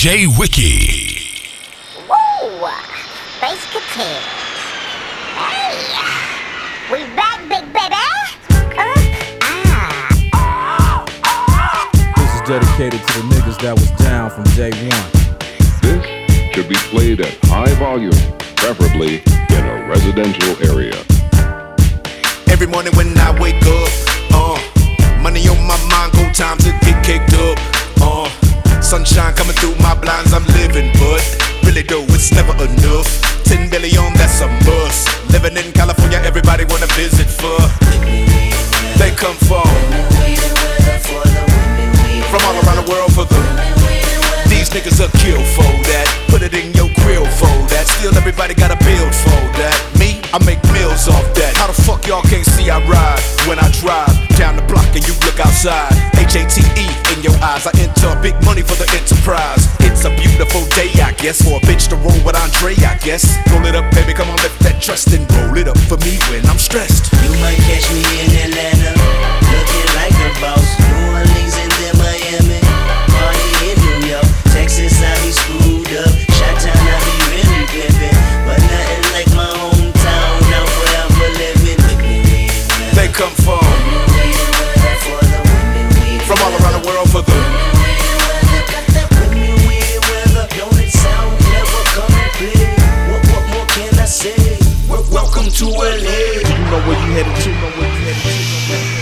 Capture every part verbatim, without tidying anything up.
J Wiki. Whoa, bass guitar. Hey, we back, big baby. Uh, ah. This is dedicated to the niggas that was down from day one. This should be played at high volume, preferably in a residential area. Every morning when I wake up, uh, money on my mind, go time to get kicked up. Uh, sunshine coming through my blinds, I'm living, but really though, it's never enough. Ten billion, that's a must. Living in California, everybody wanna visit for. They come from from all around the world for the. These niggas are kill for that. Put it in your grill for that. Still everybody gotta build for that. Me, I make meals off that. How the fuck y'all can't see I ride when I drive down the block and you look outside? H A T E in your eyes. I enter big money for the enterprise. It's a beautiful day, I guess, for a bitch to roll with Andre, I guess. Roll it up, baby, come on, lift that trust and roll it up for me when I'm stressed. You might catch me in Atlanta, looking like a boss. New Orleans and then Miami, party in New York. Texas, I be screwed up. Chi-town, I be really pimpin'. But nothing like my hometown, now forever living. They come from from all around the world for the. Welcome to L A. You know where you headed to, you know where you headed to.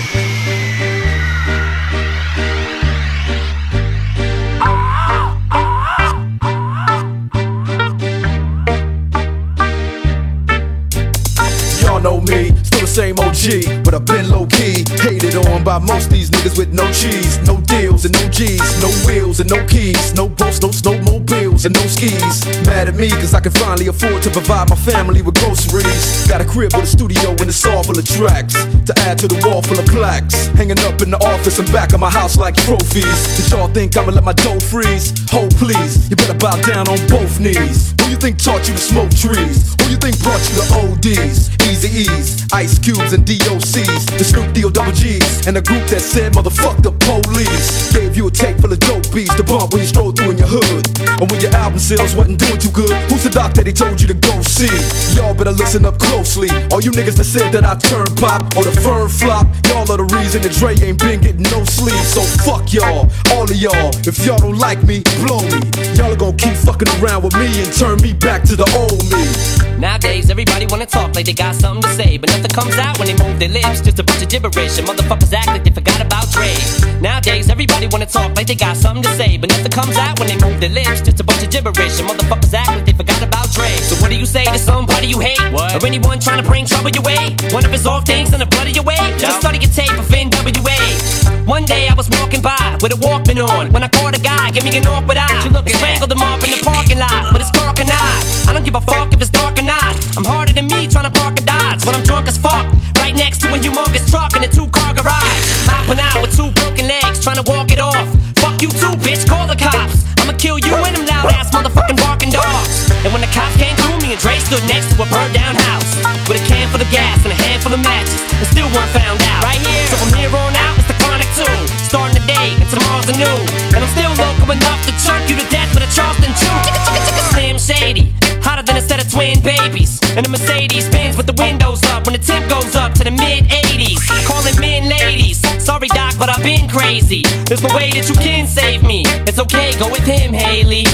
Y'all know me, still the same O G, but I've been low-key, hated on by most these niggas with no cheese, no deals and no G's, no wheels and no keys, no boats, no snowmobiles and no skis. Mad at me cause I can finally afford to provide my family with groceries. Got a crib with a studio and it's all full of tracks to add to the wall full of plaques, hanging up in the office and back of my house like trophies. Did y'all think I'ma let my dough freeze? Hold please, you better bow down on both knees. Who you think taught you to smoke trees? Who you think brought you to O Ds, Easy E's, Ice Cubes and D O C's, the Snoop D O double G's, and a group that said motherfuck the police. Gave you a tape full of dope beats to bump when you stroll through in your hood, and when your album sales wasn't doing too good. Who's the doc that he told you to go see? Y'all better listen up closely. All you niggas that said that I turn pop or the firm flop, y'all are the reason that Dre ain't been getting no sleep. So fuck y'all, all of y'all. If y'all don't like me, blow me. Y'all are gonna keep fucking around with me and turn me back to the old me. Nowadays, everybody wanna talk like they got something to say, but nothing comes out when they move their lips. Just a bunch of gibberish, and motherfuckers act like they forgot about Dre. Nowadays, everybody wanna talk like they got something to say, but nothing comes out when they move their lips. Just a bunch of gibberish, and motherfuckers act like they forgot about Dre. So what do you say to somebody you hate? What? Or anyone trying to bring trouble your way? One of his off things in the blood of your way? Just study your tape of N W A. One day I was walking by with a Walkman on when I caught a guy, give me an awkward eye. You look strangled him up in the parking lot with his dark and eye. I don't give a fuck if it's dark or not. I'm harder than me trying to park a Dodge when I'm drunk as fuck. Right next to a humongous truck in a two-car garage. Hopping out with two broken legs trying to walk it off. Fuck you too, bitch, call the cops. I'ma kill you and them loud-ass motherfucking barking dogs. And when the cops came through, me and Dre stood next to a burned-down house with a can full of gas and a handful of matches, and still weren't found out. Right here, so from here on out, it's the Chronic two. Starting today and tomorrow's a new. And I'm still local enough to choke you to death with a Charleston chew. Slim Shady, hotter than a set of twin babies. And the Mercedes Benz with the windows up when the temp goes up to the mid eighties. Calling men ladies. Sorry doc, but I've been crazy. There's no way that you can save me. It's okay, go with him, Haley.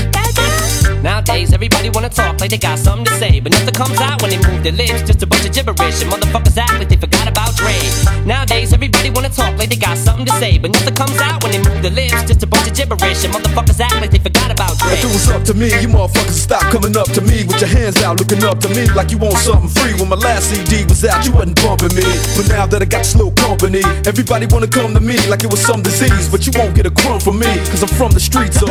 Nowadays, everybody wanna talk like they got something to say, but nothing comes out when they move their lips. Just a bunch of gibberish, and motherfuckers act like they forgot about Dre. Nowadays, everybody wanna talk like they got something to say, but nothing comes out when they move their lips. Just a bunch of gibberish, and motherfuckers act like they forgot about Dre. If it was up to me, you motherfuckers stop coming up to me with your hands out, looking up to me like you want something free. When my last C D was out, you wasn't bumping me, but now that I got this little company, everybody wanna come to me like it was some disease. But you won't get a crumb from me, cause I'm from the streets of.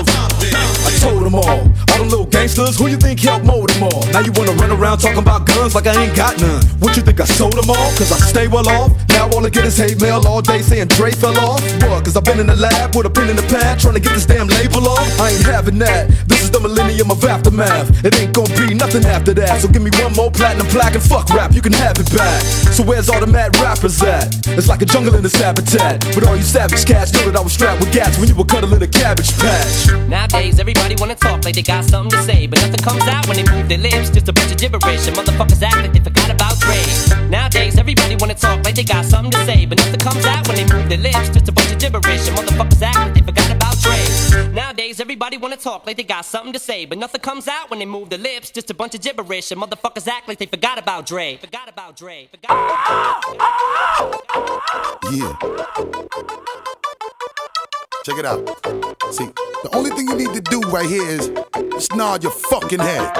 I told them all, all them little gangsters, who you think helped mold them all? Now you wanna run around talking about guns like I ain't got none. What you think I sold them all? Cause I stay well off. Now all I get is hate mail all day saying Dre fell off. What? Cause I've been in the lab with a pen in the pad trying to get this damn label off. I ain't having that. that. This is the millennium of aftermath. It ain't gonna be nothing after that. So give me one more platinum plaque and fuck rap, you can have it back. So where's all the mad rappers at? It's like a jungle in this habitat. But all you savage cats know that I was strapped with gats when you were cuddling a cabbage patch. Nowadays, everybody wanna talk like they got something to say, but nothing comes out when they move their lips. Just a bunch of gibberish, and motherfuckers act like they forgot about Dre. Nowadays, everybody wanna talk like they got something to say, but nothing comes out when they move their lips. Just a bunch of gibberish, and motherfuckers act like they forgot about Dre. Nowadays, everybody wanna talk like they got something to say, but nothing comes out when they move their lips. Just a bunch of gibberish, and motherfuckers act like they forgot about Dre. Forgot about Dre. Forgot about Dre. Yeah. Check it out. See, the only thing you need to do right here is just nod your fucking head.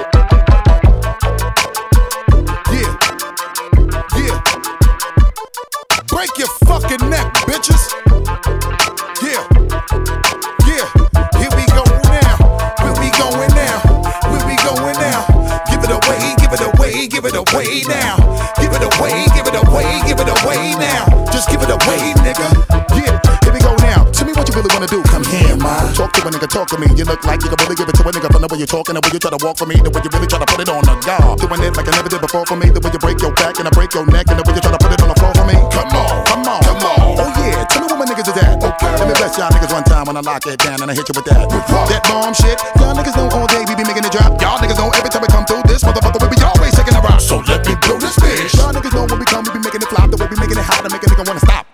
Yeah. Yeah. Break your fucking neck, bitches. Yeah. Yeah. Here we go now. Where we going now? Where we going now? Give it away, give it away, give it away now. Give it away, give it away, give it away now. Just give it away, nigga. Yeah. Here we go now. Tell me what you really wanna do. Come here, man. Talk to a nigga, talk to me. You look like you can really give it to a nigga from the way you're talking, the way you try to walk for me, the way you really try to put it on the guard. Doing it like I never did before for me, the way you break your back and I break your neck, and the way you try to put it on the floor for me. Come on, come on, come on. Oh yeah, tell me where my niggas is at. Okay. Let me bless y'all niggas one time when I lock it down and I hit you with that. That bomb shit. Y'all niggas know all day we be making it drop. Y'all niggas know every time we come through this motherfucker we be always shaking the rock. So let me blow this bitch. Y'all niggas know when we come we be making it flop, the way we making it hot to make a nigga wanna stop.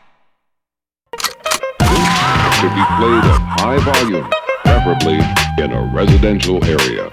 Should be played at high volume, preferably in a residential area.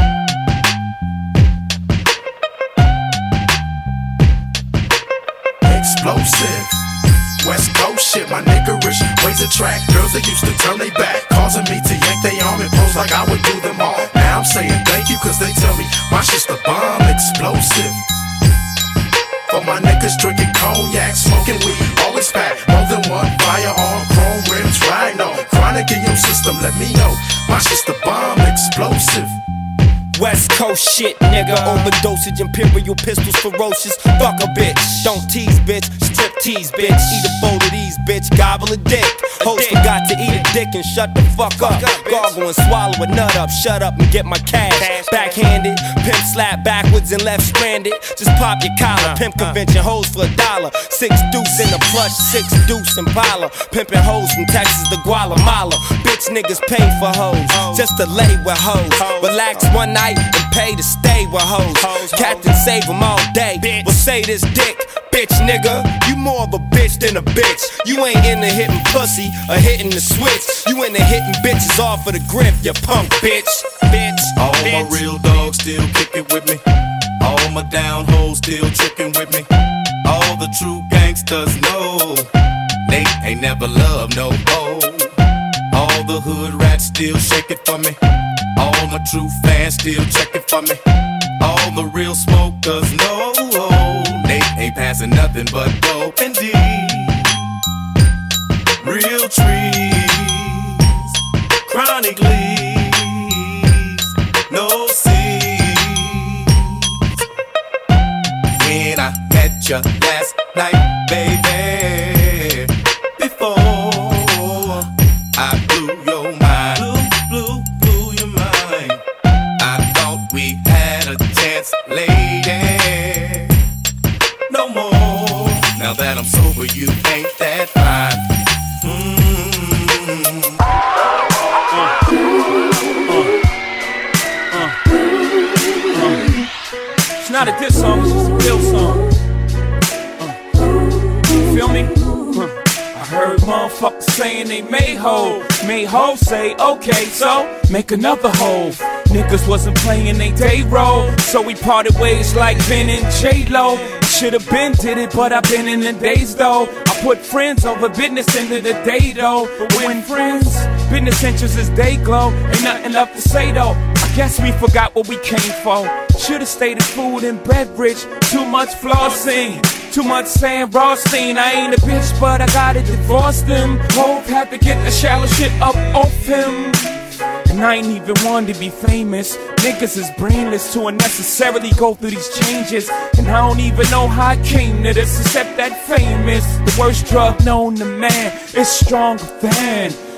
Explosive, West Coast shit, my niggerish ways attract girls that used to turn they back, causing me to yank they arm and pose like I would do them all. Now I'm saying thank you cause they tell me my shit's the bomb. Explosive, for my niggas drinking cognac, smoking weed, always fat, more than one firearm, chrome rims, rhino, chronic in your system, let me know, my shit's the bomb. Explosive, West Coast shit, nigga. Overdosage, imperial pistols, ferocious. Fuck a bitch. Don't tease, bitch. Strip tease, bitch. Eat a bowl of these, bitch. Gobble a dick. Host forgot to eat a dick and shut the fuck up. Gargle and swallow a nut up. Shut up and get my cash. Backhanded. Pimp slap backwards and left stranded. Just pop your collar. Pimp convention hoes for a dollar. Six deuce in the plush. Six deuce Impala. Pimpin' hoes from Texas to Guatemala. Bitch niggas pay for hoes. Just to lay with hoes. Relax one night and pay to stay with hoes. Captain save them all day. Well say this dick, bitch nigga. You more of a bitch than a bitch. You ain't into hitting pussy or hitting the switch. You into hitting bitches off of the grip, you punk bitch. Bitch. all bitch. my real dogs still kicking with me. All my down hoes still tricking with me. All the true gangsters know they ain't never loved no hoe. All the hood rats still shake it for me. All my true fans still check it for me. All the real smokers know they ain't passing nothing but dope and D. Real trees, chronic leaves, no seeds. When I met you last night, baby, before I blew your mind, blew, blew, blew your mind. I thought we had a chance, lady. No more. Now that I'm sober, you ain't that fine. Mm-hmm. Uh, uh, uh. It's not a diss song, it's just a real song. Uh, you feel me? Uh. I heard motherfuckers saying they made hoe. Made hoe say, okay, so make another hoe. Niggas wasn't playing they day role, so we parted ways like Ben and J-Lo. Should've been did it, but I've been in the days though. I put friends over business into the day though. But when friends, business interests is day glow. Ain't nothing left to say though. I guess we forgot what we came for. Should've stayed at food and beverage. Too much flossing, too much saying Rothstein. I ain't a bitch, but I gotta divorce them. Hope had to get the shallow shit up off him. And I ain't even one to be famous. Niggas is brainless to unnecessarily go through these changes. And I don't even know how I came to this, except that fame is the worst drug known to man. It's stronger than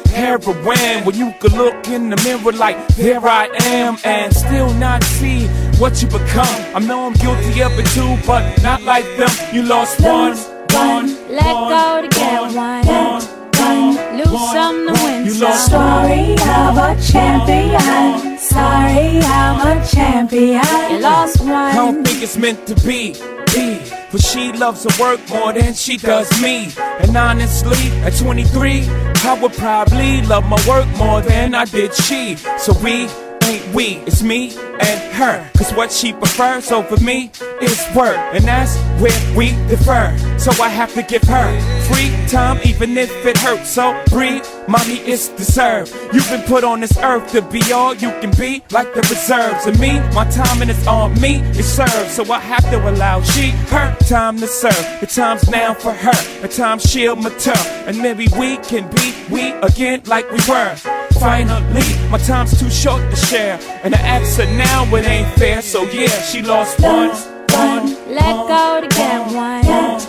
heroin. When you could look in the mirror like, there I am, and still not see what you become. I know I'm guilty of it too, but not like them. You lost one, one, let go to get one, one, one, lose some to win you some. lost Story of a champion. Sorry, I'm a champion. You lost one. I don't think it's meant to be, be. But she loves her work more than she does me. And honestly, at twenty-three, I would probably love my work more than I did she. So we ain't we, it's me and her. Cause what she prefers over me is work, and that's where we differ. So I have to give her free time even if it hurts. So breathe, mommy, it's deserved. You've been put on this earth to be all you can be, like the reserves. And me, my timing is on me, it serves. So I have to allow she, her time to serve. The time's now for her, the time she'll mature, and maybe we can be we again like we were. Finally, my time's too short to share, and I ask her now it ain't fair. So yeah, she lost one, one, let go to get one,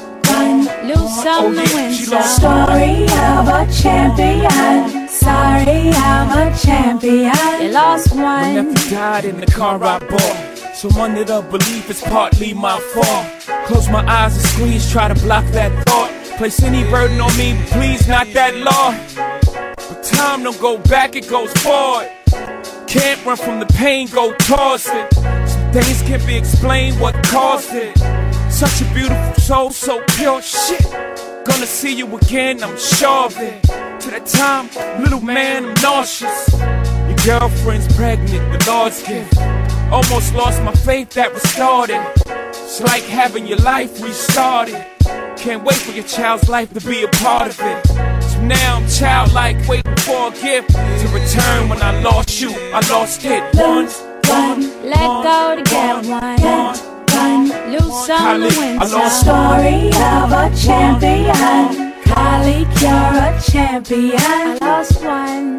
one, lose some to win some. Story of a champion. Sorry, I'm a champion. You lost one. My nephew died in the car I bought, so I'm under the belief it's partly my fault. Close my eyes and squeeze, try to block that thought. Place any burden on me, please, not that law. But time don't go back, it goes forward. Can't run from the pain, go towards it. Some things can't be explained, what caused it. Such a beautiful soul, so pure, shit. Gonna see you again, I'm sure of it. To that time, little man, I'm nauseous. Your girlfriend's pregnant, the Lord's gift. Almost lost my faith that restored it. It's like having your life restarted. Can't wait for your child's life to be a part of it. So now I'm childlike, waiting for a gift to return. When I lost you, I lost it. One, one, let go to get one, one, lose some to win some. Story of a champion. Kylie, you're a champion. I lost one.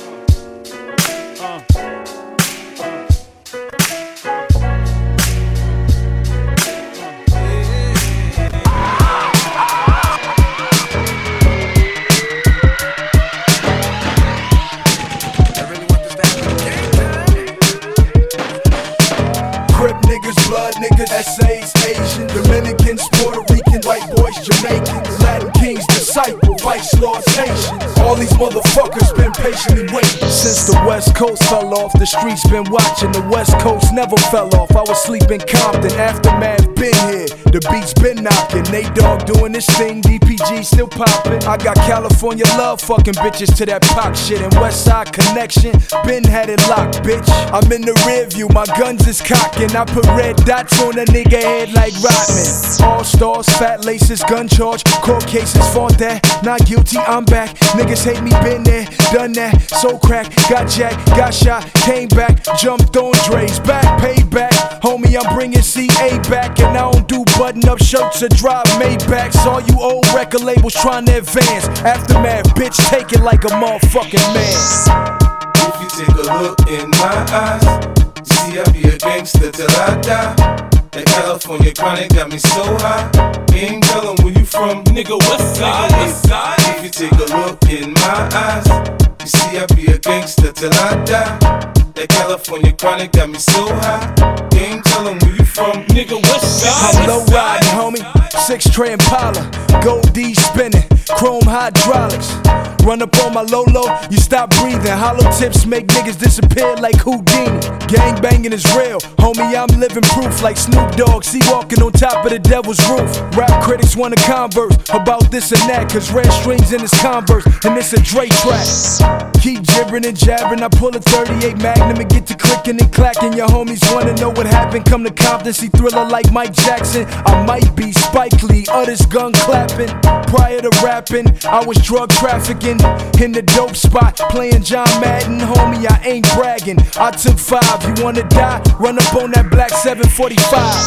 Blood niggas, essays, Asian, Dominicans, Puerto Ricans, white boys, Jamaicans, Latin kings, disciples, vice lords, nations. All these motherfuckers been patiently waiting. Since the West Coast fell off, the streets been watching. The West Coast never fell off. I was sleeping Compton, Aftermath been here. The beats been knocking. Nate Dogg doing this thing, D P G still popping. I got California love, fucking bitches to that Pac shit. And West Side Connection, been had it locked, bitch. I'm in the rear view, my guns is cocking. I put red dots on a nigga head like Rodman. All stars, fat laces, gun charge, court cases, fought that. Not guilty, I'm back. Niggas hate me, been there, done that. So crack, got jacked, got shot, came back, jumped on Dre's back, paid back. Homie, I'm bringing C A back, and I don't do button-up shirts or drive Maybachs. All you old record labels trying to advance. Aftermath, bitch, take it like a motherfucking man. If you take a look in my eyes, you see I be a gangster till I die. That California chronic got me so high. Ain't tellin' where you from, nigga, what's side? If you take a look in my eyes, you see I be a gangster till I die. That California chronic got me so high. Ain't tellin' where you from, nigga, what's side? I'm low riding, homie, six tray Impala, gold D spinning, chrome hydraulics. Run up on my Lolo, you stop breathing. Hollow tips make niggas disappear like Houdini. Gang banging is real, homie, I'm living proof like Snoop Dogg. See walking on top of the devil's roof. Rap critics wanna converse about this and that, cause red strings in his Converse, and it's a Dre track. Keep gibbering and jabbering, I pull a thirty-eight Magnum and get to clicking and clacking. Your homies wanna know what happened, come to Compton, see Thriller like Mike Jackson. I might be Spike Lee, others gun clapping. Prior to rapping, I was drug trafficking in the dope spot, playing John Madden. Homie, I ain't bragging, I took five. You wanna die? Run up on that black seven forty-five.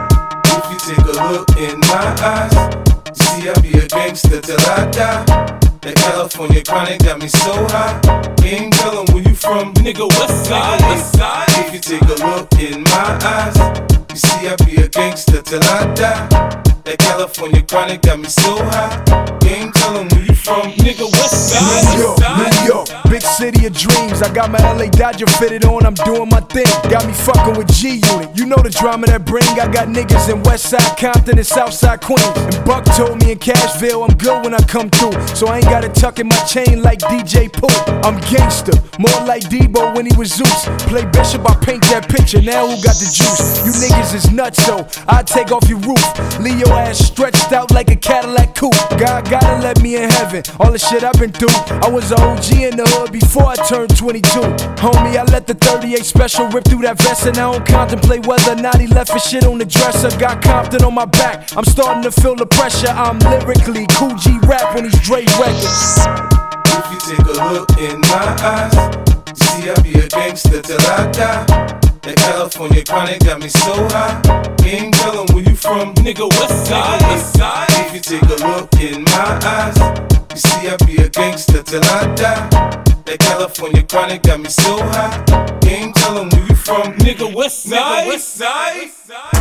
If you take a look in my eyes, you see I be a gangster till I die. That California chronic got me so high. Ain't tellin' where you from, nigga, what's side? If you take a look in my eyes, you see I be a gangster till I die. That California chronic got me so high. You ain't tellin' where you from, nigga. West side. New York, New York, big city of dreams. I got my L A Dodger fitted on, I'm doing my thing. Got me fucking with G Unit. You know the drama that bring. I got niggas in Westside Compton and Southside Queens. And Buck told me in Cashville I'm good when I come through. So I ain't gotta tuck in my chain like D J Pooh. I'm gangster, more like Debo when he was Zeus. Play Bishop, I paint that picture. Now who got the juice? You niggas is nuts, so I take off your roof. Leave your ass stretched out like a Cadillac coupe. God gotta let me in heaven. All the shit I've been through. I was an O G in the hood before I turned twenty-two. Homie, I let the thirty-eight special rip through that vest, and I don't contemplate whether or not he left his shit on the dresser. Got Compton on my back. I'm starting to feel the pressure. I'm lyrically Cool G rap on these Dre records. If you take a look in my eyes, you see I be a gangster till I die. That California chronic got me so high. You ain't tellin' where you from, nigga. West side. West side. If you take a look in my eyes, you see I be a gangster till I die. That California chronic got me so high. You ain't tellin' where you from, nigga. West side. Nigga, West side.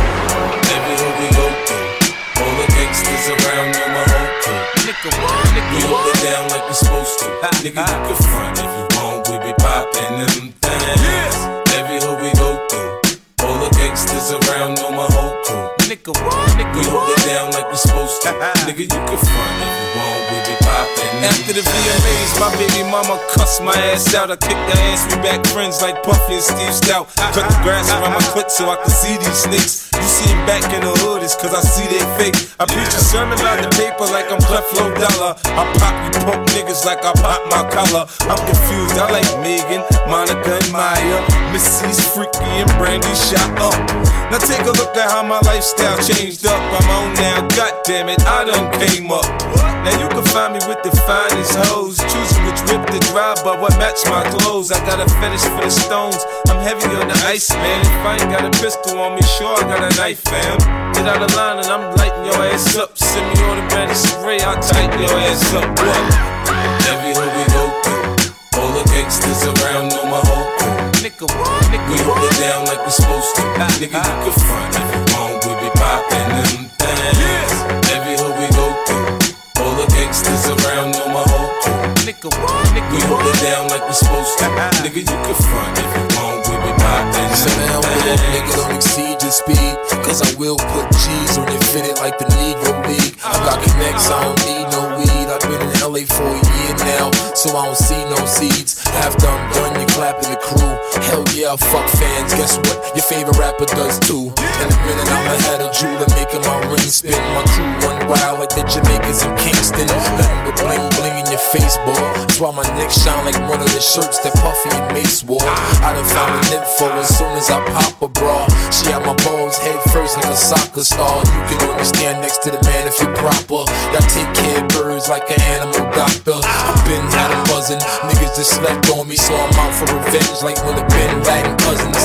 Everywhere we go through, all the gangsters around know my whole crew. Nigga, nigga, we hold it down like we supposed to. Nigga, you can front if you want, we be poppin' them things. Every hood we go through, all the gangsters around know my whole crew. Nigga, nigga, we hold it down like we supposed to. Nigga, you can front if you want, we be poppin'. After the V M As, my baby mama cussed my ass out. I kicked her ass, we back friends like Puffy and Steve Stout. Cut the grass around my clit so I can see these snakes. You see him back in the hood, it's cause I see they fake. I preach a sermon about the paper like I'm Cleflo Dollar. I pop you punk niggas like I pop my collar. I'm confused, I like Megan, Monica and Maya. Missy's freaky and Brandy shot up. Now take a look at how my lifestyle changed up. I'm on now, goddammit, I done came up. Now you can find me with the finest hoes, choosing which whip to drive, but what match my clothes. I got a fetish for the stones, I'm heavy on the ice, man. If I ain't got a pistol on me, sure I got a knife, fam. Get out of line and I'm lighting your ass up. Send me automatic spray, I'll tighten your ass up. What? Every hood we go through, all the gangsters around know my whole crew. Nigga, nigga, we hold it down like we supposed to. Nigga, you can front if you want, we be poppin' them things. Every hood we go through, all the gangsters around know my whole crew. Nigga, nigga, we hold it down like we supposed to. Nigga, you can front if you want, we be poppin' them things. Nigga, don't exceed your speed, cause I will put G's on your fitted like the Negro League. I got connects, I don't need no weed. I've been in L A for a year now, so I don't see no seeds. After I'm done, you clapping the crew. Hell yeah, fuck fans, guess what? Your favorite rapper does too. In a minute, I'ma have a jeweler making my ring spin. My crew run wild like the Jamaicans in Kingston. Nothing but bling bling in your face, boy. That's why my neck shine like one of the shirts that Puffy and Mace wore. I done found an info as soon as I pop a bra. She had my balls head first like a soccer star. You can only stand next to the man if you're proper. I take care of birds like an animal doctor. I've been had them buzzing. Niggas just slept on me, so I'm out for revenge like when the Bin Laden cousins.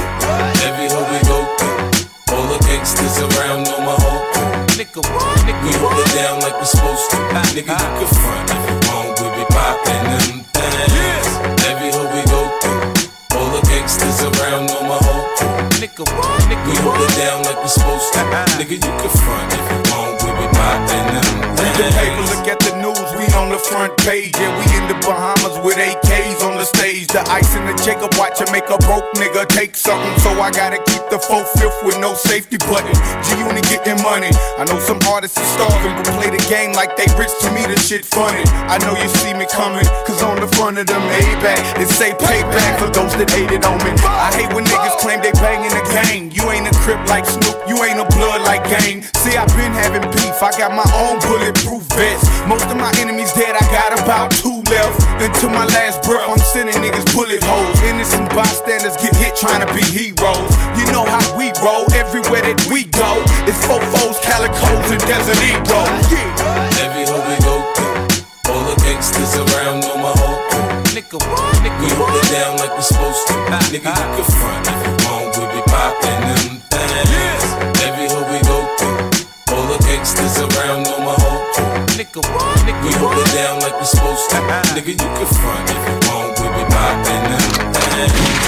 Every hood we go through, all the gangsters around know my whole crew. Nigga, nigga, we hold it down like we supposed to. Nigga, you can front if you want, we be poppin' them things. Every hood we go through, all the gangsters around know my whole crew. Nigga, nigga, we hold it down like we supposed to. Nigga, you can front if you want, we be poppin' them things. Read the paper, look at the news, we on the front page. Yeah, we in the Bahamas with A Ks on the stage. The ice in the Jacob watch to make a broke nigga take something. So I gotta keep the four-fifth with no safety button. G-Unit getting money. I know some artists are starving, but play the game like they rich. To me, the shit funny. I know you see me coming, cause on the front of the Maybach, it say payback for those that hated on me. I hate when niggas claim they bangin' the gang. You ain't a Crip like Snoop, you ain't a blood like Gang. See, I been having beef, I got my own bulletproof vest. Most of my enemies dead, I got about two left. Until my last breath, I'm sending niggas bullet holes. Innocent bystanders get hit trying to be heroes. You know how we roll, everywhere that we go. It's fofos, calicos, and Desert Eagles. Yeah. Every hood we go through, all the gangsters around know my whole crew. Nigga, nigga, we hold it down like we supposed to. Nigga, you can front if you want, we be poppin' them things. Every hood we go through, all the gangsters around know my whole crew. Nigga, nigga, we hold it down like we supposed to. Nigga, you can front if you want, we be poppin' them things.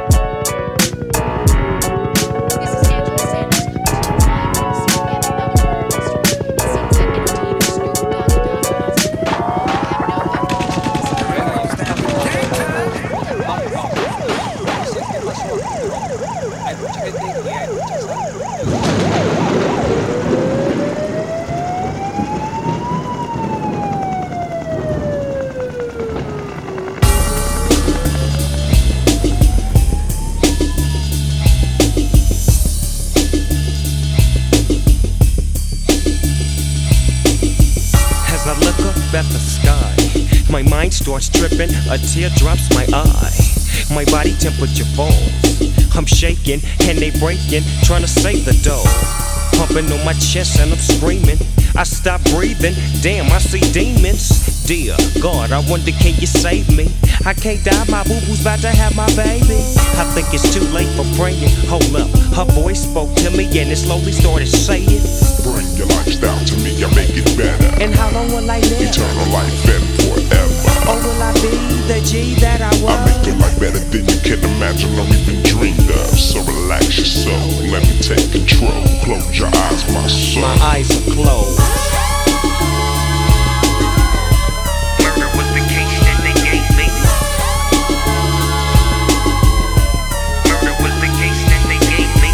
This is Angela Sanders. mind starts tripping, a tear drops my eye. My body temperature falls. I'm shaking and they breaking, trying to save the dough. Pumping on my chest and I'm screaming. I stop breathing, damn, I see demons. Dear God, I wonder, can you save me? I can't die, my boo-boo's about to have my baby. I think it's too late for praying. Hold up, her voice spoke to me and it slowly started saying, bring your lifestyle to me, I make it better. And how long will I live? Eternal life and forever. Or will I be the G that I was? I make your life better than you can imagine or even dreamed of. So relax your soul, let me take control. Close your eyes, my soul. My eyes are closed. Murder was the case that they gave me. Murder was the case that they gave me.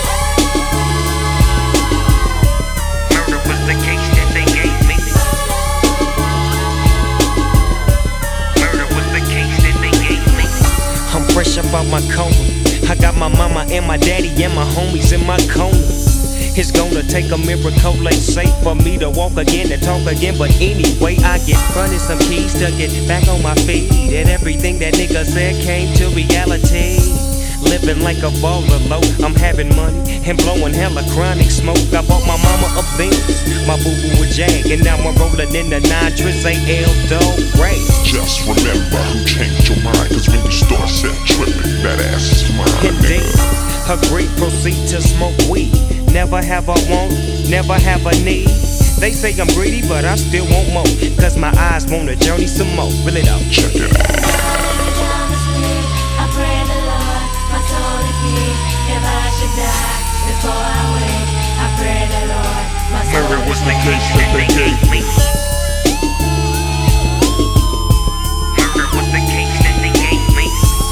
Murder was the case that they gave me. Murder was the case that they gave me. I'm fresh up out my coma. I got my mama and my daddy and my homies in my corner. It's gonna take a miracle, they say, for me to walk again and talk again. But anyway, I get fronted some keys to get back on my feet. And everything that nigga said came to reality. Living like a baller low, I'm having money and blowing hella chronic smoke. I bought my mama a Benz, my boo-boo a Jag, and now I'm rolling in the nine Tris A L Dog Ray. Just remember who changed your mind, cause when you start set tripping, that ass is mine. Indeed, agree, proceed to smoke weed. Never have a want, never have a need. They say I'm greedy, but I still want more, cause my eyes want to journey some more. Really though, check it out. I pray the Lord, my soul to keep. If I should die before I wake, I pray the Lord, my soul Murder was to the case that they gave me. Murder was the case that they gave me.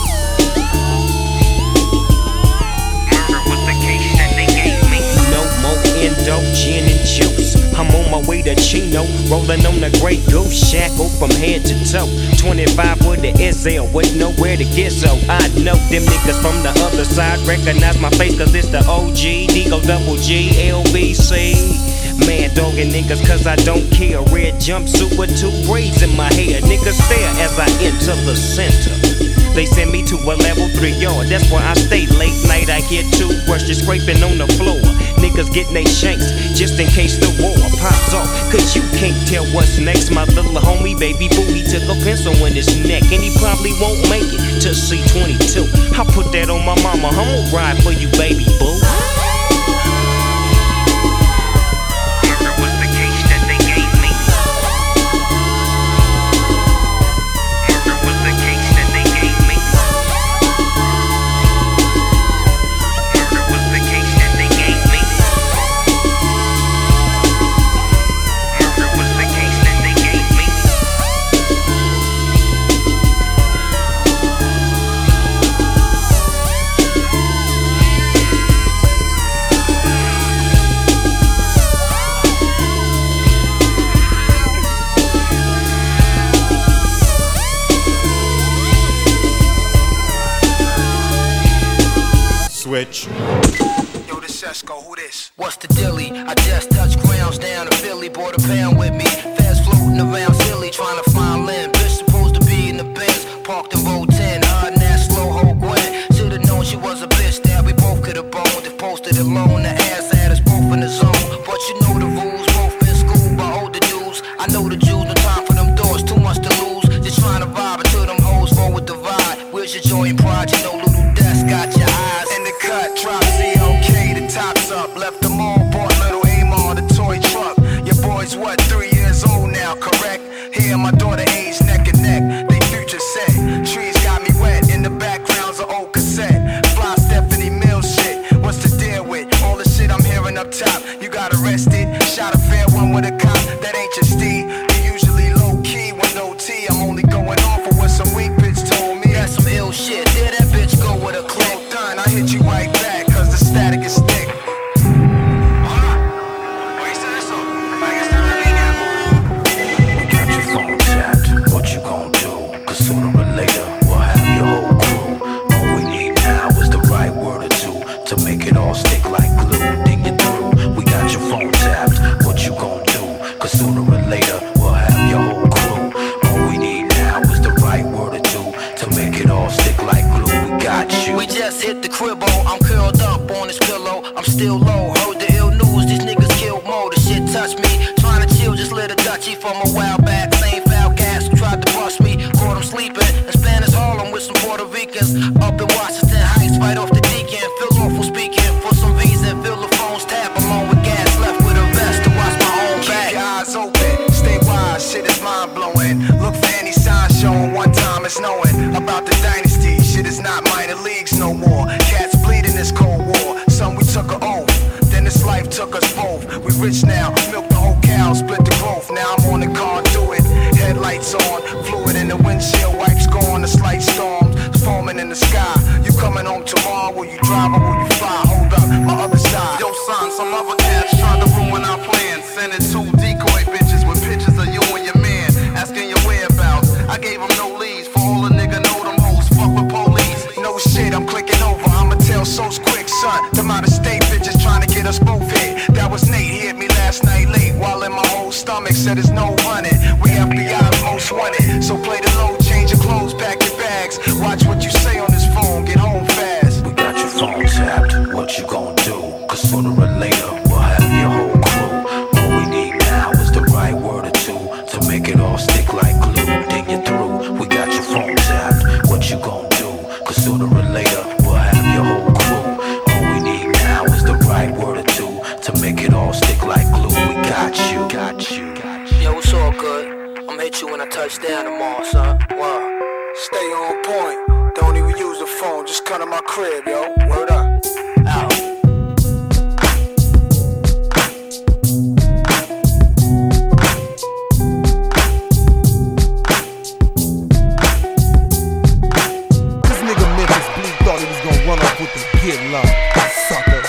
Murder was the case that they gave me. No more endo, gin and juice. I'm on my way to Chino, rolling on the Grey Goose, shackle from head to toe. twenty-five with the S L, with nowhere to get, so I know them niggas from the other side recognize my face, cause it's the O G, Digo double G, L B C. Man dogging niggas cause I don't care. Red jumpsuit with two braids in my hair. Niggas stare as I enter the center. They send me to a level three yard. That's why I stay late night. I hear toothbrushes scraping on the floor. Niggas getting they shanks just in case the war pops off. Cause you can't tell what's next. My little homie, baby boo, he took a pencil in his neck. And he probably won't make it to C twenty-two. I put that on my mama. I'm gonna ride for you, baby boo. Switch. Yo, this Sesco, who this? What's the dilly? I just touched grounds down in Philly, bought a pound with me. Fast floating around silly, trying to find land. Bitch supposed to be in the Benz, parked in row ten. Hard and that slow ho Gwen. Should've known she was a bitch that we both could've boned. If posted alone, the ass had us both in the zone. But you know the rules, both been schooled by older dudes. I know the Jews, no time for them doors, too much to lose. Just trying to vibe until them hoes roll with the vibe. Where's your joy and pride? You know little desk got your eyes. Cut, drop C O K, the top's up. Left them all, bought little Amar, the toy truck. Your boy's what, three years old now, correct? Here, my daughter ain't just hit the cribbo. I'm curled up on this pillow. I'm still low. Heard the ill news. These niggas killed Mo. The shit touched me. Trying to chill, just lit a Dutchie from a while back. Same foul cats who tried to bust me. Caught him sleeping in Spanish Harlem with some Puerto Ricans. Up in Washington Heights, right off the Deacon. Feel awful speaking for some reason. Feel the phones tap along with gas. Left with a vest to watch my own back. Keep your eyes open. Stay wise. Shit is mind blowing. Look for any sign showing. One time it's knowing about the dynasty. Shit is not minor leagues no more. Cats bleed in this cold war. Some we took an oath. Then this life took us both. We rich now. Milk the whole cow. Split the growth. Now I'm on the car. Do it. Headlights on. Fluid in the windshield. Wipes gone. The slight storms. Foaming in the sky. You coming home tomorrow? Will you drive or will you fly? Hold up. My other side. Yo, son, some other cats trying to ruin our plans. Sending two decoy bitches with pictures of you and your man. Asking your whereabouts. I gave them no leads. For all a nigga know them hoes. Fuck with police. No shit, I'm clicking over. I'ma tell so quick, son. Them out of state bitches trying to get us both hit. That was Nate. He hit me last night late. While in my whole stomach said there's no running. We F B I's most wanted. So play the low, change your clothes, pack your bags. Watch what you say on this phone. Get home fast. We got your phone tapped. What you gon' do? Cause sooner or later we'll have your whole crew. All we need now is the right word or two to make it all stick like glue. Then you're through. We got your phone tapped. What you gon' do? Cause sooner or later we'll have your whole crew. All we need now is the right word or two to make it all stick like glue. We got you, got you, got you. Yo, it's all good. I'ma hit you when I touch down tomorrow, son. Wow. Stay on point. Don't even use the phone. Just come to my crib, yo. Word up. Out. This nigga Memphis Bleak thought he was gonna run off with the kid love. Sucker.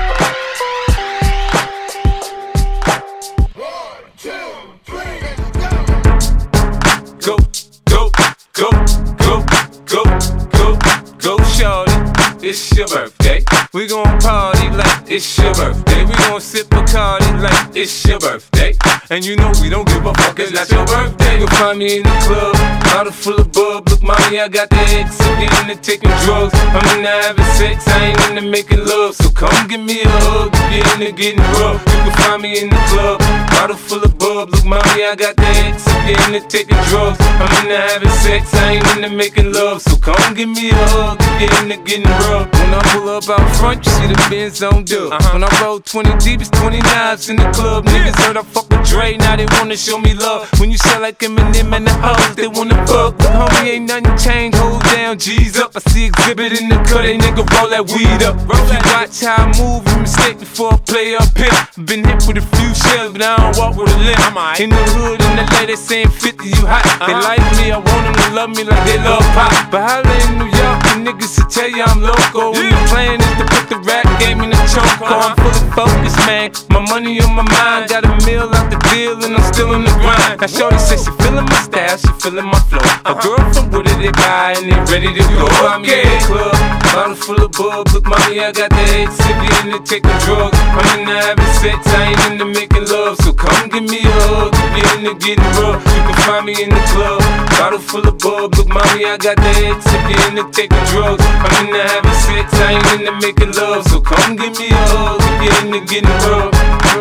Go, go, go, go, go, go, go, shorty. It's your birthday. We gon' party like it's your birthday. We gon' sip Bacardi like it's your birthday. And you know we don't give a fuck, it's not your birthday. You'll find me in the club, bottle full of bub. Look, mommy, I got the X, I'm getting into taking drugs. I'm into having sex, I ain't into making love. So come give me a hug, get into getting rough. You can find me in the club, bottle full of bub. Look, mommy, I got the X, I'm getting into taking drugs. I'm into having sex, I ain't into making love. So come give me a hug, get into getting rough. When I pull up out front, you see the Benz on dub. Uh-huh. When I roll twenty deep, it's twenty knives in the club. Niggas heard I fuck with Dre, now they wanna show me love. When you sell like Eminem and the hoes, they wanna fuck. But homie, ain't nothing changed, hold down, G's up. I see exhibit in the cut, they nigga roll that weed up. Roll that watch how I move, you mistake before I play up here. Been hit with a few shells, but I don't walk with a limp. In the hood, in the lady saying fifty, you hot. They like me, I want them to love me like they love pop. But holla in New York, the niggas will tell you I'm loco. And the plan is to put the rap game in the choke. I'm fully focused, man. My money on my mind, got a meal out the deal, and I'm still in the grind. Now shorty says she feeling my style, she feeling my flow. A girl from Wooded, they buy and they ready to go. I'm in the club, bottle full of bub. Look, mommy, I got the X, if you into taking drugs. I'm into having sex, I ain't into making love. So come give me a hug, if you into getting rough. You can find me in the club, bottle full of bub. Look, mommy, I got the X, if you into taking drugs. I'm into having sex, I ain't into making love. So come give me a hug, if you into getting rough.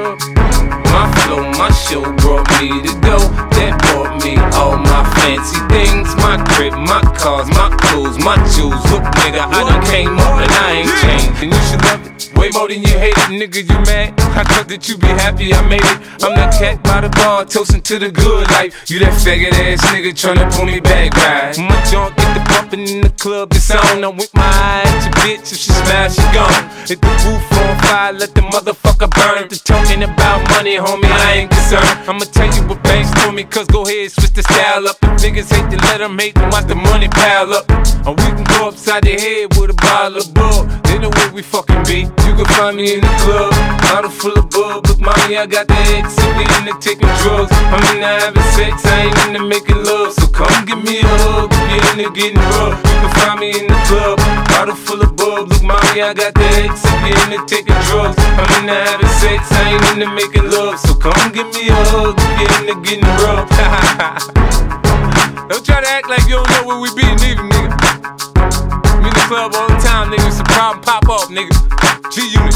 My flow, my show brought me to go. That brought me all my fancy things. My crib, my cars, my clothes, my jewels. Look, nigga, I done came up and I ain't changed. And you should love it way more than you hate it, nigga, you mad? I thought that you be happy I made it. I'm that cat by the bar, toasting to the good life. You that faggot ass nigga tryna pull me back, right? My junk get the bumpin' in the club, it's on. I'm with my eye at your bitch, if she smash, she gone. Hit the roof on fire, let the motherfucker burn. The talking about money, homie, I ain't concerned. I'ma tell you what banks told me, cause go ahead, switch the style up. If niggas hate to let them hate them, watch the money pile up. Or we can go upside the head with a bottle of bug. They know where we fucking be. You can find me in the club, bottle full of bub. Look, mommy, I got the X, if you into taking drugs. I'm into having sex, I ain't into making love. So come give me a hug, if you into getting rough. You can find me in the club, bottle full of bub. Look, mommy, I got the X, if you into taking drugs. I'm into having sex, I ain't into making love. So come give me a hug, if you into getting rough. Don't try to act like you don't know where we be, neither, nigga. I'm in the club all the time, niggas album pop off, nigga. G-Unit.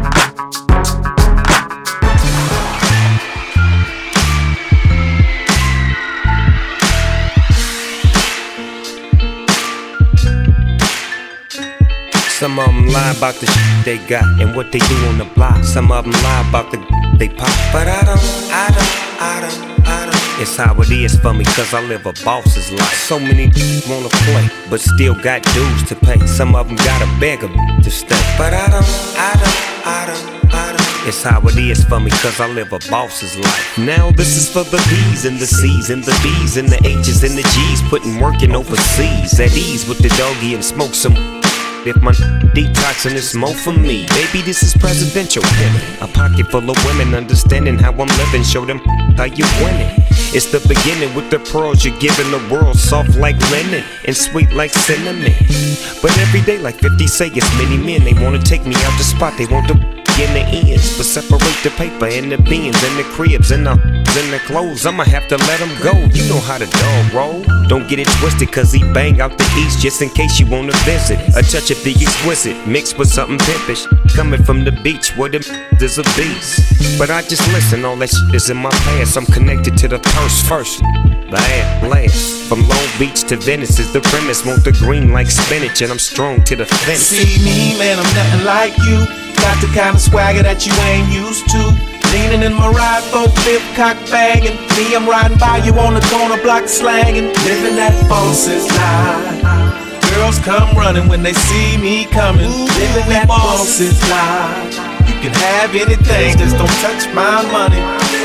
Some of them lie about the shit they got and what they do on the block. Some of them lie about the they pop. But I don't, I don't, I don't, I don't. It's how it is for me, cause I live a boss's life. So many wanna play, but still got dues to pay. Some of them gotta beg a to stay. But I don't, I don't, I don't, I don't. It's how it is for me, cause I live a boss's life. Now this is for the B's and the C's and the B's and the H's and the G's. Putting working overseas, at ease with the doggy and smoke some. If my detoxing is more for me, baby, this is presidential. A pocket full of women understanding how I'm living. Show them how you winning. It's the beginning with the pearls you're giving the world. Soft like linen and sweet like cinnamon. But every day, like fifty say, it's many men. They wanna take me out the spot. They want the in the ends, but separate the paper and the beans and the cribs and the and the clothes. I'ma have to let them go. You know how the dog roll. Don't get it twisted, cause he bang out the east just in case you wanna visit. A touch of the exquisite mixed with something pimpish. Coming from the beach where the there's a beast. But I just listen, all that shit is in my past. I'm connected to the purse first. Last, last. From Long Beach to Venice is the premise. Want the green like spinach, and I'm strong to the finish. See me, man, I'm nothing like you. Got the kind of swagger that you ain't used to. Leaning in my ride, both flip, cock banging. Me, I'm riding by you on the corner block slanging. Living that boss's life. Girls come running when they see me coming. Living that boss's life. You can have anything, just don't touch my money.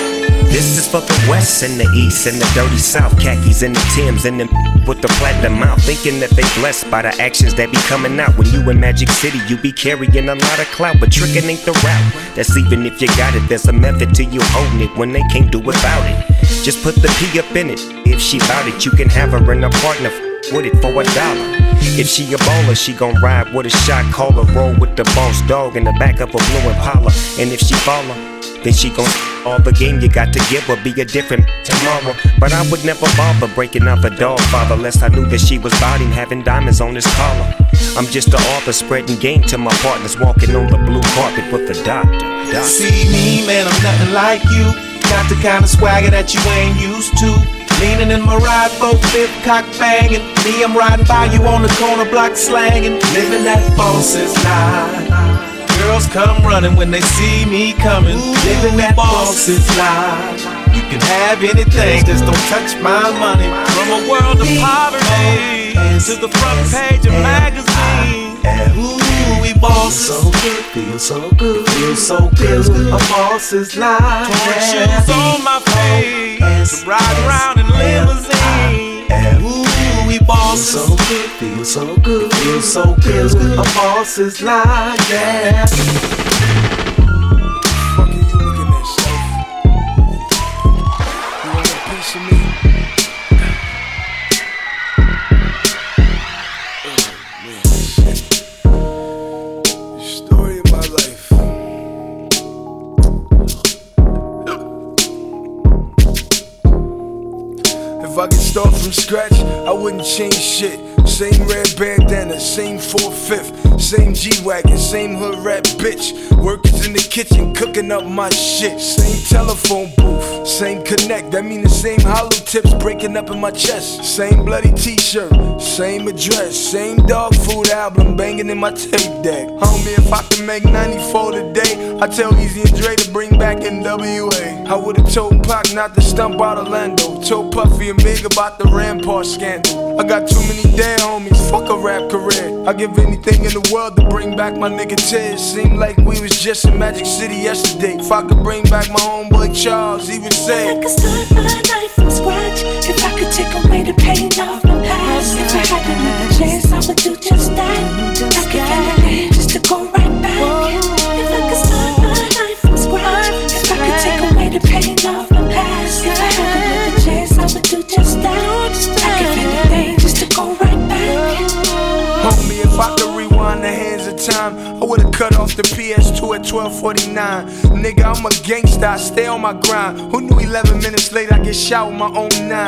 This is for the West and the East and the dirty South. Khakis and the Timbs and them with the platinum mouth. Thinking that they blessed by the actions that be coming out. When you in Magic City, you be carrying a lot of clout. But tricking ain't the route. That's even if you got it. There's a method to you holding it when they can't do without it. Just put the P up in it. If she bout it, you can have her and a partner with it for a dollar. If she a baller, she gon' ride with a shot caller. Roll with the boss dog in the back of a blue Impala. And if she follow, then she gon' all the game you got to give her, be a different tomorrow. But I would never bother breaking up a dog father, lest I knew that she was about him having diamonds on his collar. I'm just the author spreading game to my partners, walking on the blue carpet with the doctor. doctor. See me, man, I'm nothing like you. Got the kind of swagger that you ain't used to. Leaning in my ride, both flip, cock banging. Me, I'm riding by you on the corner block slanging. Living that boss's life. Girls come running when they see me coming. Living that boss's life. You can have anything, just don't touch my money. From a world of poverty to the front page of magazines. Ooh, we boss. So good, feel so good, feel so good. A boss's life. Torn shoes on my face, to ride around in limousine. Ooh, we boss. So good, feel so good, feel so good. A boss's life, yeah. Fuck are you looking at, Shelf? You want a piece of me? Story of my life. If I could start from scratch, I wouldn't change shit. Same red bandana, same four-fifth, same G-Wagon, same hood rat bitch. Workers in the kitchen cooking up my shit. Same telephone booth, same connect. That mean the same hollow tips breaking up in my chest. Same bloody t-shirt, same address, same dog food album banging in my tape deck. Homie, if I can make ninety-four today, I tell Easy and Dre to bring back N W A. I would've told Pac not to stump out Orlando. Told Puffy and Big about the Rampart scandal. I got too many dead homies, fuck a rap career. I'd give anything in the world to bring back my nigga Tiz. Seemed like we was just in Magic City yesterday. If I could bring back my homeboy Charles, he would say I could start my life from scratch. If I could take away the pain off my past. If I had another chance, I would do just that. I could get it just to go right back. If I could start my life from scratch. If I could take away the pain off my past. If I had another chance, I would do just that. I could get anything just to go right back. Homie, if I could rewind the hands of time, I would've cut off the P S two at twelve forty-nine. Nigga, I'm a gangsta, I stay on my grind. Who knew eleven minutes later I get shot with my own nine?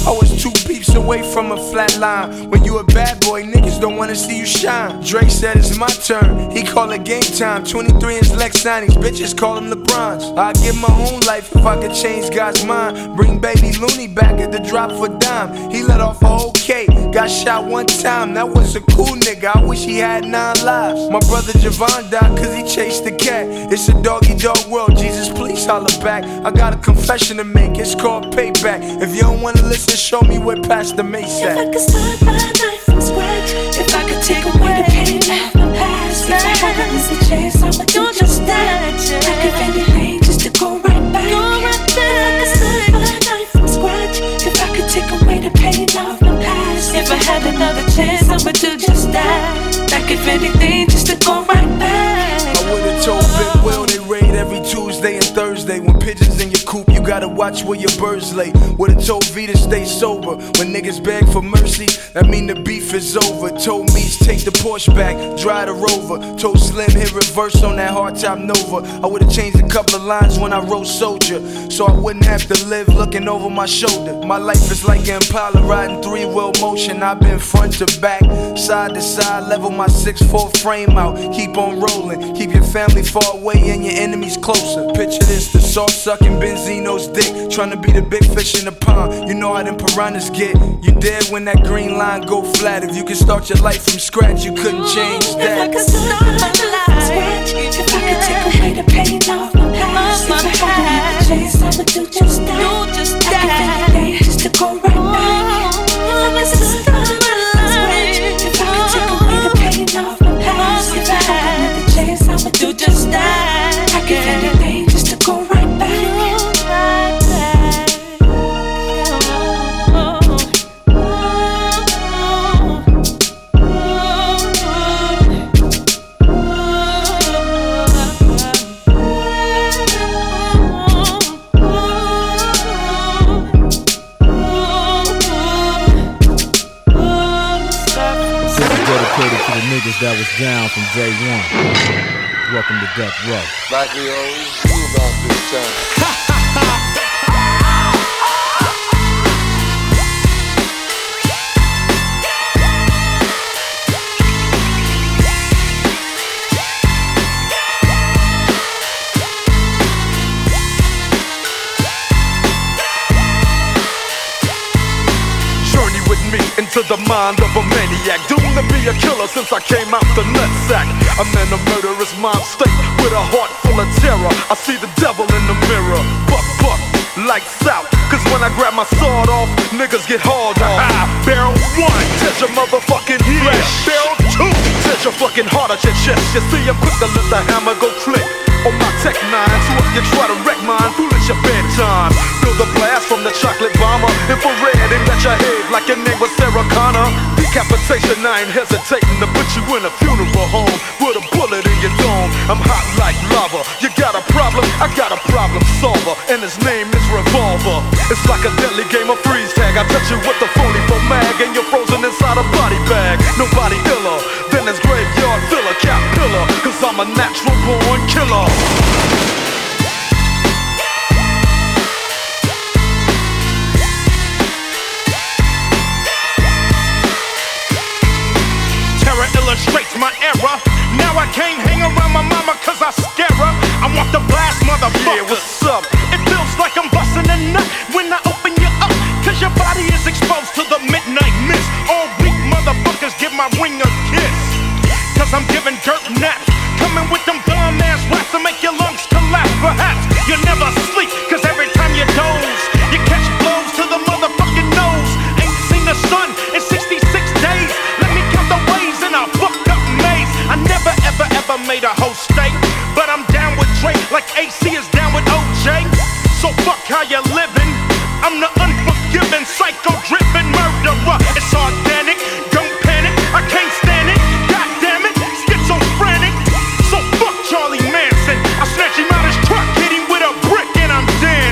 I was two beeps away from a flat line. When you a bad boy, niggas don't wanna see you shine. Dre said it's my turn, he call it game time. Twenty-three inch Lex signings, bitches call him LeBrons. I'd give my own life if I could change God's mind. Bring baby Looney back at the drop for dime. He let off a whole K, got shot one time. That was a cool nigga, I wish he had nine lives. My brother Javon died cause he chased the cat. It's a doggy dog world, Jesus please holler back. I got a confession to make, it's called payback. If you don't wanna listen, show me where Pastor Mace at. If I could start my life from scratch, if I could take away the pain of my past, if I had a missing chance, I would do just that. I could anything just to go right back. If I could start my life from scratch, if I could take away the pain of my past, if I had another chance, I would do just that. Like if anything, just to go right back. I would've told Big Will they raid every Tuesday and Thursday. When pigeons in your coop, you gotta watch where your birds lay. Would've told V to stay sober. When niggas beg for mercy, that mean the beef is over. Told Meech take the Porsche back, drive the Rover. Told Slim hit reverse on that hardtop Nova. I would've changed a couple of lines when I wrote Soldier, so I wouldn't have to live looking over my shoulder. My life is like an Impala riding three-wheel motion. I've been front to back, side to side, level my six four frame out. Keep on rolling, keep your family far away and your enemies closer. Picture this, the soft-sucking Benzino's dick, trying to be the big fish in the pond. You know how them piranhas get. You dead when that green line go flat. If you could start your life from scratch, you couldn't change that. If I could start my life from scratch, if I could take away the pain of my past, if I had another chance, I would do just that. I could anything just to go right back. If I could start my life from scratch, if I could take away the pain of my past, if I had another chance, I would do just that. I could anything just to go right back. Dedicated to the niggas that was down from day one. Welcome to Death Row. Like we always do about this time. Into the mind of a maniac, doomed to be a killer since I came out the nutsack. I'm in a murderous mind state with a heart full of terror. I see the devil in the mirror. Buck, buck, lights out. Cause when I grab my sword off, niggas get hauled off. Barrel one, touch your motherfucking flesh. Barrel two, touch your fucking heart at your chest. You see, I'm quick to let the hammer go click on my tech nine, so if you try to wreck mine, foolish your bedtime. Feel the blast from the chocolate bomber, infrared and at your head like your name was Sarah Connor. Decapitation, I ain't hesitating to put you in a funeral home with a bullet in your dome. I'm hot like lava. You got a problem? I got a problem solver, and his name is Revolver. It's like a deadly game of freeze tag. I touch you with the forty-four mag, and you're frozen inside a body bag. Nobody iller than this graveyard filler, cap pillar, cause I'm a natural born killer. Terror illustrates my era. Now I can't hang around my mama cause I scare her. I want the blast, motherfucker. Yeah, what's up? It feels like I'm busting a nut when I open you up, cause your body is exposed to the midnight mist. All weak motherfuckers give my ring a kiss, cause I'm giving dirt naps. Coming with them dumb ass raps to make your lungs collapse. Perhaps you'll never sleep, cause every time you doze, you catch blows to the motherfucking nose. Ain't seen the sun in sixty-six days. Let me count the ways in a fucked up maze. I never ever ever made a whole state, but I'm down with Drake like A C is down with O J. So fuck how you living. I'm the unforgiving, psycho-driven murderer. It's organic, don't panic, I can't stand it. God damn it, schizophrenic. So fuck Charlie Manson. I snatch him out his truck, hit him with a brick, and I'm dead.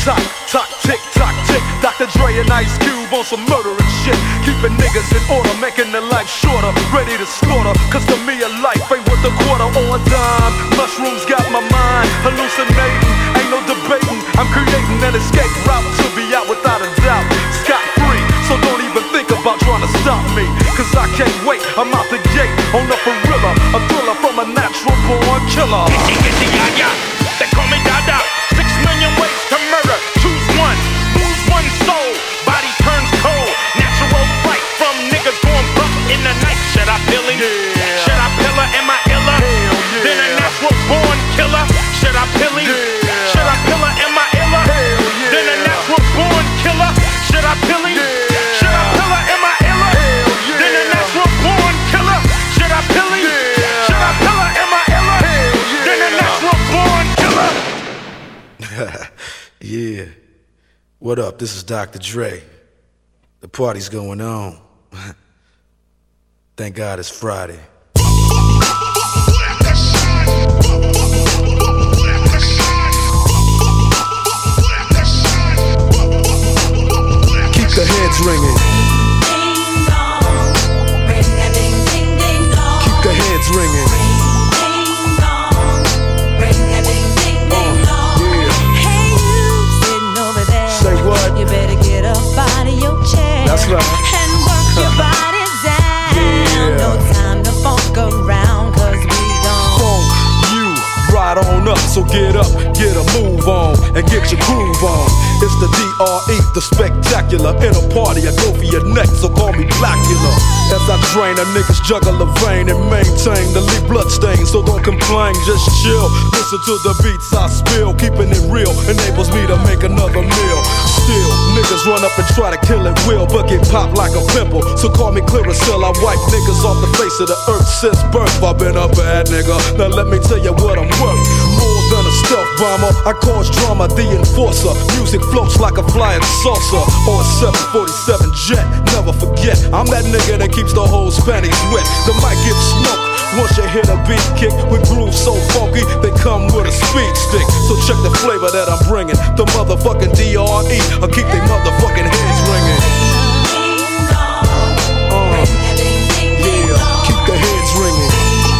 tock, tock, tick, tock, tick. Doctor Dre and Ice Cube on some murderous shit. Keeping niggas in order, making their life shorter. Ready to slaughter, cause to me a life ain't worth a quarter or a dime. Mushrooms got my mind hallucinating, ain't no debating. I'm creating an escape route to be out without a doubt. Scot free, so don't even think about trying to stop me. Cause I can't wait, I'm out the gate on a gorilla, a thriller from a natural born killer. They call me Dada. Six million ways to murder. Choose one. Lose one soul. Body turns cold. Natural fright from niggas going buck in the night. Should I pill him? Yeah. Should I pill her? Am I iller? Yeah. Then a natural born killer. Should I pill him? Yeah. Should I pill her? Am I iller? Yeah. Then a natural born killer. Should I pill him? Yeah. Should I pill her? Am I iller? Yeah. Then a natural born killer. Should I pill him? Yeah. Should I pill her? Am I iller? Yeah. Then a natural born killer. Yeah. What up? This is Doctor Dre. The party's going on. Thank God it's Friday. Keep the heads ringing. Keep the heads ringing. You better get up out of your chair. That's right. And work your body down. Yeah. No time to funk around, cause we gon' funk you right on up. So get up, get a move on, and get your groove on. It's the D R E, the spectacular. In a party, I go for your neck, so call me Blackula. As I drain a nigga's jugular vein and maintain the lead blood stain. So don't complain, just chill. Listen to the beats I spill. Keeping it real enables me to make another meal. Still, niggas run up and try to kill it will, but get popped like a pimple. So call me Clearasil, I wipe niggas off the face of the earth since birth. I've been a bad nigga, now let me tell you what I'm worth. More than a stealth bomber, I cause drama, the enforcer. Music floats like a flying saucer or a seven forty-seven jet. Never forget, I'm that nigga that keeps the whole panties wet. The mic gets smoked once you hit a beat kick with grooves so funky, they come with a speed stick. So check the flavor that I'm bringing. The motherfucking D R E, I'll keep they motherfucking heads ringing. Uh, yeah, keep the heads ringing.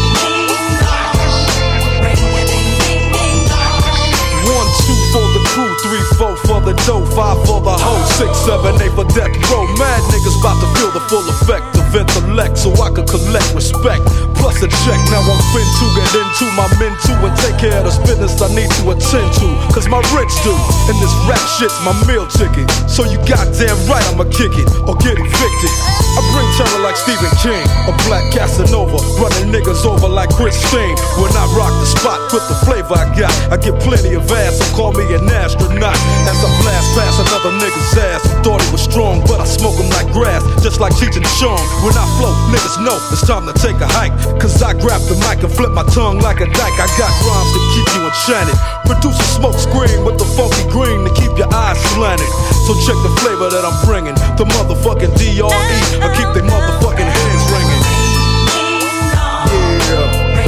One, two for the crew, three, four for the dough, five for the hoe, six, seven, eight for death row. Mad niggas about to feel the full effect of intellect, so I could collect respect. Plus a check, now I'm fin to get into my men too and take care of this business I need to attend to. Cause my rich do, and this rap shit's my meal ticket. So you goddamn right I'ma kick it or get evicted. I bring terror like Stephen King, a black Casanova, running niggas over like Christine. When I rock the spot with the flavor I got, I get plenty of ass, so call me an astronaut. As I blast past another nigga's ass, who thought he was strong, but I smoke him like grass, just like Cheech and Chong. When I flow, niggas know it's time to take a hike. Cause I grab the mic and flip my tongue like a dyke. I got rhymes to keep you enchanted. Produce a smoke screen with the funky green to keep your eyes slanted. So check the flavor that I'm bringing. The motherfucking D R E, I keep they motherfucking heads ringing. Yeah.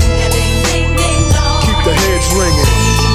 Keep the heads ringing.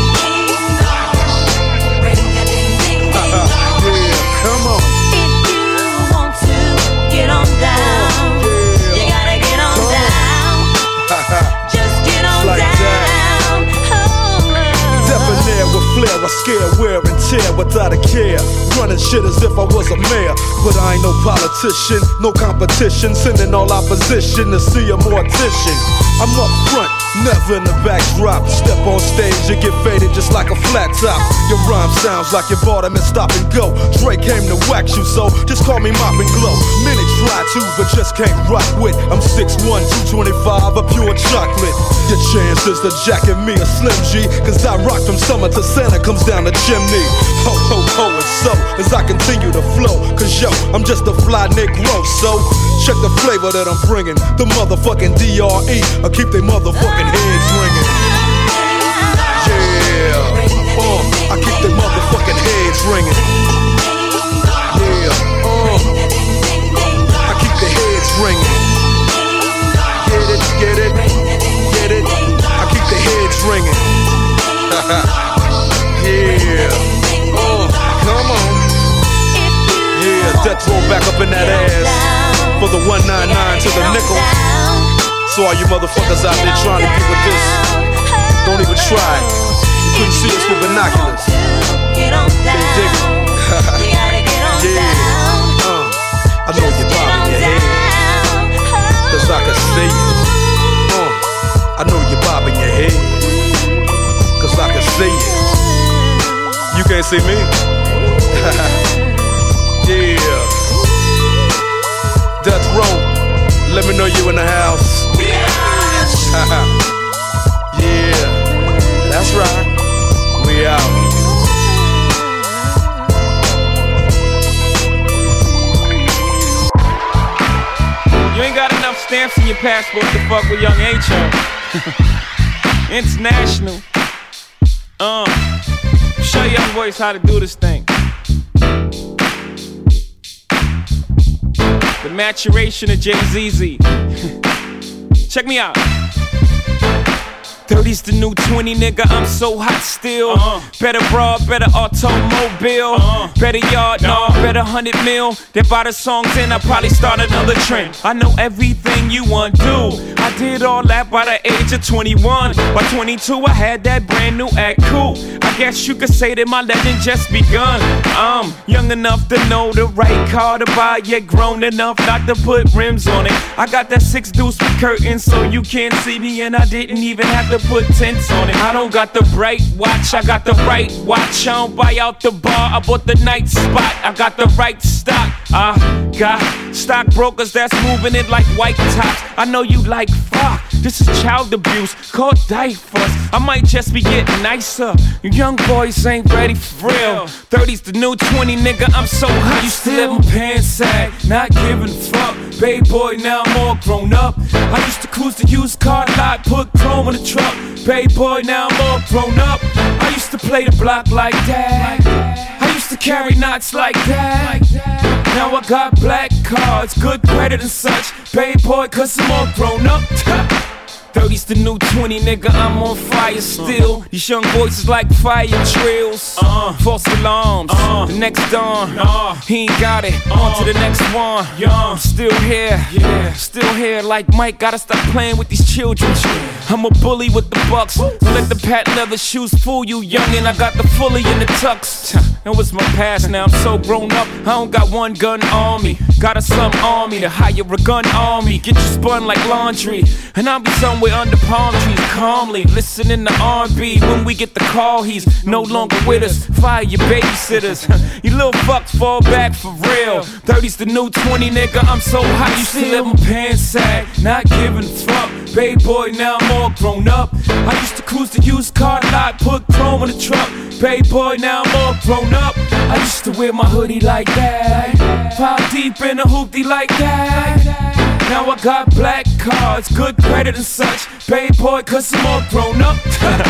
Yeah, come on. If you want to get on down, you gotta get on down. Just get on like down. Oh, Debonair with flair, I scare, wear and tear without a care. Running shit as if I was a mayor, but I ain't no politician, no competition. Sending all opposition to see a mortician. I'm up front, never in the backdrop. Step on stage, you get faded just like a flat top. Your rhyme sounds like you bought him and stop and go. Dre came to wax you, so just call me Mop and Glow. Many try to, but just can't rock with. I'm six one, two twenty-five, a pure chocolate. Your chances to jacket me a Slim G, cause I rock from summer to Santa comes down the chimney. Ho, ho, ho, and so as I continue to flow, cause yo, I'm just a fly Negro. So check the flavor that I'm bringing. The motherfucking D R E, I keep they motherfucking heads ringing. Yeah, uh, I keep they motherfucking heads ringing. Yeah, uh, I keep the heads ringing. Get it, get it, get it. I keep the heads ringing. Yeah, uh. death roll back up in that ass for the one ninety-nine to the nickel. So all you motherfuckers out there trying to get with this, don't even try it. You couldn't see us with binoculars. Can't dig it. Yeah, uh, I know you're bobbing your head, cause I can see you. Uh, I know you're bobbing your head, cause I can see you. You can't see me. Yeah. Death row, let me know you in the house. Yeah, that's right. We out. You ain't got enough stamps in your passport to fuck with young H-O. International. Uh, show young boys how to do this thing. The maturation of Jay-Z Z. Check me out. thirty's the new twenty, nigga, I'm so hot still. Uh-huh. Better broad, better automobile. Uh-huh. Better yard, no, better hundred mil. They buy the songs and I probably start another trend. I know everything you want to do. I did all that by the age of twenty-one. By twenty-two, I had that brand new act cool. I guess you could say that my legend just begun. I'm young enough to know the right car to buy, yet grown enough not to put rims on it. I got that six deuce with curtains so you can't see me, and I didn't even have to put tents on it. I don't got the bright watch, I got the right watch. I don't buy out the bar, I bought the night spot. I got the right stock, I got stockbrokers that's moving it like white tops. I know you like fuck, this is child abuse, call diapers. I might just be getting nicer. You young boys ain't ready for real. thirty's the new twenty, nigga, I'm so hot. Used to let my pants sag, not giving a fuck. Baby boy, now I'm all grown up. I used to cruise the used car lot, put chrome in the truck. Baby boy, now I'm all grown up. I used to play the block like that. I used to carry knots like that. Now I got black cards, good credit and such. Baby boy, cause I'm all grown up. thirty's the new twenty, nigga, I'm on fire still. These young boys is like fire drills. Uh, false alarms, uh, the next dawn. Uh, he ain't got it, uh, on to the next one. Young, still here, yeah, still here. Like Mike, gotta stop playing with these children. I'm a bully with the bucks. Don't let the patent leather shoes fool you, youngin'. I got the fully in the tux. That was my past, now I'm so grown up. I don't got one gun on me. Got a slum army to hire a gun on me. Get you spun like laundry, and I'll be somewhere under palm trees, calmly listening to R and B. When we get the call, he's no longer with us. Fire your babysitters. You little fucks fall back for real. thirty's the new twenty, nigga, I'm so hot. Used to let my pants sag, not giving a fuck. Baby boy, now I'm all grown up. I used to cruise the used car lot, put chrome in the truck. Baby boy, now I'm all grown up. I used to wear my hoodie like that, five deep in a hoopty like that. Now I got black cards, good credit and such. Baby boy, cause I'm all grown up.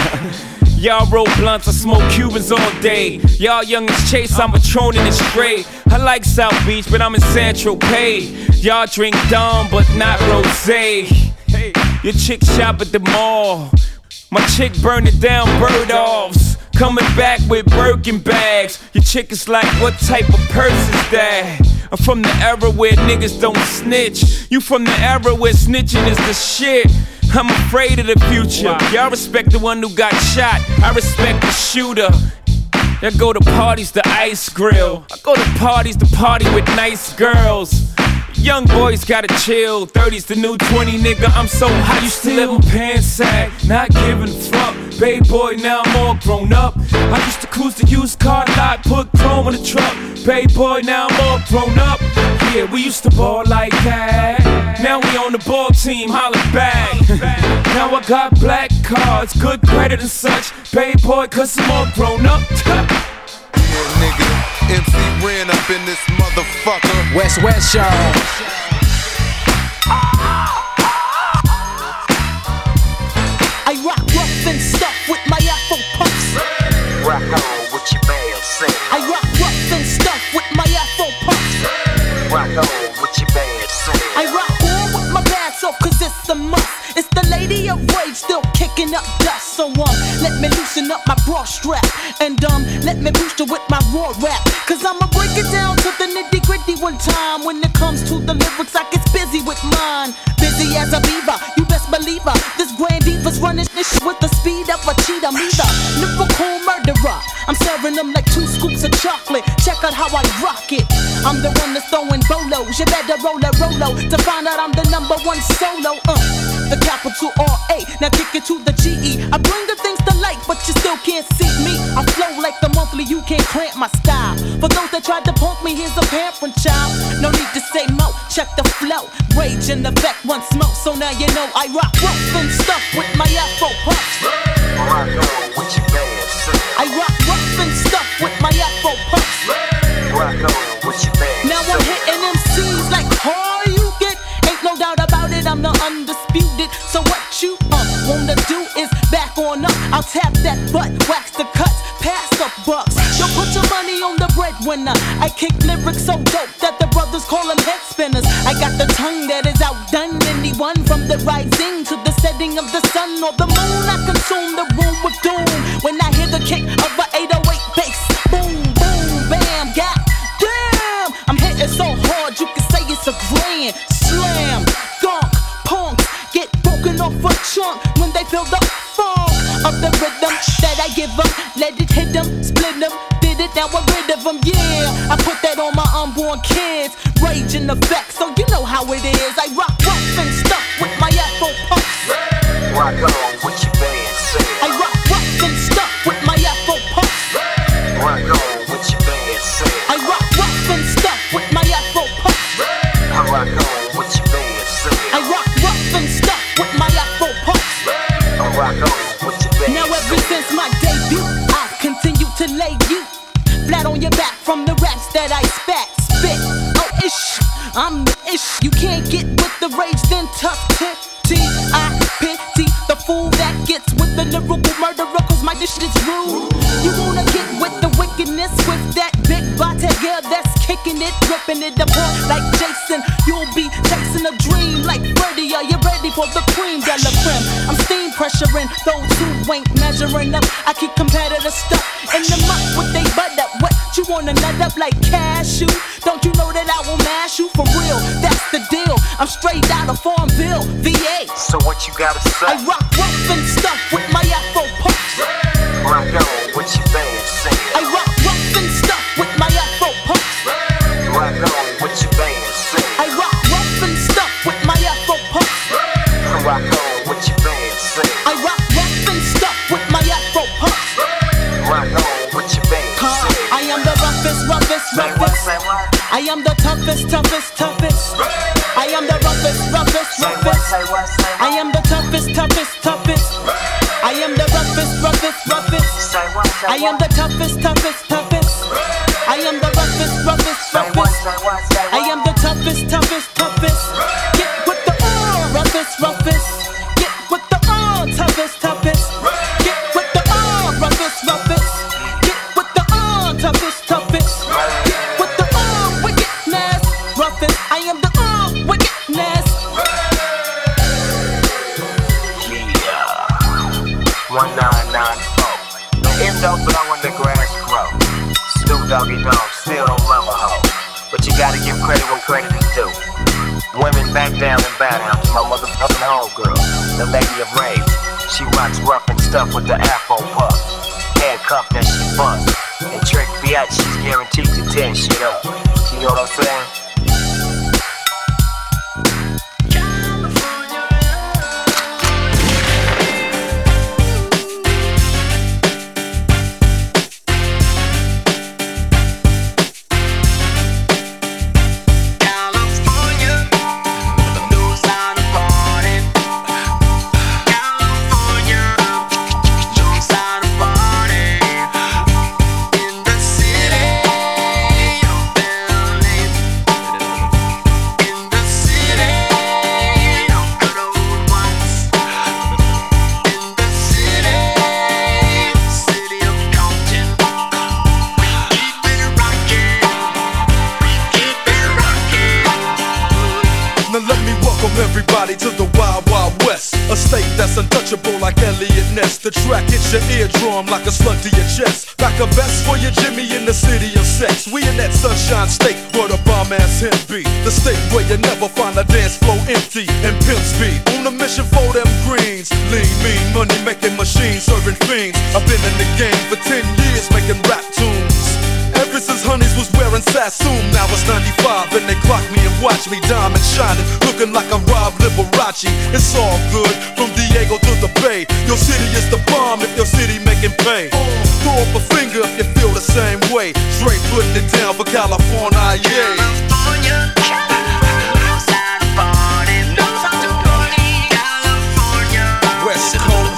Y'all roll blunts, I smoke Cubans all day. Y'all young as Chase, I'm patroning it straight. I like South Beach, but I'm in Central Pay. Y'all drink Dom, but not rosé. Hey, your chick shop at the mall. My chick burning down bird offs. Coming back with Birkin bags. Your chick is like, what type of purse is that? I'm from the era where niggas don't snitch. You from the era where snitching is the shit. I'm afraid of the future. Y'all respect the one who got shot. I respect the shooter. I go to parties, the ice grill. I go to parties, the party with nice girls. Young boys gotta chill. thirty's the new twenty, nigga, I'm so hot. Used to let my pants sag, not giving a fuck. Baby boy, now I'm all grown up. I used to cruise the used car lot, put chrome in the truck. Baby boy, now I'm all grown up. Yeah, we used to ball like that. Now we on the ball team, holla back. Now I got black cards, good credit and such. Baby boy, cause I'm all grown up. Yeah, nigga. M C Ren up in this motherfucker. West West, y'all. I rock rough and stuff with my Afro puffs. Rock on with your band, sing. I rock rough and stuff with my Afro puffs. Rock on with your band, sing. I rock on with my bass off cause it's a must. It's the lady of rage still kicking up dust. So um, let me loosen up my bra strap. And um, let me boost you with my raw rap, cause I'ma break it down to the nitty gritty one time. When it comes to the lyrics, I get busy with mine. Busy as a beaver, you best believe her. This grand diva's running this shit with the speed of a cheetah. Me the lyrical murderer, I'm serving them like two scoops of chocolate. Check out how I rock it. I'm the one that's throwing bolos. You better roll a rolo to find out I'm the number one solo. Uh, the capital R A. Now kick it to the G E. I bring the things to light, but you still can't see me. I flow like the monthly, you can't cramp my style. For those that tried to punk me, here's a pamphlet child. No need to say mo, check the flow. Rage in effect, one smoke, so now you know I rock rough and stuff with my Afro puffs. Rock on with your band, sing. I rock rough and stuff with my Afro puffs. Rock on with your band. Now I'm hitting M Cs like how you get. Ain't no doubt about it, I'm the undisputed. So what you uh, wanna do is back on up. I'll tap that butt, wax the cuts, pass the bucks. Yo, put your money on the breadwinner. I kick lyrics so dope that the brothers call them head spinners. I got the tongue that is outdone anyone, from the rising to the setting of the sun or the moon. I consume the room with doom when I hear the kick of an eight oh eight bass. Boom, boom, bam, god damn. I'm hitting so hard you can say it's a grand slam. Dunk, punks get broken off a chunk when they feel the funk of the rhythm that I give them. Let it hit them, split them, did it, now I'm rid of them. Yeah, I put that on my unborn kids. Rage in effect, so you know how it is. I rock rough and stuff with my Afro puffs. Rock on with your band, sing. I rock rough and stuff with my Afro puffs. Rock on with your band, sing. I rock rough and stuff with my Afro puffs. I rock on with your band, sing. I rock rough and stuff with my Afro puffs. I rock on with your band. Now ever since my debut, I've continued to lay you flat on your back from the raps that I spat, spit. Oh ish, I'm the ish. You can't get with the rage, then tough tip. T I pity the fool that gets with the lyrical murderer, cause my dish is rude. You wanna get with the wickedness with that big body girl that's kicking it, ripping it apart like Jason. You'll be chasing a dream like Freddy. Are you ready for the cream de la creme? I'm steam pressuring those who ain't measuring up. I keep competitive stuff in the muck with they butt up. What you wanna nut up like cashew? Don't you know that I will mash you for real? That's the deal. I'm straight out of Farmville, V A. So what you gotta say? I rock rough and stuff with my Afro puffs. Rock on with your band, sing. I rock rough and stuff with my Afro puffs. Rock on with your band, sing. I rock rough and stuff with my Afro puffs. Rock on with your band, sing. I rock rough and stuff with my Afro puffs. Rock on with your band, sing. I am the roughest, roughest, roughest. I am the toughest, toughest, toughest. I am the roughest, roughest, roughest. I am the toughest, toughest, toughest. I am the roughest, roughest, roughest. I am the toughest, toughest, toughest. I am the roughest, roughest, roughest. I am the toughest, toughest, toughest. Get with the uh, roughest, roughest. Get with the uh, toughest, toughest. Get with the uh, roughest, roughest. Get with the uh, toughest, toughest. Get with the uh, wickedness, roughest. I am the uh, wickedness. one nine nine four. The M don't blow when the grass grow. Snoop Doggy Dogg still don't love a hoe. But you gotta give credit when credit is due. Women back down and bow down to my motherfucking homegirl, the lady of rage. She rocks rough and stuff with the Afro puff. Handcuffed that she bust. And Trick Fiat, she's guaranteed to tear shit up. You know what I'm saying? Everybody to the Wild Wild West. A state that's untouchable like Elliot Ness. The track hits your eardrum like a slug to your chest. Back a vest for your Jimmy in the city of sex. We in that sunshine state where the bomb ass him be. The state where you never find a dance floor empty and pimp speed. On a mission for them greens. Lean, mean, money making machines, serving fiends. I've been in the game for ten years making rap tunes. Ever since Honeys was wearing Sassoon, now it's ninety-five and they clock me and watch me diamond shining, looking like a Rob Liberace. It's all good from Diego to the Bay. Your city is the bomb if your city making pay. Throw up a finger if you feel the same way. Straight putting it down for California, yeah. West Coast.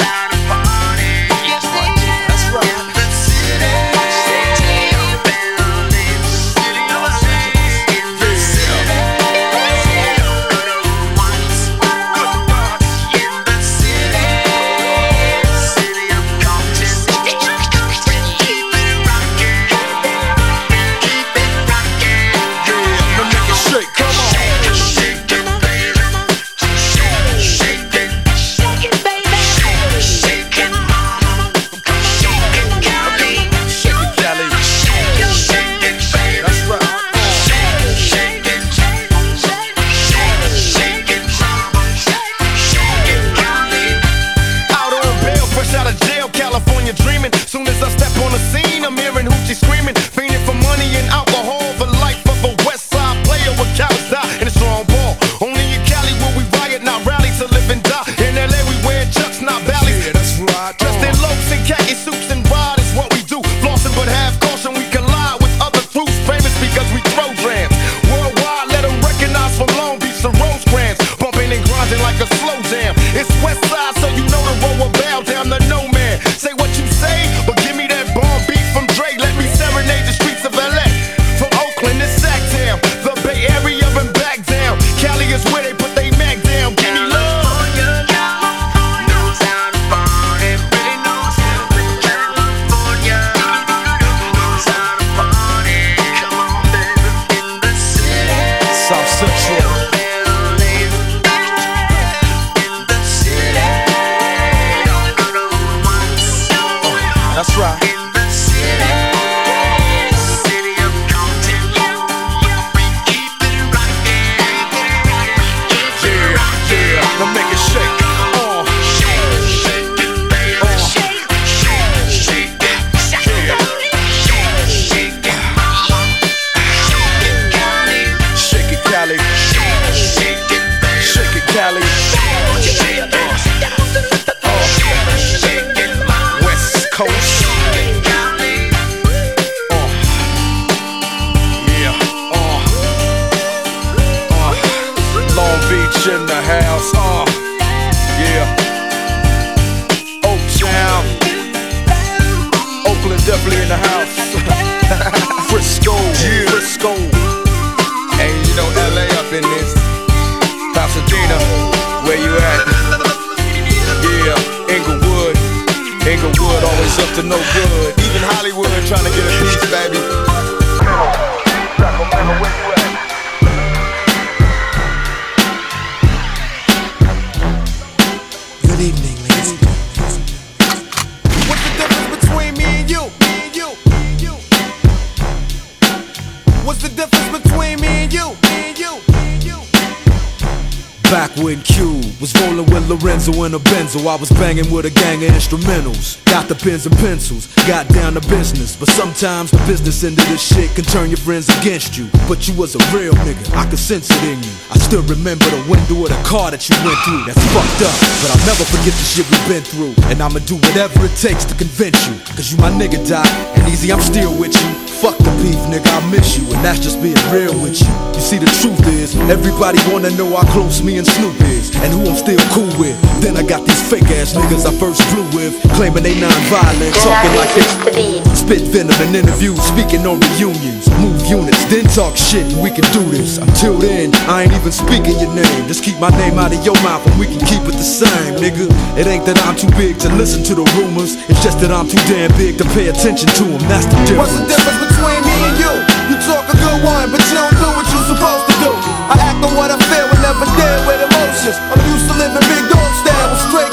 In a Benzo, I was banging with a gang of instrumentals. Got the pens and pencils, got down to business. But sometimes the business end of this shit can turn your friends against you. But you was a real nigga, I could sense it in you. I still remember the window of the car that you went through. That's fucked up, but I'll never forget the shit we've been through. And I'ma do whatever it takes to convince you. Cause you my nigga, Doc, and easy, I'm still with you. Fuck the beef, nigga, I miss you. And that's just being real with you. You see, the truth is, everybody wanna know how close me and Snoop is, and who I'm still cool with. Then I got these fake ass niggas I first flew with, claiming they non-violent, talking like they spit venom in interviews, speaking on reunions. Move units, then talk shit, and we can do this. Until then, I ain't even speaking your name. Just keep my name out of your mouth and we can keep it the same, nigga. It ain't that I'm too big to listen to the rumors, it's just that I'm too damn big to pay attention to them. That's the difference. What's the difference between me and you? You talk a good one, but you don't do what you're supposed to do. I act on what I feel and never deal with emotions. I'm used to living big dog style.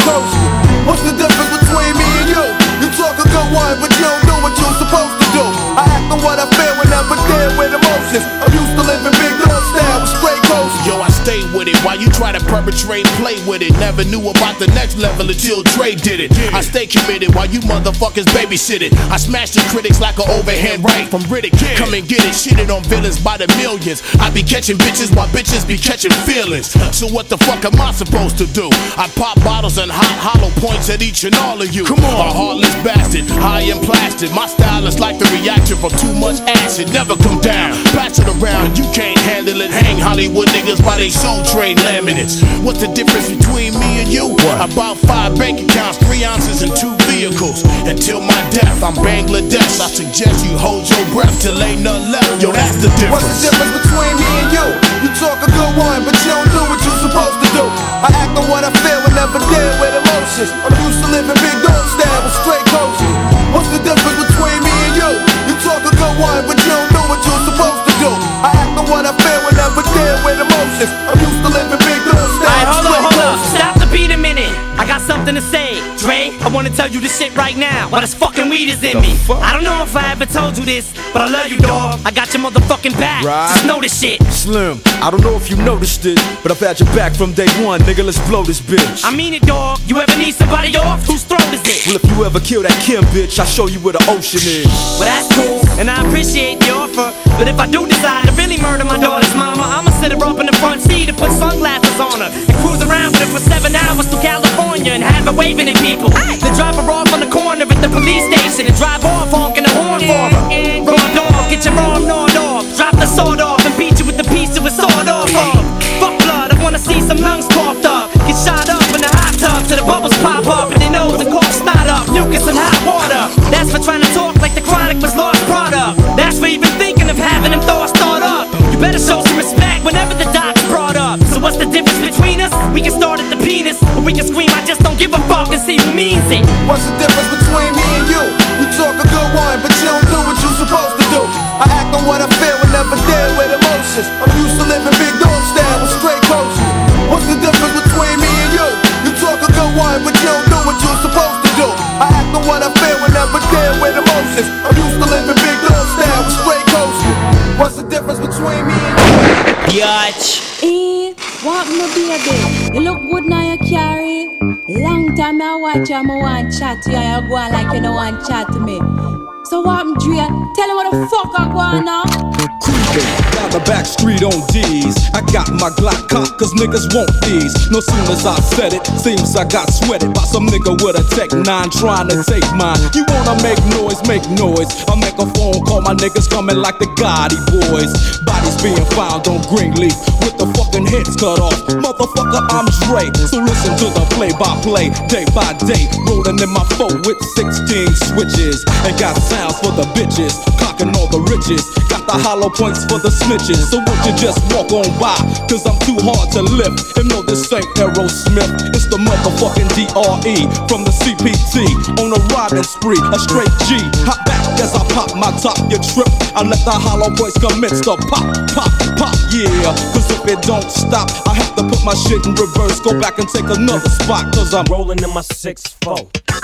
coast. What's the difference between me and you? You talk a good one, but you don't do what you're supposed to do. I act on what I feel and never deal with emotions. I'm used to living big dog style with straight coast. Yo, I stay with it while you try to perpetrate, play with it. Never knew about the next level until Dre did it. I stay committed while you motherfuckers babysit it. I smash the critics like an overhand right from Riddick. Come and get it, shitted on villains by the millions. I be catching bitches while bitches be catching feelings. So what the fuck am I supposed to do? I pop bottles and hot hollow points at each and all of you. Come on, a heartless bastard, high and plastic. My style is like the reaction from too much acid. Never come down, pass it around, you can't handle it. Hang Hollywood niggas by they soul train laminates. What's the difference between me and you? What? About five bank accounts, three ounces and two vehicles. Until my death, I'm Bangladesh. I suggest you hold your breath till ain't nothing left. Yo, that's the difference. What's the difference between me and you? You talk a good one, but you don't do what you're supposed to do. I act on what I feel and never deal with emotions. I'm used to living big dog style with straight coaches. What's the difference between me and you? You talk a good one, but you don't do what you're supposed to do. I act on what I feel and never deal with emotions. I'm used to living big dog style. Alright, hold up, hold up. Stop the beat a minute. I got something to say. Dre, I wanna tell you this shit right now. While this fucking weed is in me. I don't know if I ever told you this, but I love you, dog. I got your motherfucking back. Right. Just know this shit. Slim, I don't know if you noticed it, but I've had your back from day one, nigga. Let's blow this bitch. I mean it, dog. You ever need somebody off? Whose throat is it? Well, if you ever kill that Kim bitch, I'll show you where the ocean is. Well, that's cool, and I appreciate the offer. But if I do decide to really murder my daughter's mama, I'ma sit her up in the front seat and put sunglasses on her and cruise around with her for seven hours to California and have her waving at people. Then drop her off on the corner at the police station and drive off honking the horn for her. Raw dog, get your arm gnawed off. Drop the sword off and beat you with the piece of a sword off of. Fuck blood, I wanna see some lungs coughed up. Get shot up in the hot tub till the bubbles pop up and their nose and cough snot up. Mucus and hot water. That's for trying to talk like the chronic was lost product. That's for even thinking of having them thoughts thought up. You better show some respect whenever the doc's brought up. So what's the difference between us? We can start at the penis, or we can scream I just don't give a fuck and see who means it. What's the difference between me and you? You talk a good one, but you don't do what you're supposed to do. I act on what I feel and never deal with emotions. I'm used to living big dog style with straight coaches. What's the difference between me and you? You talk a good one, but you don't do what you're supposed to do. I act on what I feel and never deal with emotions. I'm used to living big dog style with straight coaches. What's the difference between me and you? Biatch. Eh, what my baby? You look good now you carry. Long time I watch you, I want chat to you, you go on like you don't want chat to me. So what I'm Dre? Tell me what the fuck I go on now. Creeping down the back street on D's. I got my Glock cocked cause niggas want these. No soon as I said it, seems I got sweated by some nigga with a Tech nine trying to take mine. You wanna make noise, make noise. I make a phone call, my niggas coming like the Gotti boys. Bodies being found on Greenleaf with the fucking heads cut off. Motherfucker, I'm Dre. So listen to the play by play, day by day. Rolling in my phone with sixteen switches. And got sounds for the bitches, clocking all the riches. Got the hollow points for the snitches. So won't you just walk on by? Cause I'm too hard to lift. And no, this ain't Aerosmith. It's the motherfucking D R E from the C P T. On a riding spree, a straight G. Hop back as I pop my top, you trip. I let the hollow points commence to pop, pop, pop, yeah. Cause if it don't stop, I have to put my shit in reverse. Go back and take another spot. Cause I'm rolling in my six four.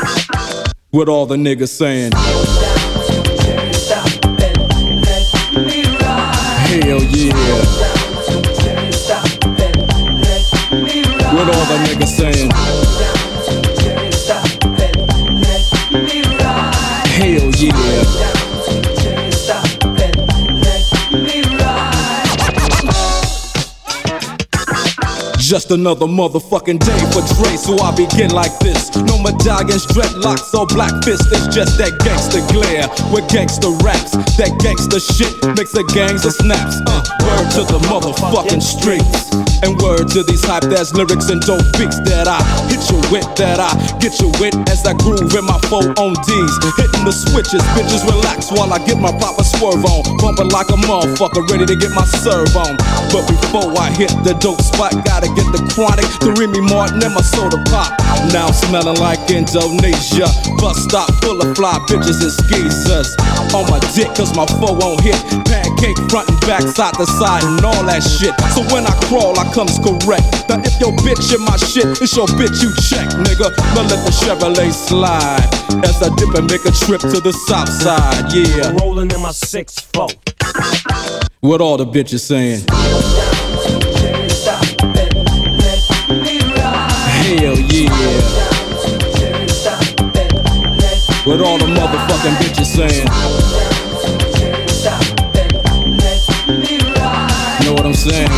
What all the niggas saying? Hell yeah. What all the niggas saying? Hell yeah. Just another motherfucking day for Dre, so I begin like this. No medallions, dreadlocks, or black fists. It's just that gangster glare with gangster raps. That gangster shit makes the gangs of snaps. Uh, word to the motherfucking streets. And word to these hype ass lyrics and dope beats that I hit you with, that I get you with as I groove in my four on D's. Hitting the switches, bitches relax while I get my proper swerve on. Bumping like a motherfucker, ready to get my serve on. But before I hit the dope spot, gotta get the chronic, the Remy Martin and my soda pop. Now I'm smelling like Indonesia. Bus stop full of fly bitches and skeezers. On my dick cause my foe won't hit. Pancake front and back, side to side. outside and all that shit. So when I crawl, I comes correct. Now if your bitch in my shit, it's your bitch you check, nigga. Now let the Chevrolet slide as I dip and make a trip to the south side, yeah. Rolling in my six four. What all the bitches saying? Hell yeah. What all the motherfucking bitches saying? Know what I'm saying?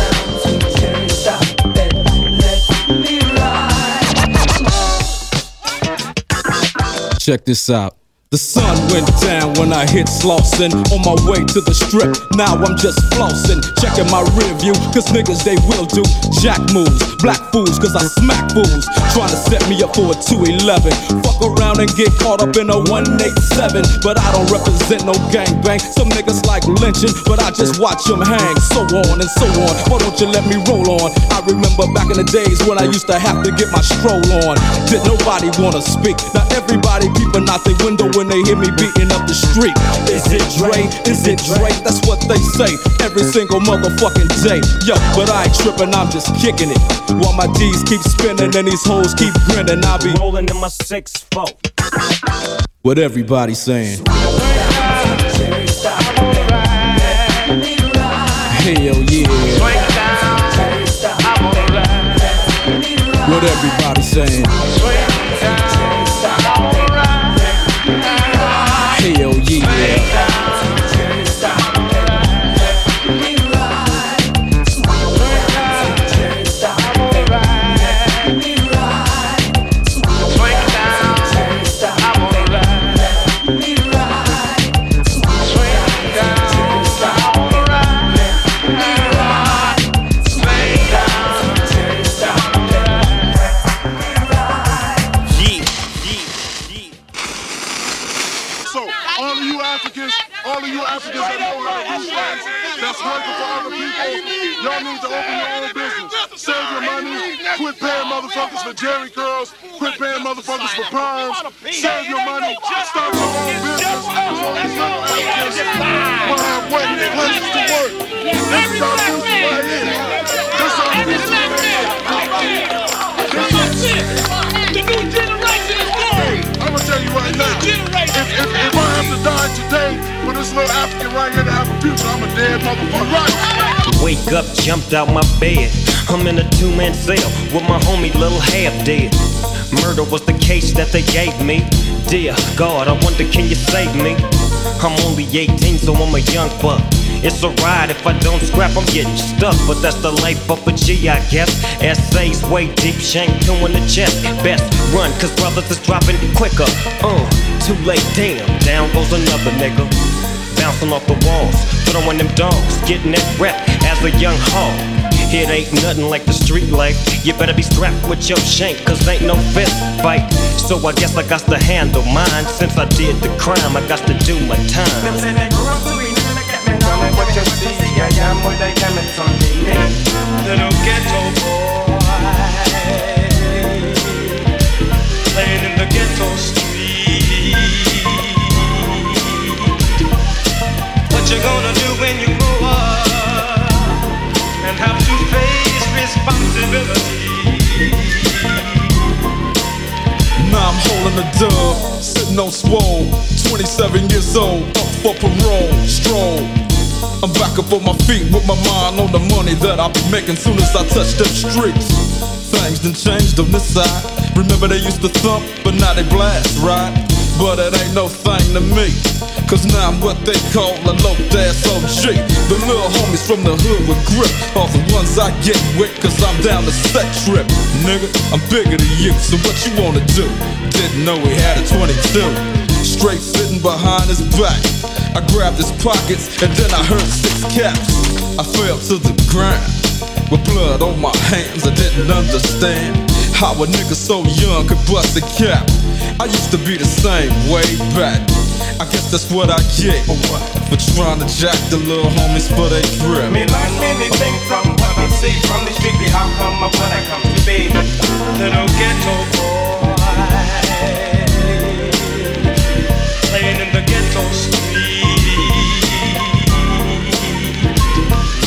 Check this out. The sun went down when I hit Slauson. On my way to the strip, now I'm just flossing. Checking my rear view, cause niggas they will do jack moves. Black fools, cause I smack fools. Trying to set me up for a two eleven. Fuck around and get caught up in a one eighty-seven. But I don't represent no gangbang. Some niggas like lynching, but I just watch them hang. So on and so on, why don't you let me roll on? I remember back in the days when I used to have to get my stroll on. Did nobody wanna speak? Now everybody peeping out the window when they hear me beating up the street. Is it Dre? Is it Dre? That's what they say every single motherfucking day. Yo, but I ain't tripping, I'm just kicking it. While my D's keep spinning and these hoes keep grinning, I'll be rolling in my six four. What everybody saying? Hell yeah. What everybody saying? Hell yeah. All of you Africans that know how to do things, that's working for other people, y'all need to open your own business. Save your money, quit paying motherfuckers for Jerry curls, quit paying motherfuckers for perms, save your money, start your own business. All these little Africans will have waiting places to work. This is our business right here. This is our business right here. The new generation is born. I'm gonna tell you right now, if, if, if I have to die today for this little African right here to have a future, I'm a dead motherfucker. Right. Wake up, jumped out my bed. I'm in a two-man cell with my homie Lil Half Dead. Murder was the case that they gave me. Dear God, I wonder can you save me? I'm only eighteen, so I'm a young buck. It's a ride, if I don't scrap, I'm getting stuck. But that's the life of a G, I guess. Essays way deep, shank two in the chest. Best run, cause brothers is dropping quicker. Uh, too late, damn, down goes another nigga. Bouncing off the walls, throwing them dogs, getting that rep as a young hog. It ain't nothing like the street life. You better be strapped with your shank, cause ain't no fist fight. So I guess I got to handle mine. Since I did the crime, I got to do my time. Tell me what you see, I am what I am, it's on me. Little ghetto boy, playing in the ghetto street. What you gonna do when you grow up and have to face responsibility? Now I'm holding a dub, sitting on swole, twenty-seven years old, up for parole, stroll. I'm back up on my feet with my mind on the money that I'll be making soon as I touch them streets. Things done changed on this side. Remember they used to thump, but now they blast, right? But it ain't no thing to me, cause now I'm what they call a low-ass O G. The little homies from the hood with grip are the ones I get with, cause I'm down the set trip. Nigga, I'm bigger than you, so what you wanna do? Didn't know we had a twenty-two. Straight sitting behind his back, I grabbed his pockets and then I heard six caps. I fell to the ground with blood on my hands. I didn't understand how a nigga so young could bust a cap. I used to be the same way back. I guess that's what I get for trying to jack the little homies for they grip. Me learn many things from what I see from the street. The outcome of what I come to be. Little ghetto boy, playing in the ghetto street.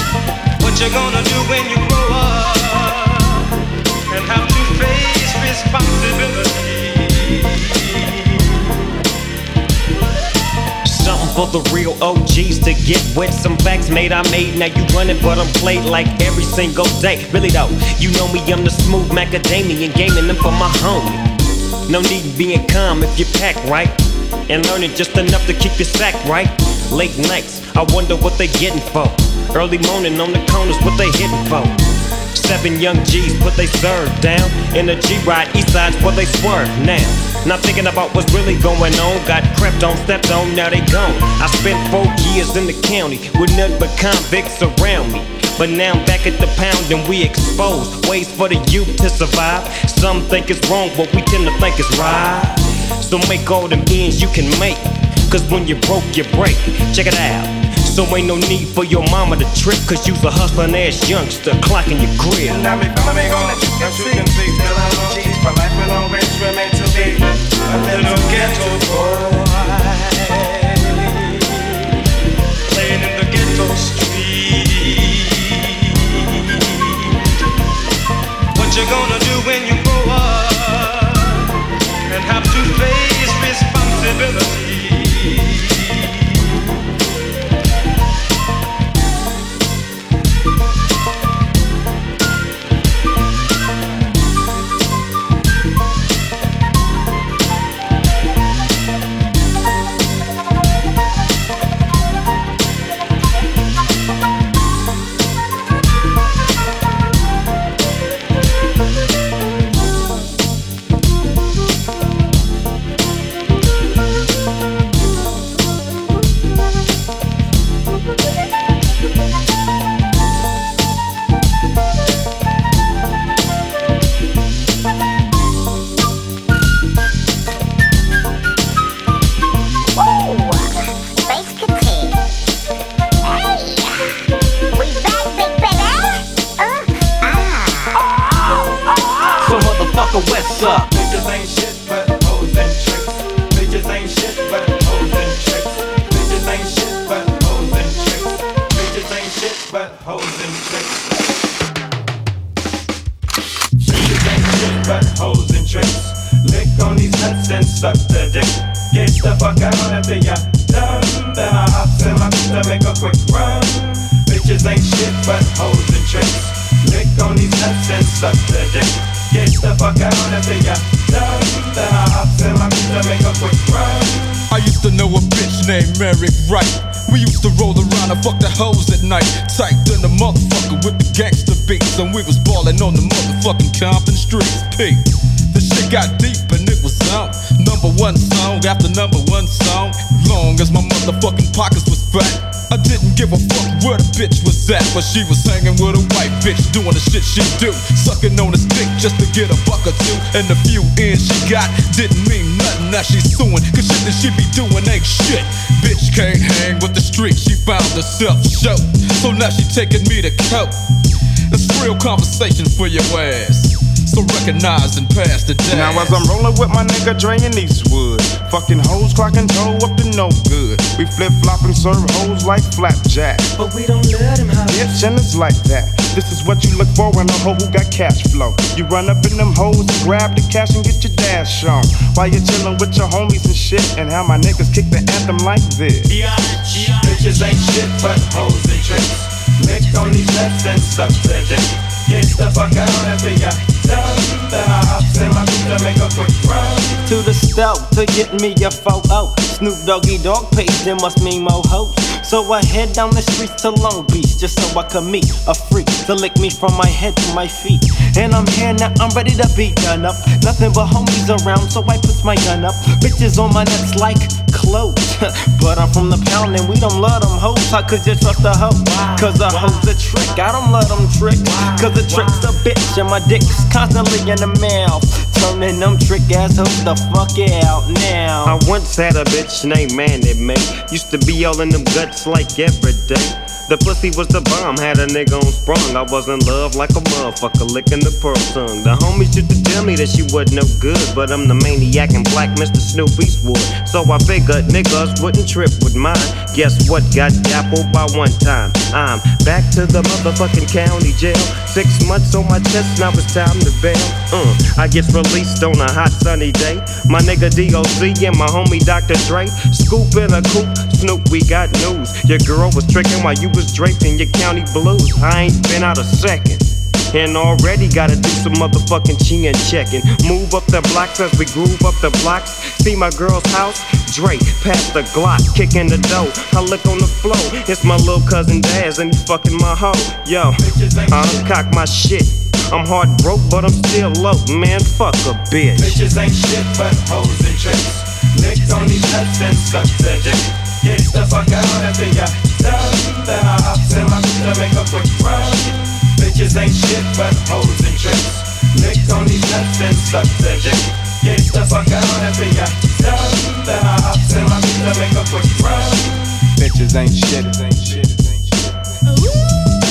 the real O Gs to get with. Some facts made I made, now you running, but I'm played like every single day. Really though, you know me, I'm the smooth macadamian, gaming them for my homie. No need in being calm if you pack right, and learning just enough to keep your sack right. Late nights, I wonder what they getting for. Early morning on the corners, what they hitting for. Seven young G's put they serve down in a G-Ride, east side's where they swerve now. Not thinking about what's really going on. Got crept on, stepped on, now they gone. I spent four years in the county with nothing but convicts around me. But now I'm back at the pound and we exposed ways for the youth to survive. Some think it's wrong, but we tend to think it's right. So make all them ends you can make, cause when you broke, you break. Check it out. So ain't no need for your mama to trip, cause you's a hustling ass youngster clocking your crib. Now me follow me on the chicken chicken feet, till I'm on cheese. For life and on rich, we're meant to be a little ghetto boy, playing in the ghetto street. What you gonna do when you grow up and have to face responsibility? What's up? Bitches ain't shit but hoes and tricks. Bitches ain't shit but hoes and tricks. Bitches ain't shit but hoes and tricks. Bitches ain't shit but hoes and tricks. Bitches ain't shit but hoes and tricks. Lick on these nuts and suck the dick. Get the fuck out after ya done. Then I hops in my to make a quick run. Bitches ain't shit but hoes and tricks. Lick on these nuts and suck the dick. Get the fuck out after ya done. Then I hopped in my to make a quick run. I used to know a bitch named Mary Wright. We used to roll around and fuck the hoes at night. Typed in the motherfucker with the gangster beats, and we was ballin' on the motherfucking Compton streets. P. The shit got deep and it was on. Number one song after number one song. Long as my motherfucking pockets was fat, I didn't give a fuck where the bitch was at. But she was hanging with a white bitch, doing the shit she do, sucking on his dick just to get a buck or two. And the few ends she got didn't mean nothing. Now she's suing, cause shit that she be doing ain't shit. Bitch can't hang with the street, she found herself show. So now she taking me to court. It's real conversation for your ass, so recognize and pass the day. Now as I'm rolling with my nigga Dre in Eastwood, fucking hoes clocking toe up to no good. We flip flop and serve hoes like flapjack, but we don't let him have it. And it's like that. This is what you look for in a hoe who got cash flow. You run up in them hoes and grab the cash and get your dash on, while you're chillin' with your homies and shit. And how my niggas kick the anthem like this. Bitches ain't shit but hoes and tricks. Lick on these nuts and suck the dick. Get the fuck out after ya done. Then I hops in my to make a quick run. To the stove to get me a photo. Snoop Doggy Dogg page, there must mean more hoes. So I head down the streets to Long Beach, just so I could meet a freak to lick me from my head to my feet. And I'm here now, I'm ready to be done up. Nothing but homies around, so I put my gun up. Bitches on my nuts like clothes. But I'm from the pound and we don't love them hoes. How could you trust a hoe? Cause a hoe's a trick, I don't let them trick. Cause a trick's a bitch and my dick's constantly in the mouth, turning them trick ass hoes the fuck out now. I once had a bitch named Manny Mae. Used to be all in them guts like every day. The pussy was the bomb, had a nigga on sprung. I was in love like a motherfucker, licking the pearl tongue. The homies used to tell me that she wasn't no good, but I'm the maniac and black Mister Snoop Eastwood. So I figured niggas wouldn't trip with mine. Guess what? Got dappled by one time. I'm back to the motherfucking county jail, six months on my chest, now it's time to bail. Uh, I get released on a hot sunny day. My nigga D O C and my homie Doctor Dre. Scoop in a coupe, Snoop, we got news. Your girl was tricking while you was draped in your county blues. I ain't been out a second. And already gotta do some motherfucking chin checking. Move up the blocks as we groove up the blocks. See my girl's house, Drake, past the Glock, kicking the dough. I look on the floor, it's my little cousin Daz and he fucking my hoe. Yo, I uncock my shit. I'm hard broke, but I'm still low. Man, fuck a bitch. Bitches ain't shit but hoes and tricks. Licked on these nuts and suck the dick. Get the fuck out after ya done. Then I hops in my to make a quick run. Bitches ain't shit but hoes and tricks. Licked on these nuts and suck the dick. Get the fuck out after ya done. Then I hops in my to make a quick run. Bitches ain't shit, ain't shit, ain't shit. Ooh.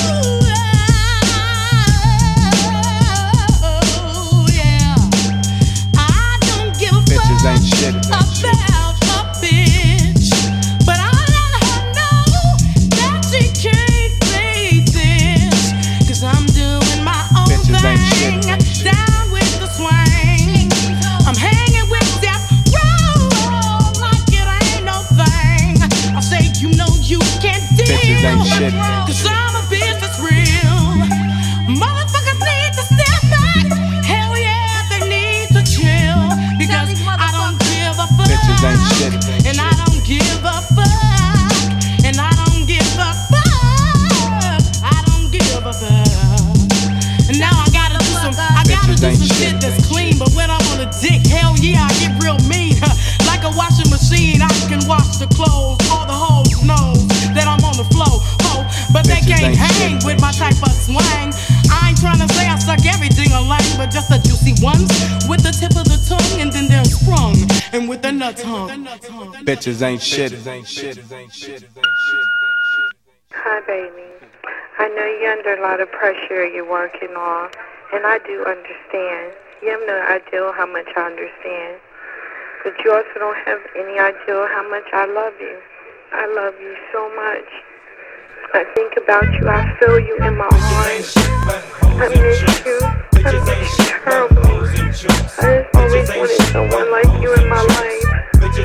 Bitches ain't shit, ain't shit. About a bitch, but I let her know that she can't play this. Cause I'm doing my own Bitches thing, ain't shit, ain't shit. down with the swing. I'm hanging with Death Row like it ain't no thing. I say you know you can't deal. Bitches ain't shit, ain't Cause shit. I'm a bitch that's real. Motherfuckers need to step back. Hell yeah, they need to chill. Because I don't give a fuck. Bitches ain't shit, ain't And I don't give a fuck. And I don't give a fuck. I don't give a fuck. And now I gotta do some, I gotta Bitches do ain't some shit, shit that's clean. But when I'm on a dick, hell yeah, I get real mean. Like a washing machine, I can wash the clothes. All the hoes know that I'm on the flow. Oh, but they Bitches can't ain't hang shit, with my type of swang. I ain't tryna say I suck everything alike, but just the juicy ones with the tip of the tongue, and then they're sprung, and with the nuts hung. Bitches ain't shit, ain't shit, ain't shit. Hi, baby. I know you're under a lot of pressure you're working on, and I do understand. You have no idea how much I understand. But you also don't have any idea how much I love you. I love you so much. I think about you. I feel you in my heart. I miss you. I miss you terribly. I just always wanted someone like you in my life. I love you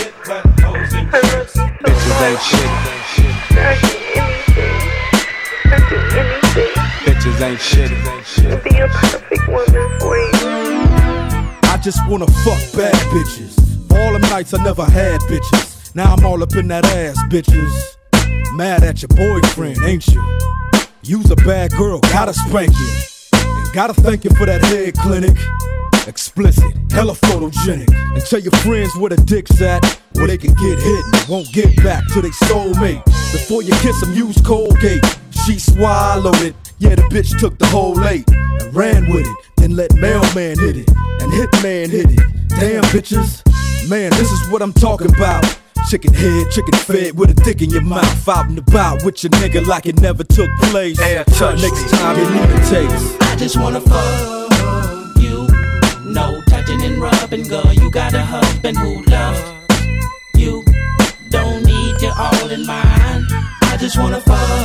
so Bitches ain't shit, ain't shit. I'd do anything. I'd do anything Bitches ain't shit, ain't shit. to be a perfect woman for you. I just wanna fuck bad bitches. For all them nights I never had bitches. Now I'm all up in that ass, bitches. Mad at your boyfriend, ain't you? You's a bad girl, gotta spank you. And gotta thank you for that head clinic. Explicit, hella photogenic. And tell your friends where the dick's at, where they can get hit and won't get back to they soulmate. Before you kiss them, use Colgate. She swallowed it. Yeah, the bitch took the whole eight and ran with it. Then let mailman hit it and hitman hit it. Damn bitches, man, this is what I'm talking about. Chicken head, chicken fed with a dick in your mouth. Out and about with your nigga like it never took place. Hey, touch Next me. time you need a taste. I just wanna fuck you. No touching and rubbing, girl. You got a husband who loves you. Don't need you all in mine. I just wanna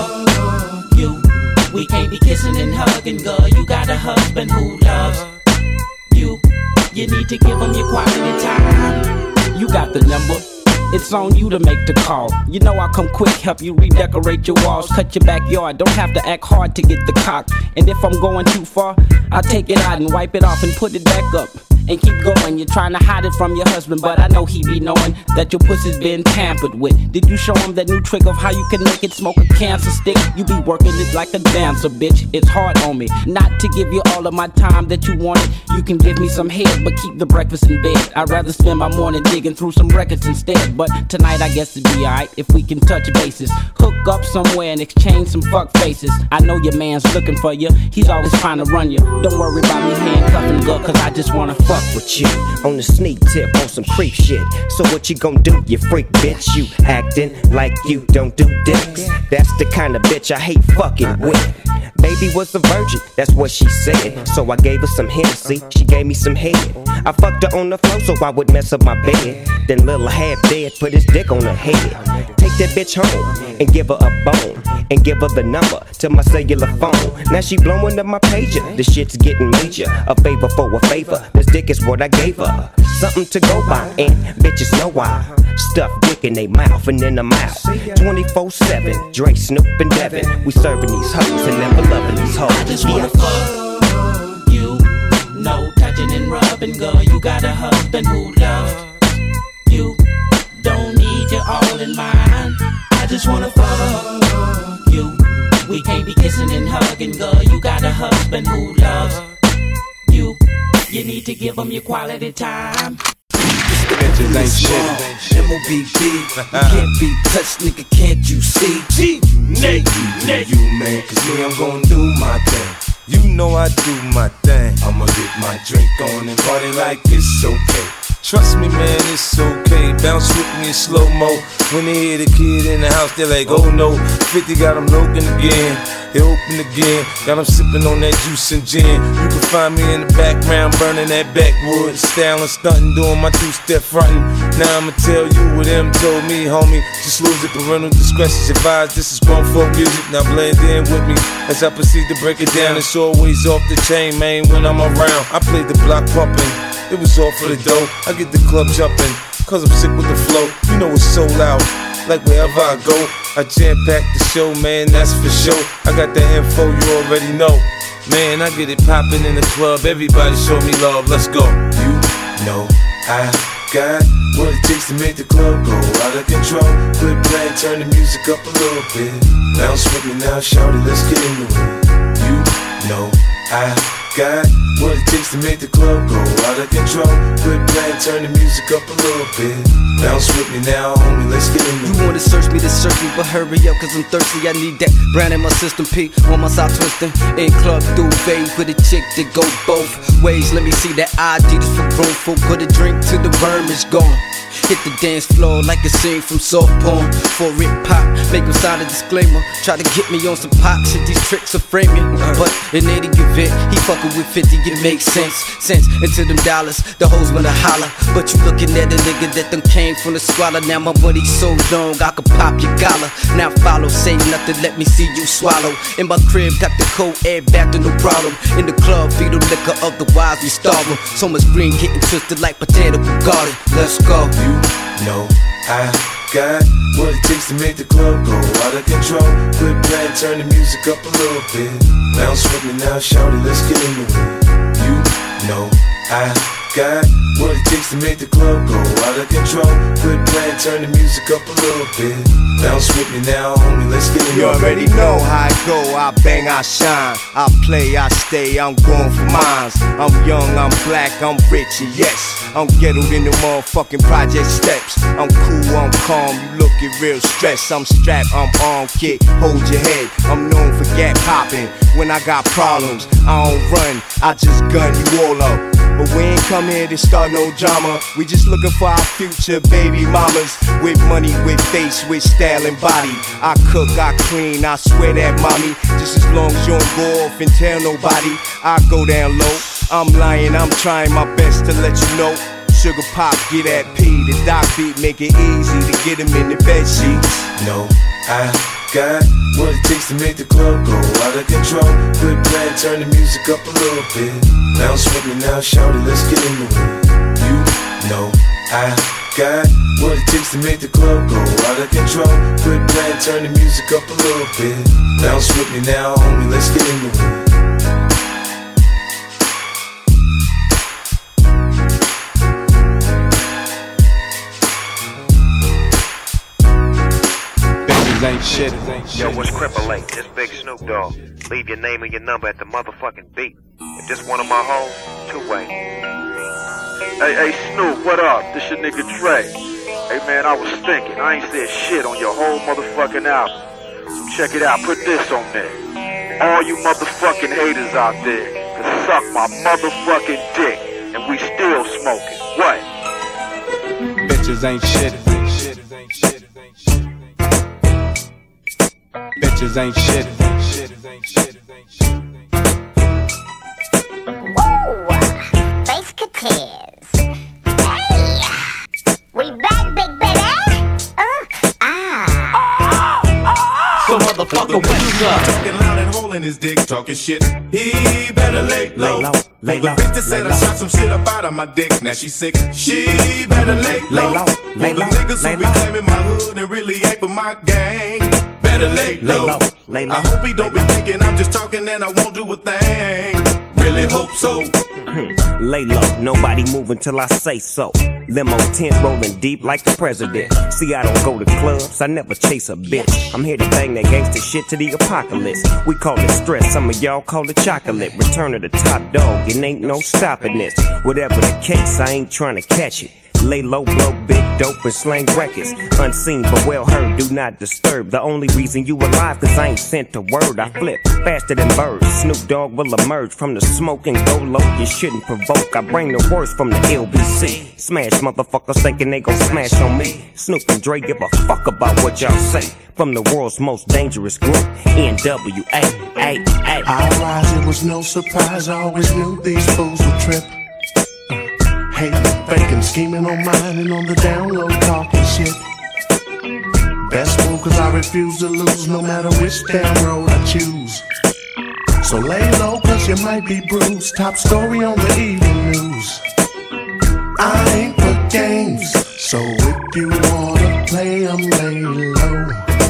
fuck you. We can't be kissing and hugging, girl. You got a husband who loves you. You need to give him your quality time. You got the number. It's on you to make the call. You know I'll come quick, help you redecorate your walls, cut your backyard. Don't have to act hard to get the cock. And if I'm going too far, I'll take it out and wipe it off and put it back up. And keep going, you're trying to hide it from your husband, but I know he be knowing that your pussy's been tampered with. Did you show him that new trick of how you can make it smoke a cancer stick? You be working it like a dancer, bitch. It's hard on me not to give you all of my time that you wanted. You can give me some head, but keep the breakfast in bed. I'd rather spend my morning digging through some records instead. But tonight I guess it'd be alright if we can touch bases. Hook up somewhere and exchange some fuck faces. I know your man's looking for you, he's always trying to run you. Don't worry about me handcuffing girl, cause I just wanna fuck with you on the sneak tip on some creep shit. So what you gon' do, you freak bitch? You acting like you don't do dicks. That's the kind of bitch I hate fucking with. baby was a virgin, that's what she said. So I gave her some Hennessy, she gave me some head. I fucked her on the floor so I would mess up my bed. Then little half dead put his dick on her head. Take that bitch home and give her a bone. And give her the number to my cellular phone. Now she blowing up my pager, the shit's getting major. A favor for a favor, this dick is what I gave her. Something to go by, and bitches know why. Stuff dick in they mouth and in the mouth. twenty-four seven, Dre, Snoop, and Devin. We serving these hoes and never loving these hoes. I just wanna fuck you. No touching and rubbing, girl. You got a husband who loves you. Don't need you all in mine. I just wanna fuck you. We can't be kissing and hugging, girl. You got a husband who loves you. You need to give him your quality time. Bitches ain't shit. M O B B. You can't be touched, nigga, can't you see? G, Nate, Nate. You, man, cause me, I'm gon' do my thing. You know I do my thing. I'ma get my drink on and party like it's okay. Trust me, man, it's okay. Bounce with me in slow-mo. When they hear the kid in the house, they're like, oh no. fifty got them looking again. They open again. Got them sipping on that juice and gin. You can find me in the background burning that backwood. Styling, stunting, doing my two-step fronting. Now I'ma tell you what them told me, homie. Just lose it, parental discretion's advised. This is grown folk music, now blend in with me. As I proceed to break it down, it's always off the chain, man, when I'm around. I play the block pumping. It was all for the dough. I get the club jumping, cause I'm sick with the flow. You know it's so loud, like wherever I go. I jam-pack the show, man, that's for sure. I got the info, you already know. Man, I get it poppin' in the club. Everybody show me love, let's go. You know I got what it takes to make the club go out of control. Quit playing, turn the music up a little bit. Bounce with me now, shout it, let's get into it. You know I got what it takes to make the club go out of control. Quit playing, turn the music up a little bit. Bounce with me now, homie, let's get into it. You wanna search me to search me, but hurry up, cause I'm thirsty. I need that brand in my system, P on my side twisting. In club duvet with a chick that go both ways. Let me see that I D just for grown folk. Put a drink till the worm is gone. Hit the dance floor like a scene from soft porn. For it pop, make him sign a disclaimer. Try to get me on some pop shit, these tricks are framing. But in any event, he fucking with fifty, it makes sense. Sense into them dollars, the hoes wanna holler. But you looking at a nigga that done came from the squalor. Now my money's so long, I could pop your collar. Now follow, say nothing, let me see you swallow. In my crib, got the cold air back to no problem. In the club, feed them liquor, otherwise we starve them. So much green getting twisted like potato garden. Let's go. You know I got what it takes to make the club go out of control. Quit playing, turn the music up a little bit. Bounce with me now, shout it, let's get into it. You know I got what it takes to make the club go out of control. Quit playing, turn the music up a little bit. Bounce with me now, homie, let's get into it. You already know how I go, I bang, I shine. I play, I stay, I'm going for mines. I'm young, I'm black, I'm rich, and yes, I'm ghettoed in the motherfucking project steps. I'm cool, I'm calm, you looking real stressed. I'm strapped, I'm armed, kid, hold your head. I'm known for gap popping. When I got problems, I don't run, I just gun you all up. But we ain't come here to start no drama. We just looking for our future baby mamas. With money, with face, with style and body. I cook, I clean, I swear that mommy. Just as long as you don't go off and tell nobody, I go down low. I'm lying, I'm trying my best to let you know. Sugar pop, get that P. The doc beat make it easy to get him in the bed sheets. No, I got what it takes to make the club go out of control. Quit playing, turn the music up a little bit. Bounce with me now, shout it, let's get into it. You know I got what it takes to make the club go out of control. Quit playing, turn the music up a little bit. Bounce with me now, homie, let's get into it. Ain't shit. Yo, what's Cripple eight? This Big Snoop Dogg. Leave your name and your number at the motherfucking beat. If this one of my hoes, two-way. Hey, hey, Snoop, what up? This your nigga Dre. Hey, man, I was thinking. I ain't said shit on your whole motherfucking album. So check it out. Put this on there. All you motherfucking haters out there can suck my motherfucking dick. And we still smoking. What? Bitches ain't shit. Bitches ain't shit. Woo! Face Cateers. Hey! We back, big baby! Uh, ah! So motherfucker, what's up? Talking loud and holding his dick, talking shit. He better lay low. Lay low. Lay low. The bitch that said I shot some shit up out of my dick. Now she sick. She better lay low. Lay low. Lay low. The niggas who be claiming my hood and really ain't for my gang. Better lay low. Lay low. Lay low. I hope he don't be thinking I'm just talking and I won't do a thing. Really hope so. Lay low, nobody move until I say so. Limo tent rolling deep like the president. See, I don't go to clubs, I never chase a bitch. I'm here to bang that gangster shit to the apocalypse. We call it stress, some of y'all call it chocolate. Return of the top dog, it ain't no stopping this. Whatever the case, I ain't trying to catch it. Lay low, blow big dope and slang records. Unseen but well heard, do not disturb. The only reason you alive, cause I ain't sent a word. I flip faster than birds. Snoop Dogg will emerge from the smoke and go low. You shouldn't provoke, I bring the worst from the L B C. Smash motherfuckers thinking they gon' smash on me. Snoop and Dre give a fuck about what y'all say. From the world's most dangerous group, N W A. A, A. I rise, it was no surprise, I always knew these fools would trip. Hating, faking, scheming on mine and on the down low talking shit. Best move cause I refuse to lose no matter which damn road I choose. So lay low cause you might be bruised. Top story on the evening news. I ain't for games, so if you wanna play, I'm lay low.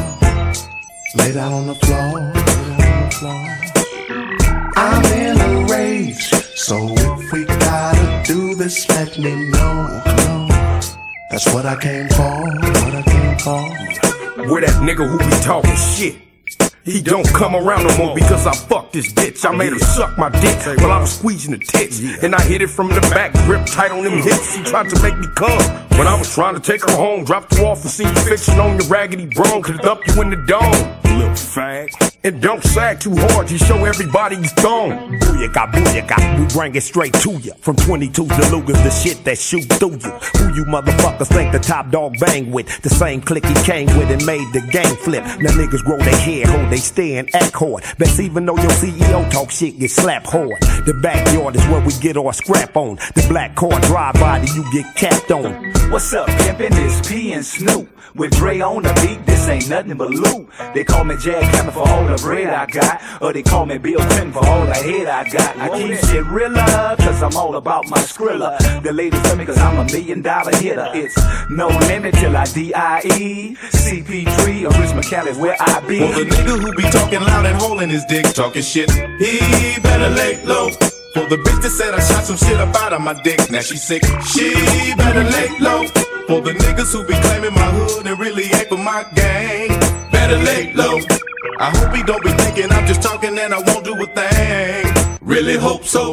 Lay down on the floor, lay down on the floor. I'm in a rage, so if we gotta do this, let me know. That's what I came for, what I came for. Where that nigga who be talking shit? He don't come around no more because I fucked this bitch. I made her suck my dick while I was squeezing the tits. And I hit it from the back, grip tight on them hips. She tried to make me come when I was trying to take her home. Dropped her off and seen you fiction on your raggedy bro. Could dump you in the dome, little fag. And don't sag too hard, you show everybody you thong. Booyaka, booyaka, we bring it straight to you. From twenty-twos to Lugers, the shit that shoot through you. Who you motherfuckers think the top dog bang with? The same clique he came with and made the game flip. Now niggas grow their hair, hold they stand, act hard. Best even though your C E O talk shit, get slapped hard. The backyard is where we get our scrap on. The black car drive by, then you get capped on. What's up, pimpin'? It's P and Snoop. With Dre on the beat, this ain't nothing but loot. They call me Jack Hammer for all the bread I got, or they call me Bill Clinton for all the head I got. I keep shit realer, cause I'm all about my Skrilla. The ladies love me cause I'm a million dollar hitter. It's no limit till I D I E. C P three or Rich McCallis where I be. Well, the nigga who be talking loud and holding his dick, talking shit, he better lay low. For the bitch that said I shot some shit up out of my dick, now she sick, she better lay low. For the niggas who be claiming my hood and really ain't for my gang, better lay low. I hope he don't be thinking I'm just talking and I won't do a thing. Really hope so.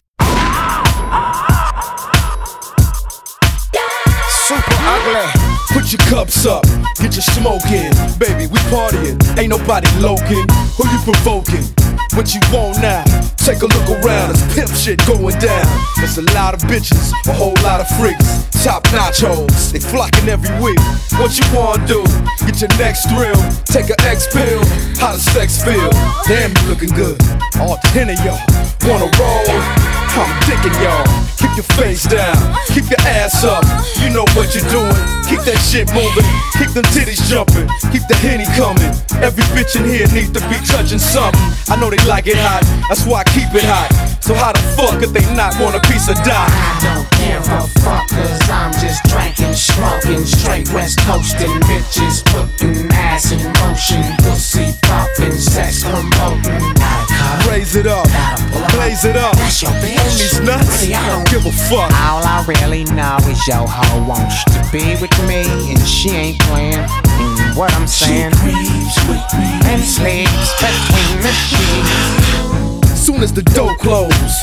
Super ugly. Put your cups up, get your smoke in. Baby, we partying, ain't nobody loking. Who you provoking? What you want now? Take a look around, there's pimp shit going down. There's a lot of bitches, a whole lot of freaks. Top notch hoes, they flocking every week. What you wanna do? Get your next thrill, take an X pill. How does sex feel? Damn, you looking good. All ten of y'all wanna roll? I'm dicking y'all. Keep your face down, keep your ass up. You know what you're doing. Keep that shit moving, keep them titties jumping, keep the Henny coming. Every bitch in here needs to be touching something. I know they like it hot, that's why I keep it hot. So how the fuck could they not want a piece of die? I don't give a fuck, cause I'm just drinking, smoking, straight west coasting. Bitches putting ass in motion, pussy popping, sex promoting. Raise it up, blaze it up. That's your bitch. On these nuts, I don't give a fuck. All I really know is your hoe wants to be with me, and she ain't playing. And what I'm saying, she creeps with me and sleeps between the sheets. Soon as the door close,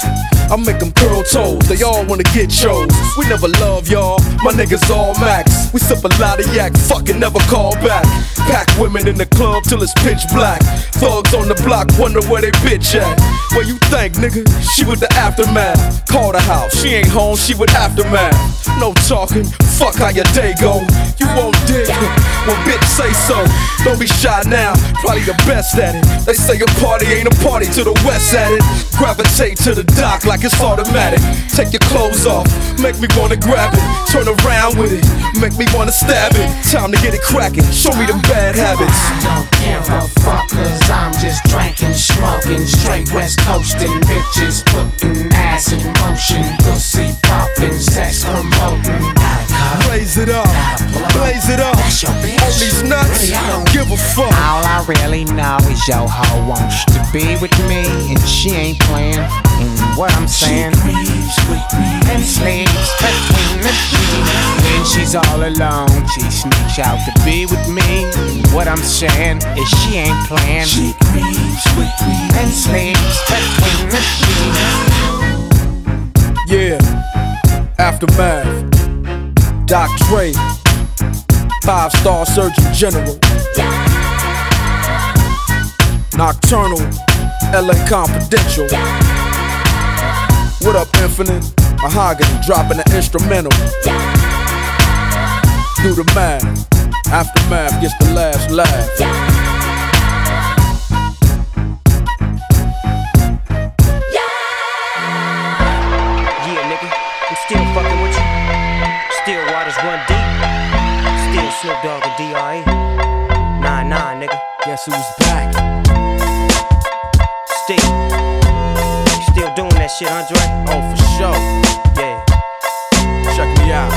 I make them curl toes, they all wanna get chose. We never love y'all, my niggas all max. We sip a lot of yak, fucking never call back. Pack women in the club till it's pitch black. Thugs on the block wonder where they bitch at. Where you think, nigga? She with the aftermath. Call the house, she ain't home, she with aftermath. No talking, fuck how your day go. You won't dig when bitch say so. Don't be shy now, probably the best at it. They say a party ain't a party till the west at it. Gravitate to the dock like it's automatic. Take your clothes off, make me wanna grab it. Turn around with it, make me wanna stab it. Time to get it cracking, show me them bad habits. I don't give a fuck, cause I'm just drinking, smoking, straight west coasting, bitches putting ass in motion, pussy popping, sex promoting. Blaze it up, blaze it up. On these nuts, don't give a fuck. All I really know is your hoe wants to be with me, and she ain't playing. And what I'm saying, she creeps with me and sleeps between the sheets. When she's all alone, she sneaks out to be with me. And what I'm saying is she ain't playing. She creeps with me and sleeps between the sheets. Yeah, Aftermath. Doc Dre, five-star Surgeon General. Nocturnal, L A Confidential. What up, Infinite? Mahogany, dropping an instrumental. Do the math. Aftermath gets the last laugh. Still fucking with you. Still waters run deep. Still Snoop Dogg and D R E. Nah, nah, nigga. Guess who's back? Still. You still doing that shit, Andre? Oh, for sure. Yeah. Check me out.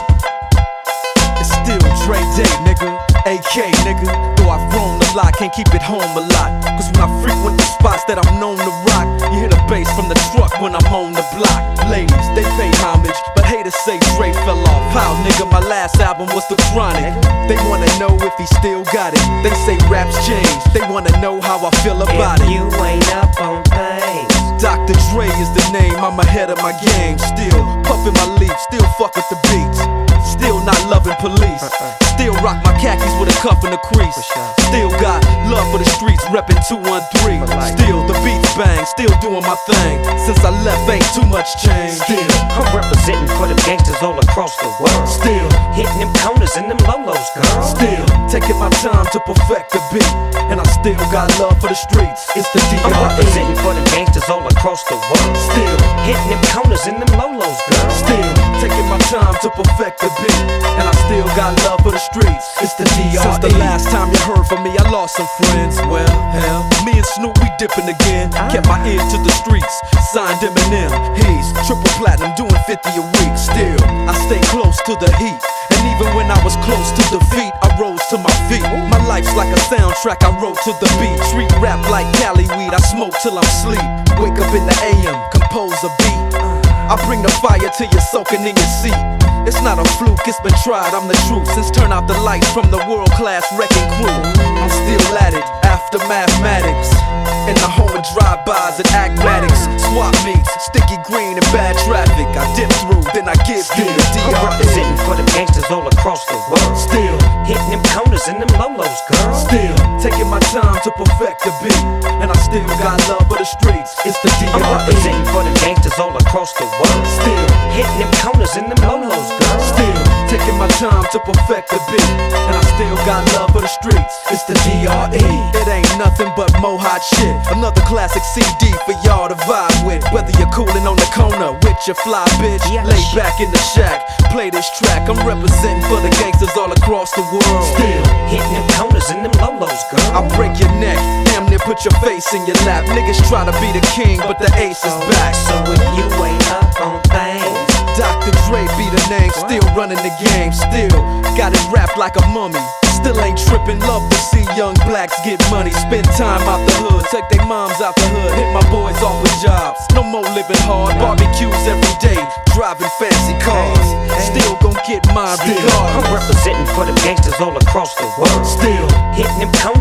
It's still Dre Day, nigga. A K, nigga. Though I've grown a lot, can't keep it home a lot. Cause when I frequent the spots that I'm known to rock, you hear the bass from the truck when I'm on the block. Ladies, they pay homage, but haters say Dre fell off. How, nigga, my last album was The Chronic. They wanna know if he still got it. They say raps change, they wanna know how I feel about if it. You ain't up on things. Doctor Dre is the name, I'm ahead of my game. Still puffin' my leaf, still fuck with the beats. Still not loving police. Still rock my khakis with a cuff and a crease. Still got love for the streets, reppin' two one three. Still the beats bang, still doing my thing. Since I left, ain't too much change. Still, I'm representing for them gangsters all across the world. Still hitting them corners and them lolos, girl. Still taking my time to perfect the beat, and I still got love for the streets. It's the D R E. I'm representing for them gangsters all across the world. Still hitting them corners and them lolos, girl. Still taking my time to perfect the beat, and I still got love for the streets. It's the D R E. Since the last time you heard from me, I lost some friends. Well, hell, me and Snoop, we dipping again. Kept my ear to the streets, signed Eminem. He's triple platinum, doing fifty a week. Still, I stay close to the heat, and even when I was close to defeat, I rose to my feet. My life's like a soundtrack, I wrote to the beat. Street rap like Cali weed, I smoke till I'm sleep. Wake up in the A M, compose a beat. I bring the fire till you're soaking in your seat. It's not a fluke, it's been tried, I'm the truth. Since turn out the lights from the world-class wrecking crew, I'm still at it, after mathematics. In the home of drive-bys and acmatics. Swap meets, sticky green and bad traffic. I dip through, then I give you the D R E. I'm representing for them gangsters all across the world. Still hitting them corners and them lolos, girl. Still taking my time to perfect the beat, and I still got love for the streets. It's the D R E. I'm representing for them gangsters all across the world. Still hitting them corners and them lolos, girl. Still taking my time to perfect the beat, and I still got love for the streets. It's the D R E. It ain't nothing but mo hot shit. Another classic C D for y'all to vibe with. Whether you're coolin' on the corner with your fly bitch, lay back in the shack, play this track. I'm representing for the gangsters all across the world. Still hitting them corners and them lolos, girl. I break your neck, damn near put your face in your lap. Niggas try to be the king, but the ace is back. So if you ain't up on things, Doctor Dre be the name, still running the game. Still got it wrapped like a mummy. Still ain't trippin', love to see young blacks get money. Spend time out the hood, take their moms out the hood. Hit my boys off with jobs, no more living hard. Barbecues every day, driving fancy cars. Still gon' get my regard. I'm representing for them gangsters all across the world. Still hitting them corners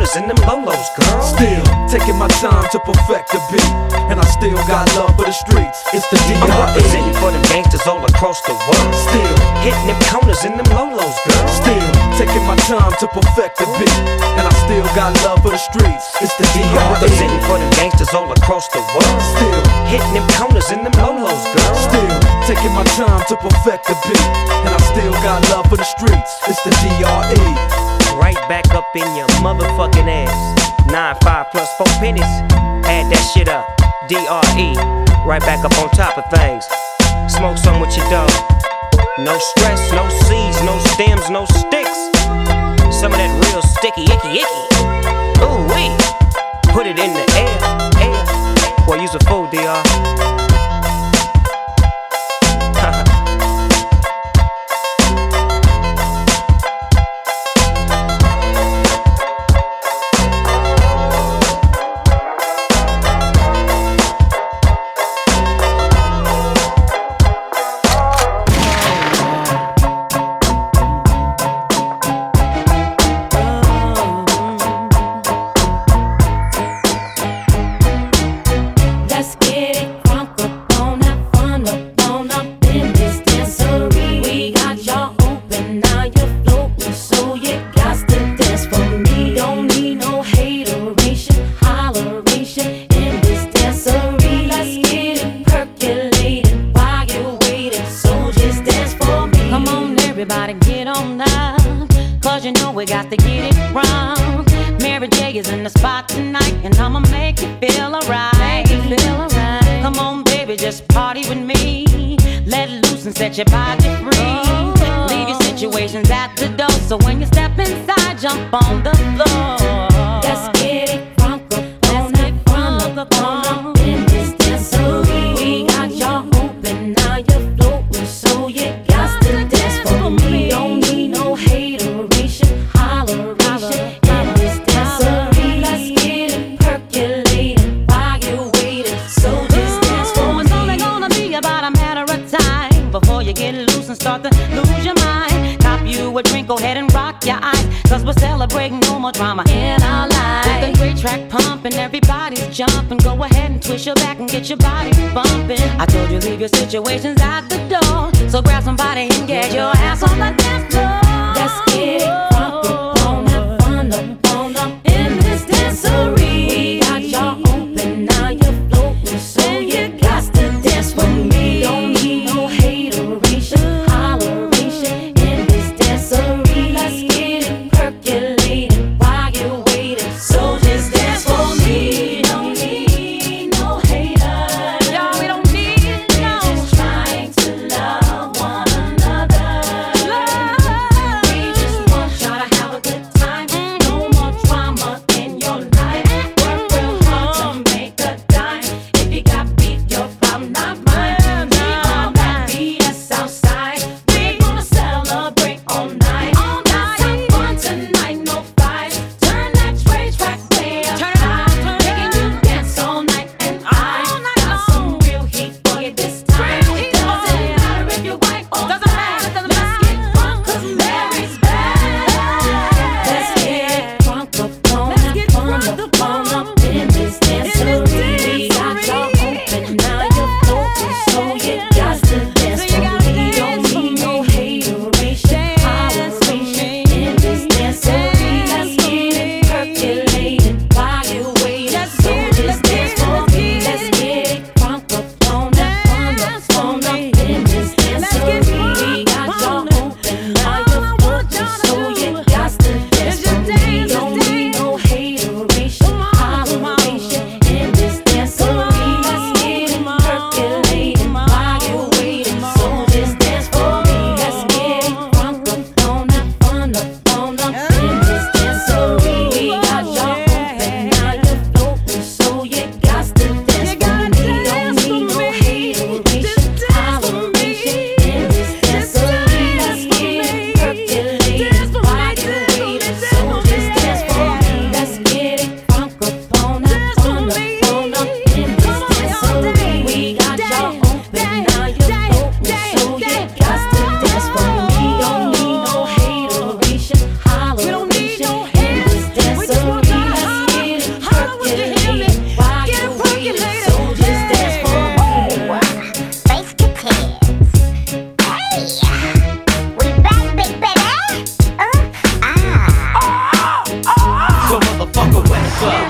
counters and them lolos, girl. Still taking my time to perfect the beat, and I still got love for the streets. It's the D R E. I'm representing for them gangsters all across the world. Still hitting them counters and them lolos, girl. Still taking my time to perfect the beat, and I still got love for the streets. It's the D R E. I'm representing for them gangsters all across the world. Still hitting them counters and them lolos, girl. Still taking my time to perfect the beat, and I still got love for the streets. It's the D R E. Right back up in your motherfucking ass. Nine five plus four pennies. Add that shit up. D R E. Right back up on top of things. Smoke some with your dog. No stress, no seeds, no stems, no sticks. Some of that real sticky, icky, icky. Ooh wee. Put it in the air, air. Boy, use a fool, D R. Set your body free. Leave your situations at the door. So when you step inside, jump on the floor. Let's get it crunk up on that crunk up on in this dancery. We got y'all open, now you're floating, so you got to dance for me. Don't need no hateration, holleration in this dancery. Let's get it percolating while you're waiting. So just dance for me. It's only gonna be about a matter of time before you get loose and start to lose your mind. Cop you a drink, go ahead and rock your eyes, cause we're celebrating no more drama in our lives. With a great track pumping, everybody's jumping. Go ahead and twist your back and get your body bumping. I told you leave your situations at the door, so grab somebody and get your ass on the dance floor. Let's get it crunk up on that fun up on up in this dancery. We got y'all open, now you're floating, so you got to dance for me. Don't need no hateration, holleration in this dancery. Let's get it percolating while you're waiting. So just dance for me. Don't need no haters. Y'all, we don't need no. We're just trying to love one another. Love. We just want y'all What's up?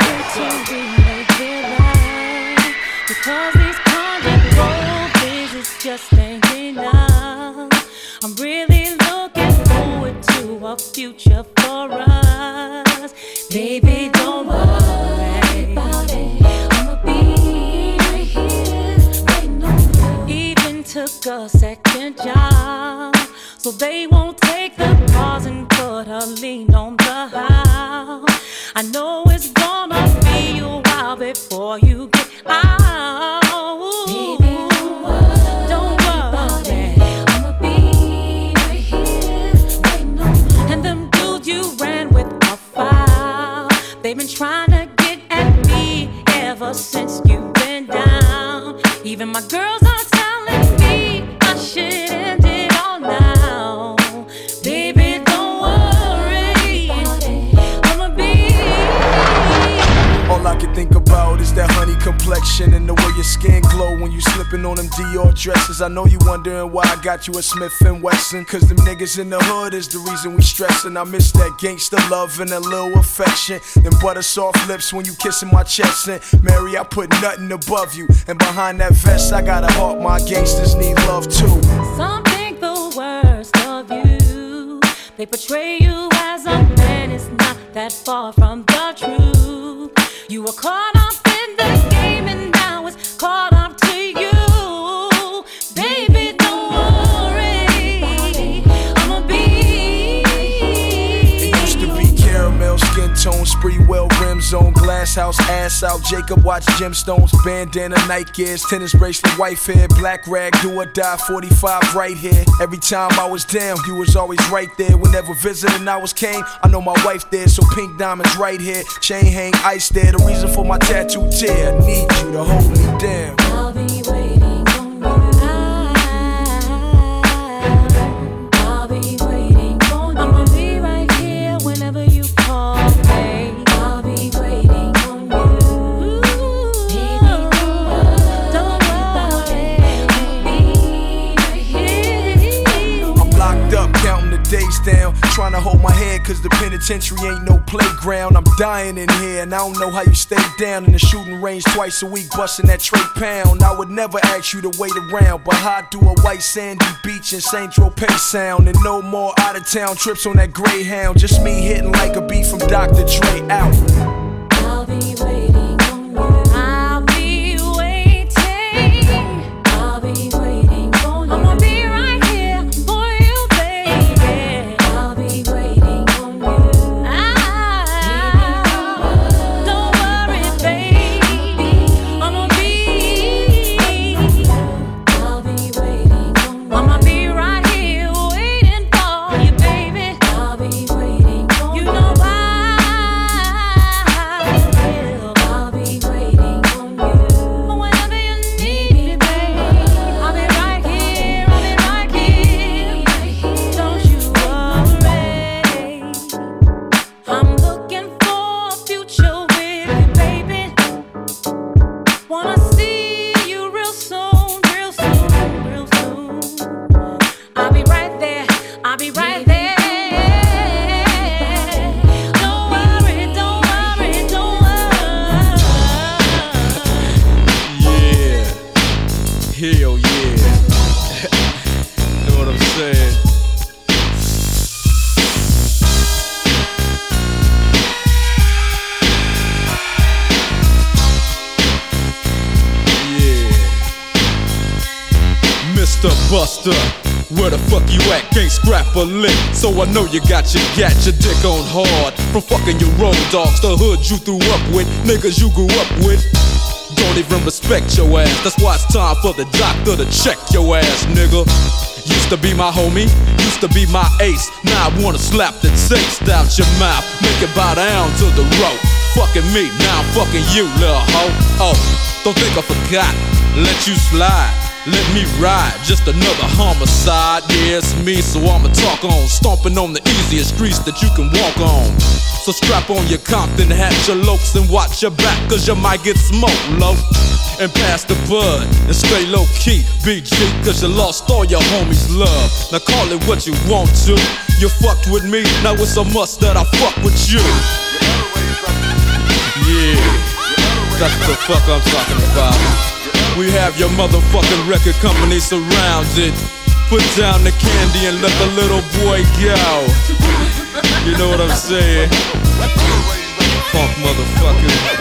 Because these conjugal visits just ain't enough. I'm really looking forward to a future for us. Baby, don't worry about it. I'ma be right here waiting on you. Even took a second job, so they won't take the pause and put a lien on the house. I know it's gonna be a while before you get out. Baby, don't worry, don't worry. I'ma be right here waiting on you. And them dudes you ran with a file, they've been trying to get at me ever since you've been down. Even my girls are telling me I should end it all now. Baby, don't worry, I'ma be. All I can think about is that honey complexion and the way your skin glow when you slipping on them Dior dresses. I know you wondering why I got you a Smith and Wesson, cause them niggas in the hood is the reason we stressin'. I miss that gangsta love and a little affection, them butter soft lips when you kissin' my chest. And Mary, I put nothing above you, and behind that vest I got a heart my gangsters need love too. Some think the worst of you, they portray you as a man, it's not that far from the truth. You were caught up in the game and now it's caught up to you. Baby, don't worry, I'ma be. It used to be caramel skin tone, spree well rims on, glass house ass out, Jacob watch gemstones, bandana, Nike gears, tennis bracelet, white hair, black rag, do or die, forty-five right here. Every time I was down, you was always right there. Whenever visiting I was came, I know my wife there, so pink diamonds right here, chain hang ice there. The reason for my tattoo tear, I need you to hold me down. I'll be waiting on you. I'll be waiting on you. I'ma be right here whenever you call me. I'll be waiting on you. Baby, don't worry, I'll be right here. I'm locked up, counting the days down, trying to hold my head cause the penitentiary ain't no playground. I'm dying in here and I don't know how you stay down in the shooting range twice a week, busting that tray pound. I would never ask you to wait around, but how do a white sandy beach in Saint Tropez sound? And no more out of town trips on that Greyhound, just me hitting like a beat from Doctor Dre out. I'll be waiting on you. I'll be waiting. I'll be waiting on you. I'ma be right here for you, baby. I'll be waiting on you. Ah, don't worry, baby. I'ma be. I'll be waiting on you. I'ma be right here waiting for you, baby. I'll be waiting on you. You know why? I'll be waiting on you. Whenever you need me, baby, I'll be right here, I'll be right here. Don't you worry. I'm looking for a future with you, baby. Wanna see you real soon, real soon, real soon. I'll be right there, I'll be right there. Don't worry, don't worry, don't worry. Yeah, hell yeah. Know what I'm saying? Yeah. Mister Buster, where the fuck you at? Can't scrap a lick, so I know you got your gat, your dick on hard. From fucking your road dogs, the hood you threw up with, niggas you grew up with. Don't even respect your ass, that's why it's time for the doctor to check your ass, nigga. Used to be my homie, used to be my ace. Now I wanna slap the taste out your mouth, make it bow down to the rope. Fucking me, now I'm fucking you, little hoe. Oh, don't think I forgot, let you slide. Let me ride, just another homicide. Yeah, it's me, so I'ma talk on. Stomping on the easiest streets that you can walk on. So strap on your Compton hat, your lokes, and watch your back, cause you might get smoked, low. And pass the bud, and stay low key, B G, cause you lost all your homies' love. Now call it what you want to. You fucked with me, now it's a must that I fuck with you. That's what the fuck I'm talking about. We have your motherfucking record company surrounded. Put down the candy and let the little boy go. You know what I'm saying? Funk motherfucker.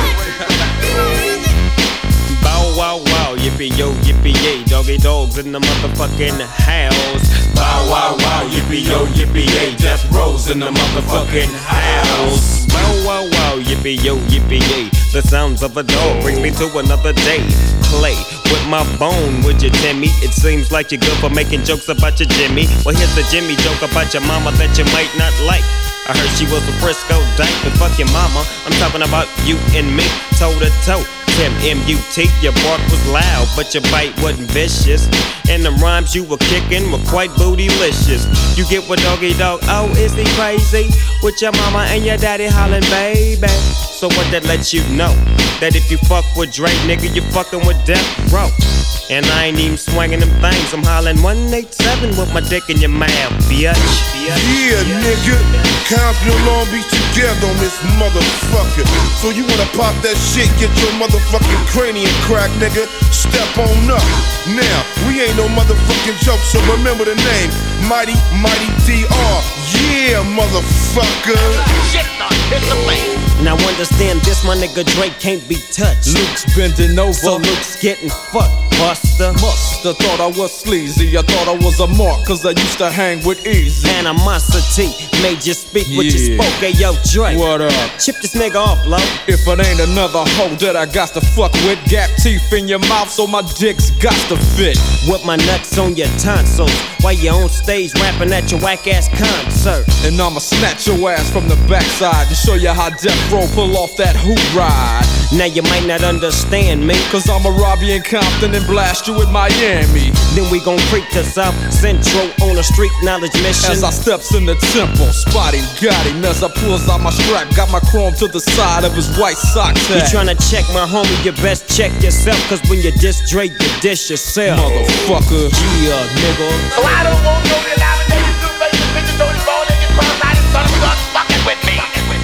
Bow wow wow, yippee yo, yippee yay, doggy dogs in the motherfucking house. Bow wow wow, yippee yo, yippee yay, death rows in the motherfucking house. Bow wow wow, yippee yo, yippee yay, the sounds of a dog brings me to another day. Play with my bone, would you, Timmy? It seems like you're good for making jokes about your Jimmy. Well, here's the Jimmy joke about your mama that you might not like. I heard she was a Frisco dyke, but fuck your mama. I'm talking about you and me, toe to toe. Tim M U T, your bark was loud, but your bite wasn't vicious. And the rhymes you were kicking were quite bootylicious. You get what doggy dog, oh, is he crazy? With your mama and your daddy hollering, baby. So what that lets you know? That if you fuck with Dre, nigga, you fucking with Death Row. And I ain't even swinging them things, I'm hollering one eighty-seven with my dick in your mouth, bitch. Yeah, nigga, Compton and Long Beach together on this motherfucker. So you wanna pop that shit, get your motherfucking cranium crack, nigga. Step on up. Now, we ain't no motherfucking joke, so remember the name, Mighty, Mighty D R. Yeah, motherfucker. Shit, dog, it's the face. Now understand this, my nigga Drake can't be touched. Luke's bending over, so Luke's getting fucked, Buster. Musta thought I was sleazy, I thought I was a mark, cause I used to hang with Easy. Animosity made you speak what yeah. you spoke, hey yo Drake. What up? Chip this nigga off, low. If it ain't another hoe that I got to fuck with, gap teeth in your mouth so my dick's got to fit. With my nuts on your tonsils, while you on stage rapping at your whack ass concert. And I'ma snatch your ass from the backside and show you how Death Row pull off that hoop ride. Now you might not understand me, cause I'ma rob you in Compton and blast you in Miami. Then we gon' creep to South Central on a street knowledge mission. As I steps in the temple, spotty got him as I pulls out my strap. Got my chrome to the side of his white sock tag. You tryna check my homie, you best check yourself, cause when you diss Drake, you diss yourself. Motherfucker. Yeah, nigga. So I don't want no denomination to face the bitches, don't involve in your cross. I just thought it was fucking with me.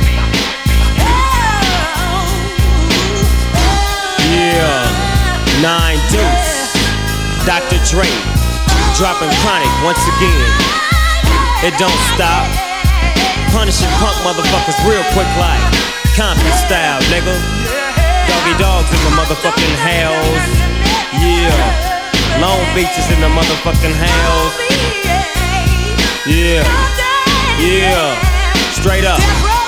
Yeah, Nine Deuce, Doctor Dre, dropping Chronic once again. It don't stop. Punishing punk motherfuckers real quick like Compton style, nigga. Doggy dogs in the motherfucking house. Yeah, Long Beach is in the motherfucking house. Yeah, yeah, straight up.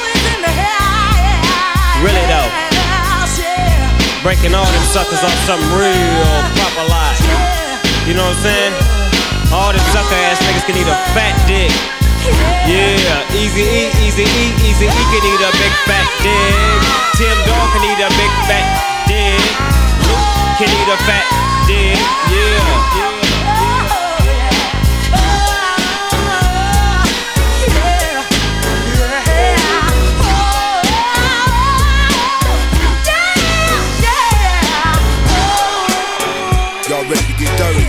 Really though. Breaking all them suckers off something real proper like. You know what I'm saying? All them sucker ass niggas can eat a fat dick. Yeah, Easy E, Easy E, Easy E can eat a big fat dick. Tim Dog can eat a big fat dick. Luke can eat a fat dick. Yeah, yeah. Y'all ready to get dirty?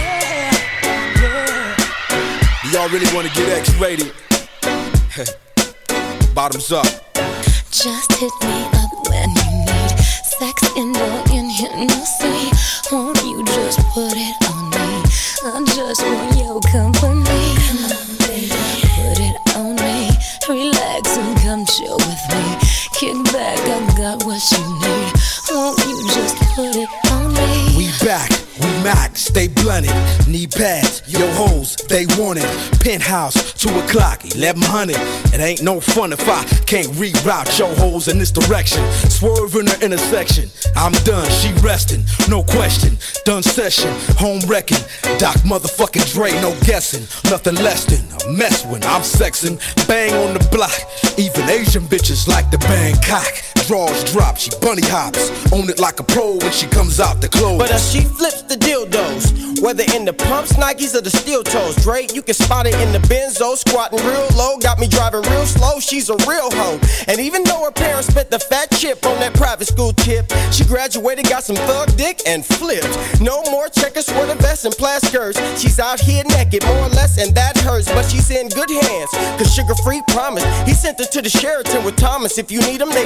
Do y'all really want to get X-rated? Bottoms up. Just hit me up when you need sex in the intimacy. Won't you just put it on me? I just want your company. Come on, baby. Put it on me. Relax and come chill with me. Kick back, I got what you need. Won't you just put it on me? We back. We Mac, stay blunted, knee pads, yo hoes, they want it. Penthouse, two o'clock, eleven hundred. It ain't no fun if I can't reroute yo hoes in this direction. Swerve in the intersection, I'm done, she resting, no question. Done session, home wrecking. Doc motherfucking Dre, no guessing. Nothing less than a mess when I'm sexing. Bang on the block, even Asian bitches like the Bangkok. Draws drop, she bunny hops, own it like a pro when she comes out the clothes. But as she flips the dildos, whether in the pumps, Nikes, or the steel toes, Dre, you can spot it in the Benzo, squatting real low, got me driving real slow. She's a real hoe, and even though her parents spent the fat chip on that private school tip, she graduated, got some thug dick, and flipped. No more checkers, sweater vests, and plaid skirts. She's out here naked, more or less, and that hurts, but she's in good hands, cause Sugar Free promised he sent her to the Sheraton with Thomas. If you need them, they had three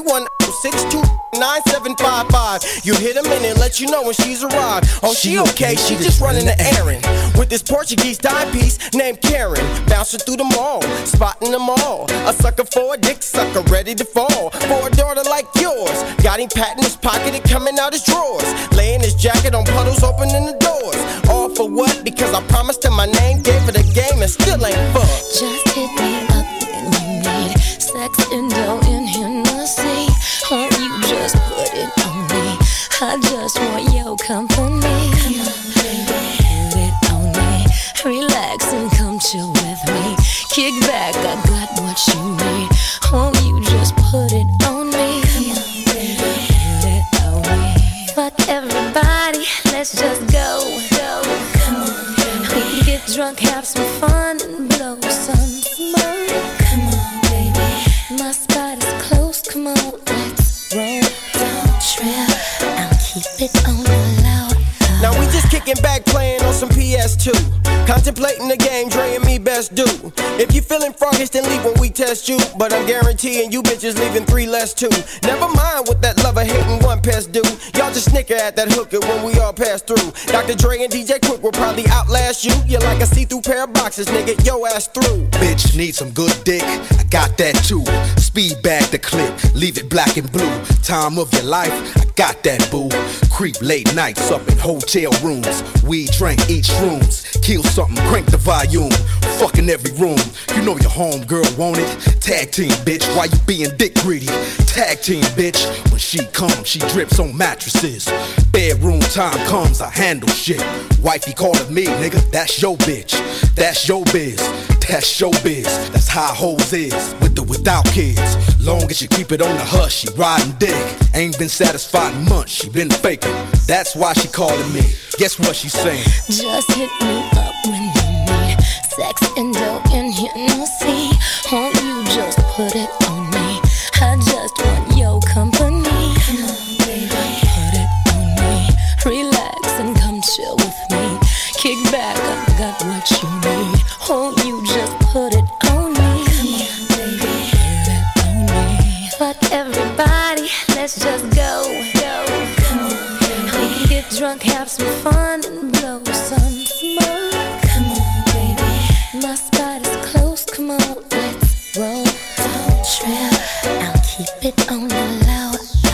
one six two nine seven five five. You hit a minute, let you know when she's arrived. Oh, she okay, she just running the errand with this Portuguese timepiece named Karen. Bouncing through the mall, spotting them all. A sucker for a dick sucker, ready to fall. For a daughter like yours, got him patting his pocket and coming out his drawers. Laying his jacket on puddles, opening the doors. All for what? Because I promised him my name, gave her the game, and still ain't fucked. Just hit me up when you need sex and dough in Hennessy. Won't you just put it on me? I just want your company. Come on, baby, put it on me. Relax and come chill with me. Kick back, I got what you need. Won't you just put it on me? Come on, baby, put it on me. Fuck everybody, let's just go, go, come on, baby. We can get drunk, have some fun, and blow some smoke. Come on, baby. My spot is close, come on, let's roll. Don't trip, I'll keep it on the low. Now we just kicking back, playing on some P S two. Contemplating the game, Dre and me best do. If you feeling froggish, then leave when we test you. But I'm guaranteeing you bitches leaving three less too. Never mind what that lover hating one pest do. Y'all just snicker at that hooker when we all pass through. Doctor Dre and D J Quick will probably outlast you. You're like a see-through pair of boxes, nigga, yo ass through. Bitch, need some good dick, I got that too. Speed bag the clip, leave it black and blue. Time of your life, I got that boo. Creep late nights up in hotel rooms. We drink each rooms, kill something, crank the volume. Fucking every room, you know your homegirl want it. Tag team, bitch, why you being dick greedy? Tag team, bitch, when she comes, she drips on mattresses. Bedroom time comes, I handle shit. Wifey calling me, nigga, that's your bitch. That's your biz, that's your biz. That's how hoes is, with or without kids. Long as you keep it on the hush, she riding dick. Ain't been satisfied in months, she been faking. That's why she calling me, guess what she saying? Just hit me up when you need sex and dough in Hennessy. Won't you just put it on me? I just want your company. Come on, baby, put it on me. Relax and come chill with me. Kick back, I got what you need. Won't you just put it on me? Come on, baby, put it on me. Fuck everybody, let's just go, go, come on, baby. We can get drunk, have some fun, and blow some smoke. Come on, baby. My spot is close, come on, let's roll. Don't trip, I'll keep it on the low,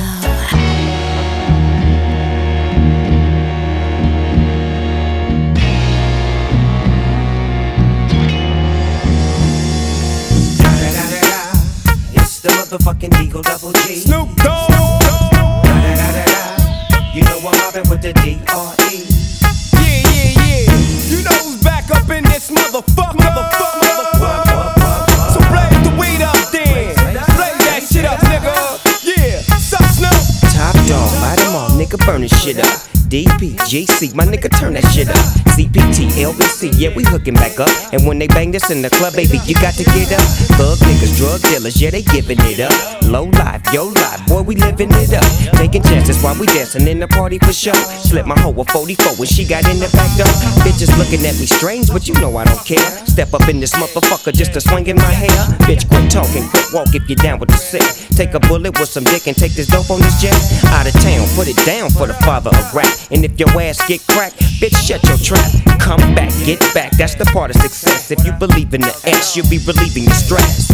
It's the motherfucking Deagle Double G. Snoop Dogg. You know I'm mobbing with the D R E. Yeah, yeah, yeah. You know who's back up in this motherfucker. Motherfucker, motherfucker. So blaze the weed up then. Blaze that shit up, nigga. Yeah, sup, Snoop? Top dog, bite them all, nigga, burn this shit up. D P, G C, my nigga, turn that shit up. C P T, L B C, yeah, we hooking back up. And when they bang this in the club, baby, you got to get up. Thug niggas, drug dealers, yeah, they giving it up. Low life, yo life, boy, we living it up. Taking chances while we dancing in the party for sure. Slip my hoe a forty-four when she got in the back door. Bitches looking at me strange, but you know I don't care. Step up in this motherfucker just to swing in my hair. Bitch, quit talking, quit walk if you're down with the sick. Take a bullet with some dick and take this dope on this jet. Out of town, put it down for the father of rap. And if your ass get cracked, bitch, shut your trap. Come back, get back, that's the part of success. If you believe in the S, you'll be relieving your stress.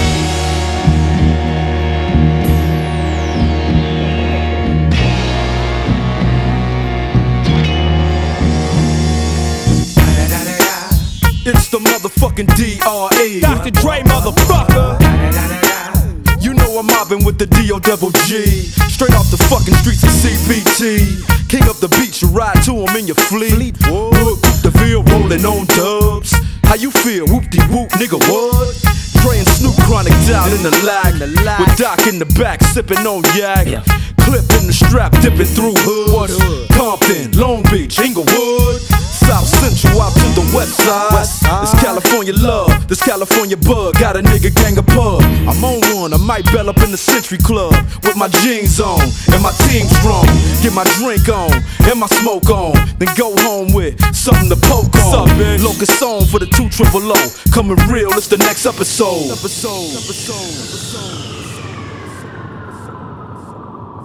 It's the motherfucking D R E. Doctor Dre, motherfucker. You know I'm mobbing with the D O double G. Straight off the fucking streets of C B T. King up the beach, you ride to him in your fleet. Whoop, the field rolling on dubs. How you feel? Whoop-de-whoop, nigga, what? Dre and Snoop Chronic down in the lag. With Doc in the back, sipping on yak. Clip in the strap, dipping through hood. Compton, Long Beach, Inglewood. South Central out to the west side. This California love, this California bug. Got a nigga gang of pub. I'm on one, I might bell up in the Century Club. With my jeans on, and my team strong. Get my drink on, and my smoke on. Then go home with something to poke on. Locust song for the two triple O. Coming real, it's the next episode. Episode, episode, episode.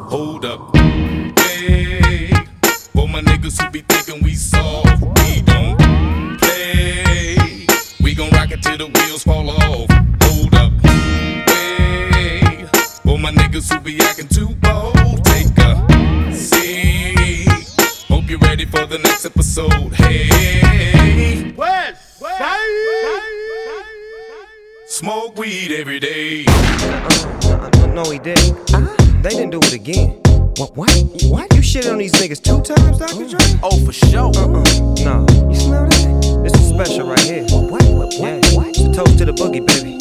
hold up. Hey, for my niggas who be thinking we soft, we don't play. We gon' rock it till the wheels fall off. Hold up. Hey, for my niggas who be acting too bold, take a seat. Hope you're ready for the next episode. Hey, West Side. Smoke weed every day. Uh, uh, no, he didn't. Uh, they didn't do it again. What? What? What? You shit on these niggas two times, Doctor Dre? Oh, for sure. Uh-uh. No. You smell that? This is special right here. What? What? What? Yeah. What? It's a toast to the boogie, baby.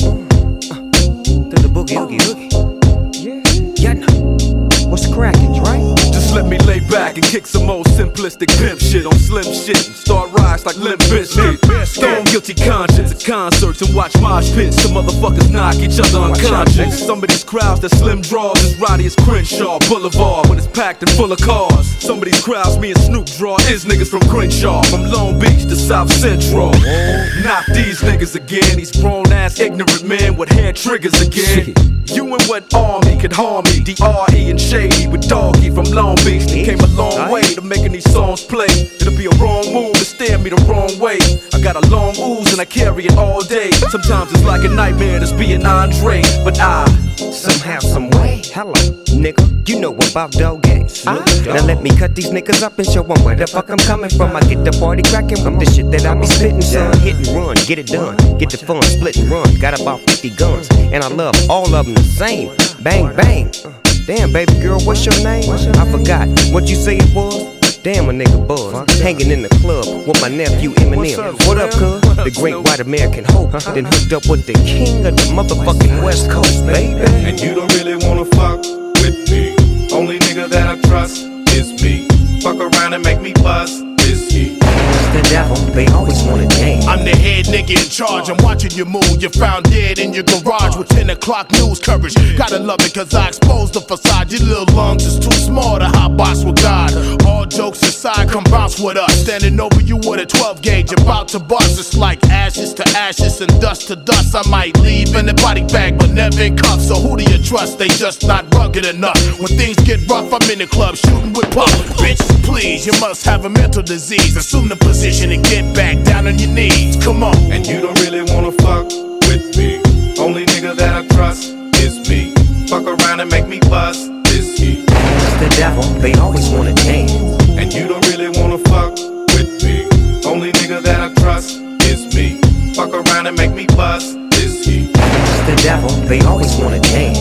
Uh, to the boogie, oogie, oogie. Yeah. Yeah, no. What's crackin', Dre? Just let me lay back and kick some old simplistic pimp shit on slim shit and start rise like Limp Bizkit. Stone guilty conscience at concerts and watch mosh pits. Some motherfuckers knock each other unconscious. Some of these crowds that slim draws as rowdy as Crenshaw Boulevard when it's packed and full of cars. Some of these crowds me and Snoop draw is niggas from Crenshaw, from Long Beach to South Central. Not these niggas again, these grown ass ignorant men with hair triggers again. You and what army could harm me? D R E and Shady with Doggy from Long Beach. They came a long way to making these songs play. It'll be a wrong move to stare me the wrong way. I got a long ooze and I carry it all day. Sometimes it's like a nightmare to be an Andre, but I somehow, some way. Hello, nigga, you know about Doggy. Ah, now let me cut these niggas up and show them where the fuck I'm coming from. I get the party cracking with the shit that I be spitting, son. Hit and run, get it done, get the fun, split and run. Got about fifty guns, and I love all of them the same. Bang, bang. Damn, baby girl, what's your name? I forgot what you say it was. Damn, a nigga buzz, hanging in the club with my nephew Eminem. What up, cuz? The great white American hope. Then hooked up with the king of the motherfucking West Coast, baby. And you don't really wanna fuck with me. Only nigga that I trust is me. Fuck around and make me bust is he. The devil, they always wanna change. I'm the head nigga in charge. I'm watching you move. You're found dead in your garage with ten o'clock news coverage. Gotta love it cause I exposed the facade. Your little lungs is too small to hot box with God. All jokes aside, come bounce with us. Standing over you with a twelve gauge, about to bust. It's like ashes to ashes and dust to dust. I might leave in a body bag, but never in cuffs. So who do you trust? They just not rugged enough. When things get rough, I'm in the club shooting with puff. Bitch, please, you must have a mental disease. Assume the position and get back down on your knees. Come on. And you don't really wanna fuck with me. Only nigga that I trust is me. Fuck around and make me bust is he. The devil, they always wanna change. And you don't really wanna fuck with me. Only nigga that I trust is me. Fuck around and make me bust is he. The devil, they always wanna change.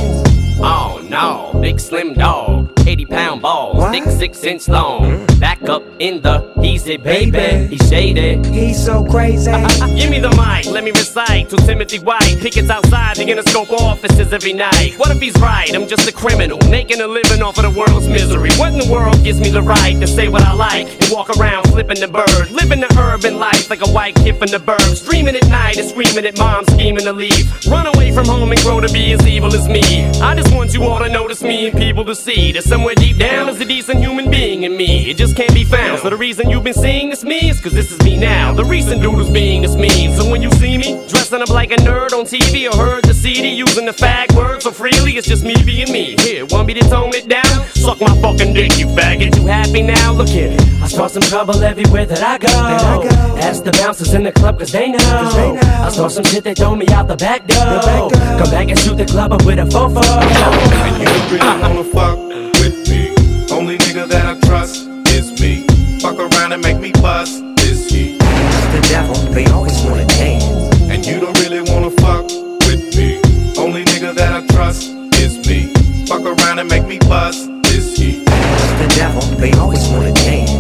Oh no, big slim dog, eighty pound balls, thick six inch long. Back up in the, he's it baby, he's shaded. He's so crazy. Give me the mic, let me recite to Timothy White. Pickets outside the Interscope offices every night. What if he's right? I'm just a criminal, making a living off of the world's misery. What in the world gives me the right to say what I like and walk around flipping the bird, living the urban life like a white kid from the burbs, dreaming at night and screaming at mom, scheming to leave. Run away from home and grow to be as evil as me. I just want you all to notice me and people to see that somewhere deep down there's a decent human being in me. It just can't be found. So the reason you've been seeing this me is cause this is me now. The recent dude who's being this mean. So when you see me dressing up like a nerd on T V or heard the C D using the fag word so freely, it's just me being me. Here, want me to tone it down? Suck my fucking dick, you faggot. You happy now? Look here. I start some trouble everywhere that I go. I go. Ask the bouncers in the club cause they know. Cause they know. I start some shit, they throw me out the back door. The back door. Come back and shoot the club up with a fofo. And you don't really wanna fuck with me. Only nigga that I trust is me. Fuck around and make me bust is he. The devil, they always wanna change. And you don't really wanna fuck with me. Only nigga that I trust is me. Fuck around and make me bust is he. The devil, they always wanna change.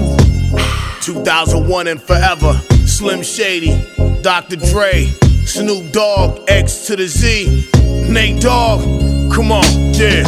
two thousand one and forever. Slim Shady, Doctor Dre, Snoop Dogg, X to the Z, Nate Dogg. Come on, yeah.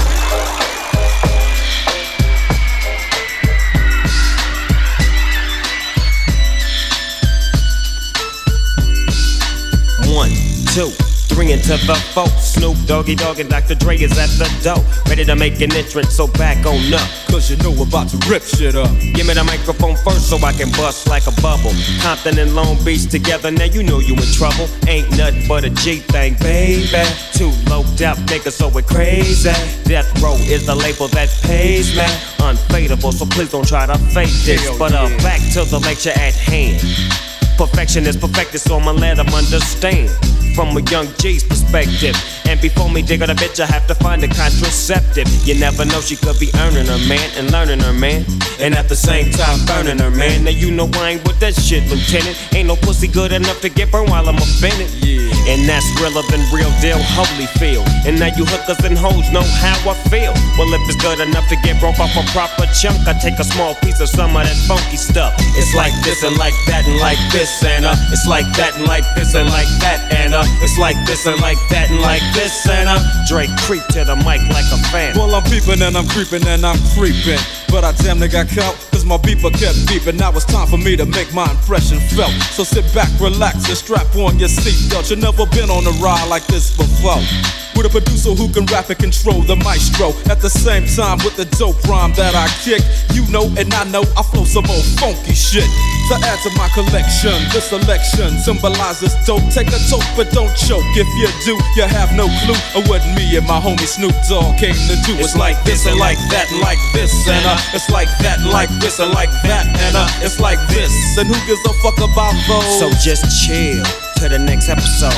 One, two, three into the four. Snoop Doggy Dogg and Doctor Dre is at the door, ready to make an entrance, so back on up. Cause you know we're about to rip shit up. Give me the microphone first so I can bust like a bubble. Compton and Long Beach together, now you know you in trouble. Ain't nothing but a G thing, baby. Two loped out niggas, so we're crazy. Death Row is the label that pays me. Unfadable, so please don't try to fake this. Hell but uh, yeah. back to the lecture at hand. Perfection is perfected, so I'ma let them understand from a young G's perspective. And before me dig on a bitch, I have to find a contraceptive. You never know, she could be earning her man and learning her man, and at the same time burning her man. Now you know I ain't with that shit, Lieutenant. Ain't no pussy good enough to get burned while I'm offended. Yeah. And that's realer than real deal, Holyfield. And now you hookers and hoes know how I feel. Well, if it's good enough to get broke off a proper chunk, I take a small piece of some of that funky stuff. It's like this and like that and like this and uh, it's like that and like this and like that and uh, it's like this and like that and like this and uh, Drake creep to the mic like a fan. Well, I'm peeping and I'm creeping and I'm creeping, but I damn near got caught, cause my beeper kept beeping. Now it's time for me to make my impression felt. So sit back, relax, and strap on your seatbelt. You've never been on a ride like this before, with a producer who can rap and control the maestro. At the same time with the dope rhyme that I kick, you know and I know I flow some old funky shit. To add to my collection, this selection symbolizes dope. Take a toke but don't choke. If you do, you have no clue of what me and my homie Snoop Dogg came to do. It's like this and like that and like this and uh, it's like that and like this and like that and uh, it's like this. And who gives a fuck about those? So just chill to the next episode.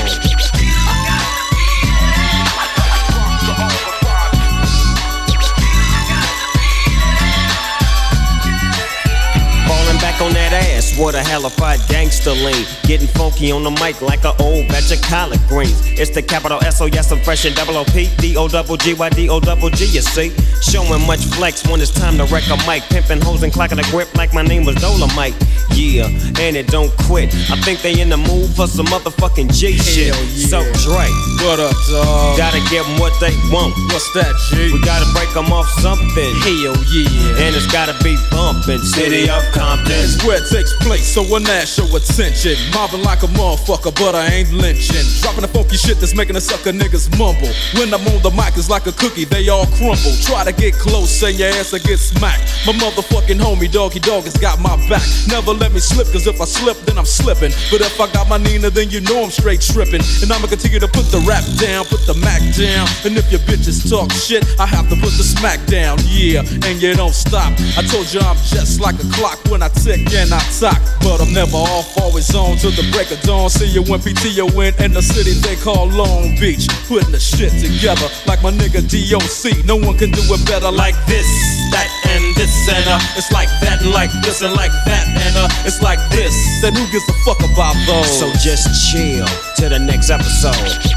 Back on that ass, what a hellified gangster lean. Getting funky on the mic like an old batch of collard greens. It's the capital S O, yes, I'm fresh and double O P. D O double G Y D O double G, you see. Showing much flex when it's time to wreck a mic. Pimping hoes and clacking a grip like my name was Dolomite. Yeah, and it don't quit. I think they in the mood for some motherfucking G shit. Yeah. So Dre, what up, dawg? Gotta give them what they want. What's that, G? We gotta break them off something. Hell yeah. And it's gotta be bumpin'. City of Compton. It's where it takes place, so when that show attention. Mobbing like a motherfucker, but I ain't lynching. Dropping the funky shit that's making the sucker niggas mumble. When I'm on the mic, it's like a cookie, they all crumble. Try to get close, and your ass will get smacked. My motherfucking homie, Doggy Dogg, has got my back. Never let me slip, cause if I slip, then I'm slipping. But if I got my Nina, then you know I'm straight tripping. And I'ma continue to put the rap down, put the Mac down. And if your bitches talk shit, I have to put the smack down. Yeah, and you don't stop. I told you I'm just like a clock when I tick and I talk. But I'm never off, always on till the break of dawn. See you when P T O in in the city they call Long Beach. Putting the shit together like my nigga D O C. No one can do it better like this, that, and this, and uh, it's like that, and like this, and like that, and uh, it's like this. Then who gives a fuck about those? So just chill to the next episode.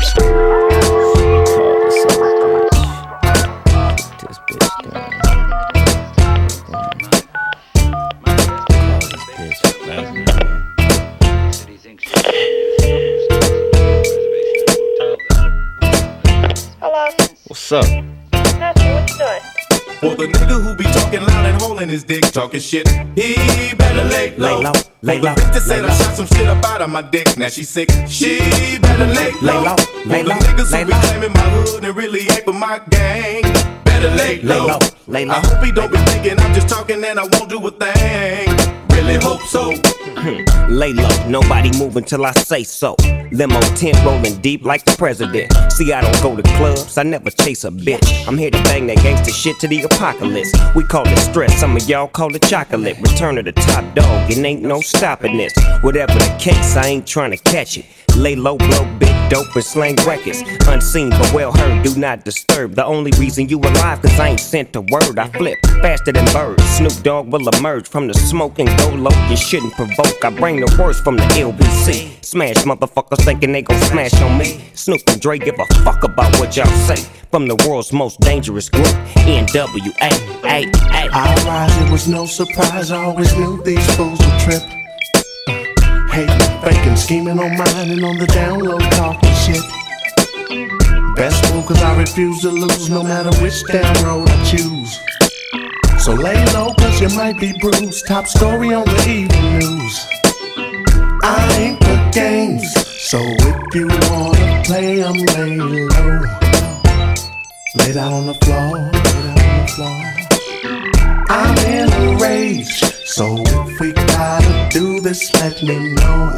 Hello? What's up? Nothing, what you doing? For the nigga who be talking loud and holding his dick, talking shit, he better lay low. Lay low, lay low, For the bitch that said lay I low. shot some shit up out of my dick, now she sick, she better lay low. Lay low, lay For the low, niggas lay who be low. claiming my hood and really ain't with my gang, better lay low. Lay low, lay low. I hope he don't be thinking I'm just talking and I won't do a thing. Really hope so. Lay low, nobody move until I say so. Limo tent rolling deep like the president. See, I don't go to clubs, I never chase a bitch. I'm here to bang that gangsta shit to the apocalypse. We call it stress, some of y'all call it chocolate. Return of the top dog, it ain't no stopping this. Whatever the case, I ain't trying to catch it. Lay low, blow big dope and slang records. Unseen but well heard, do not disturb. The only reason you alive, cause I ain't sent a word. I flip faster than birds. Snoop Dogg will emerge from the smoke and go low. You shouldn't provoke, I bring the worst from the L B C. Smash motherfuckers thinking they gon' smash on me. Snoop and Dre give a fuck about what y'all say. From the world's most dangerous group, N W A. A, A. I rise, it was no surprise, I always knew these fools would trip. Hating, faking, scheming on mine and on the down low talking shit. Best move cause I refuse to lose no matter which damn road I choose. So lay low cause you might be bruised. Top story on the evening news. I ain't the games, so if you wanna play, I'm lay low. Lay down on the floor, lay down on the floor. I'm in a rage, so if we gotta do this, let me know.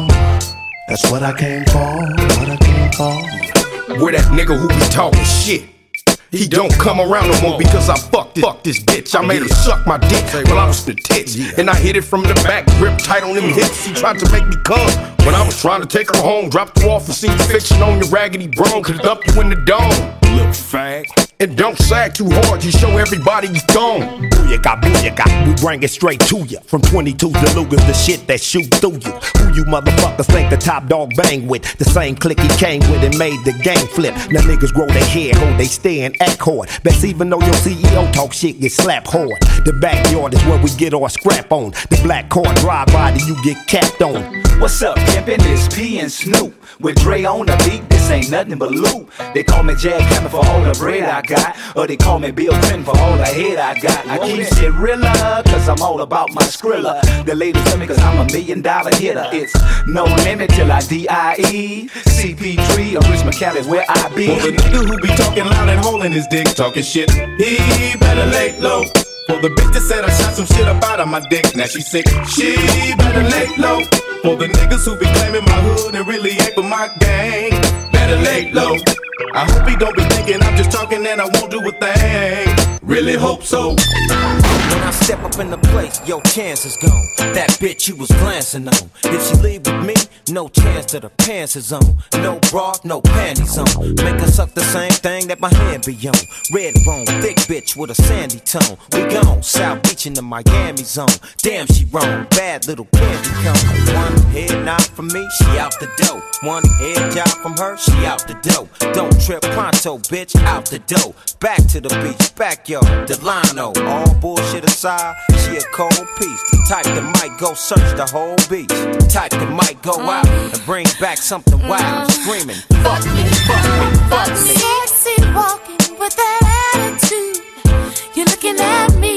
That's what I came for, what I came for. Where that nigga who be talking shit? He don't come around no more because I fucked this, fuck this bitch. I made her suck my dick while I was in the tits. And I hit it from the back, grip tight on them hips. He tried to make me come when I was trying to take her home. Dropped her off and seen fiction on your raggedy bro. Could dump you in the dome, little fag. And don't sag too hard, you show everybody you thong. Booyaka, booyaka, we bring it straight to ya. From twenty-twos to Lugers, the shit that shoot through you. Who you motherfuckers think the top dog bang with? The same clique he came with and made the game flip. Now niggas grow their hair, hold they stay and act hard. Best even though your C E O talk shit, get slapped hard. The backyard is where we get our scrap on. The black car drive by that you get capped on. What's up, pimpin'? It's P and Snoop. With Dre on the beat, this ain't nothing but loot. They call me Jack Hammer for all the bread I got. Or they call me Bill Clinton for all the head I got. I keep shit realer, cause I'm all about my Skrilla. The ladies love me cause I'm a million dollar hitter. It's no limit till I D I E. C P three or Rich McCallum where I be. For the nigga who be talking loud and holding his dick, talking shit, he better lay low. For the bitch that said I shot some shit up out of my dick, now she sick, she better lay low. For the niggas who be claiming my hood and really ain't for my gang, better lay low. I hope he don't be thinking I'm just talking and I won't do a thing. Really hope so. When I step up in the place, your chance is gone. That bitch you was glancing on. If she leave with me, no chance that her pants is on. No bra, no panties on. Make her suck the same thing that my hand be on. Red bone, thick bitch with a sandy tone. We gone, South Beach in the Miami zone. Damn, she wrong, bad little candy cone. One head nod from me, she out the dough. One head job from her, she out the dough. Don't trip pronto, bitch, out the dough. Back to the beach, backyard, Delano. All bullshit aside, she a cold piece. The type that might go search the whole beach. The type that might go out and bring back something wild. Screaming, fuck me, fuck me, fuck me. Sexy walking with that attitude. You're looking at me,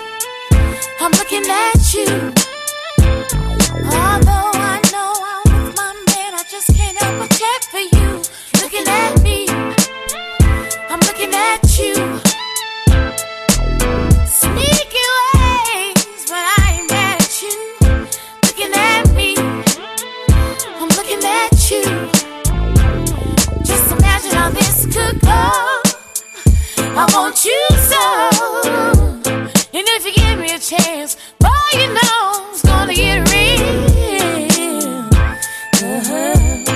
I'm looking at you. Although I know I'm with my man, I just can't help but check for you. Looking at me, I'm looking at you. Sneaky ways, but I ain't mad at you. Looking at me, I'm looking at you. Just imagine how this could go. I want you so. And if you give me a chance, boy, you know it's gonna get real. Uh-huh.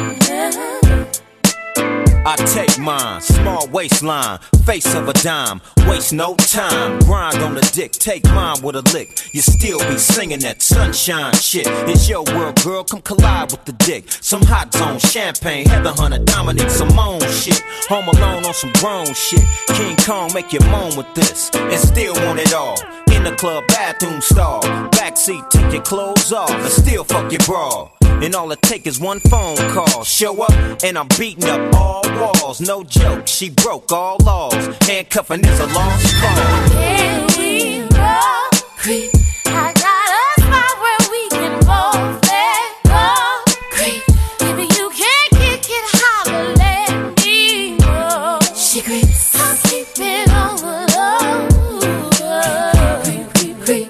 I take mine, small waistline, face of a dime, waste no time, grind on the dick, take mine with a lick, you still be singing that sunshine shit, it's your world girl, come collide with the dick, some hot zone, champagne, Heather Hunter, Dominic Simone shit, home alone on some grown shit, King Kong make you moan with this, and still want it all, in the club bathroom stall, backseat take your clothes off, and still fuck your bra. And all it take is one phone call. Show up, and I'm beating up all walls. No joke, she broke all laws. Handcuffing is a lost cause. Can we roll? Creep. I got a spot where we can both let go. Creep. Maybe you can't kick it, holler, let me know. She creeps. I'll keep it on the low. Creep, creep, creep.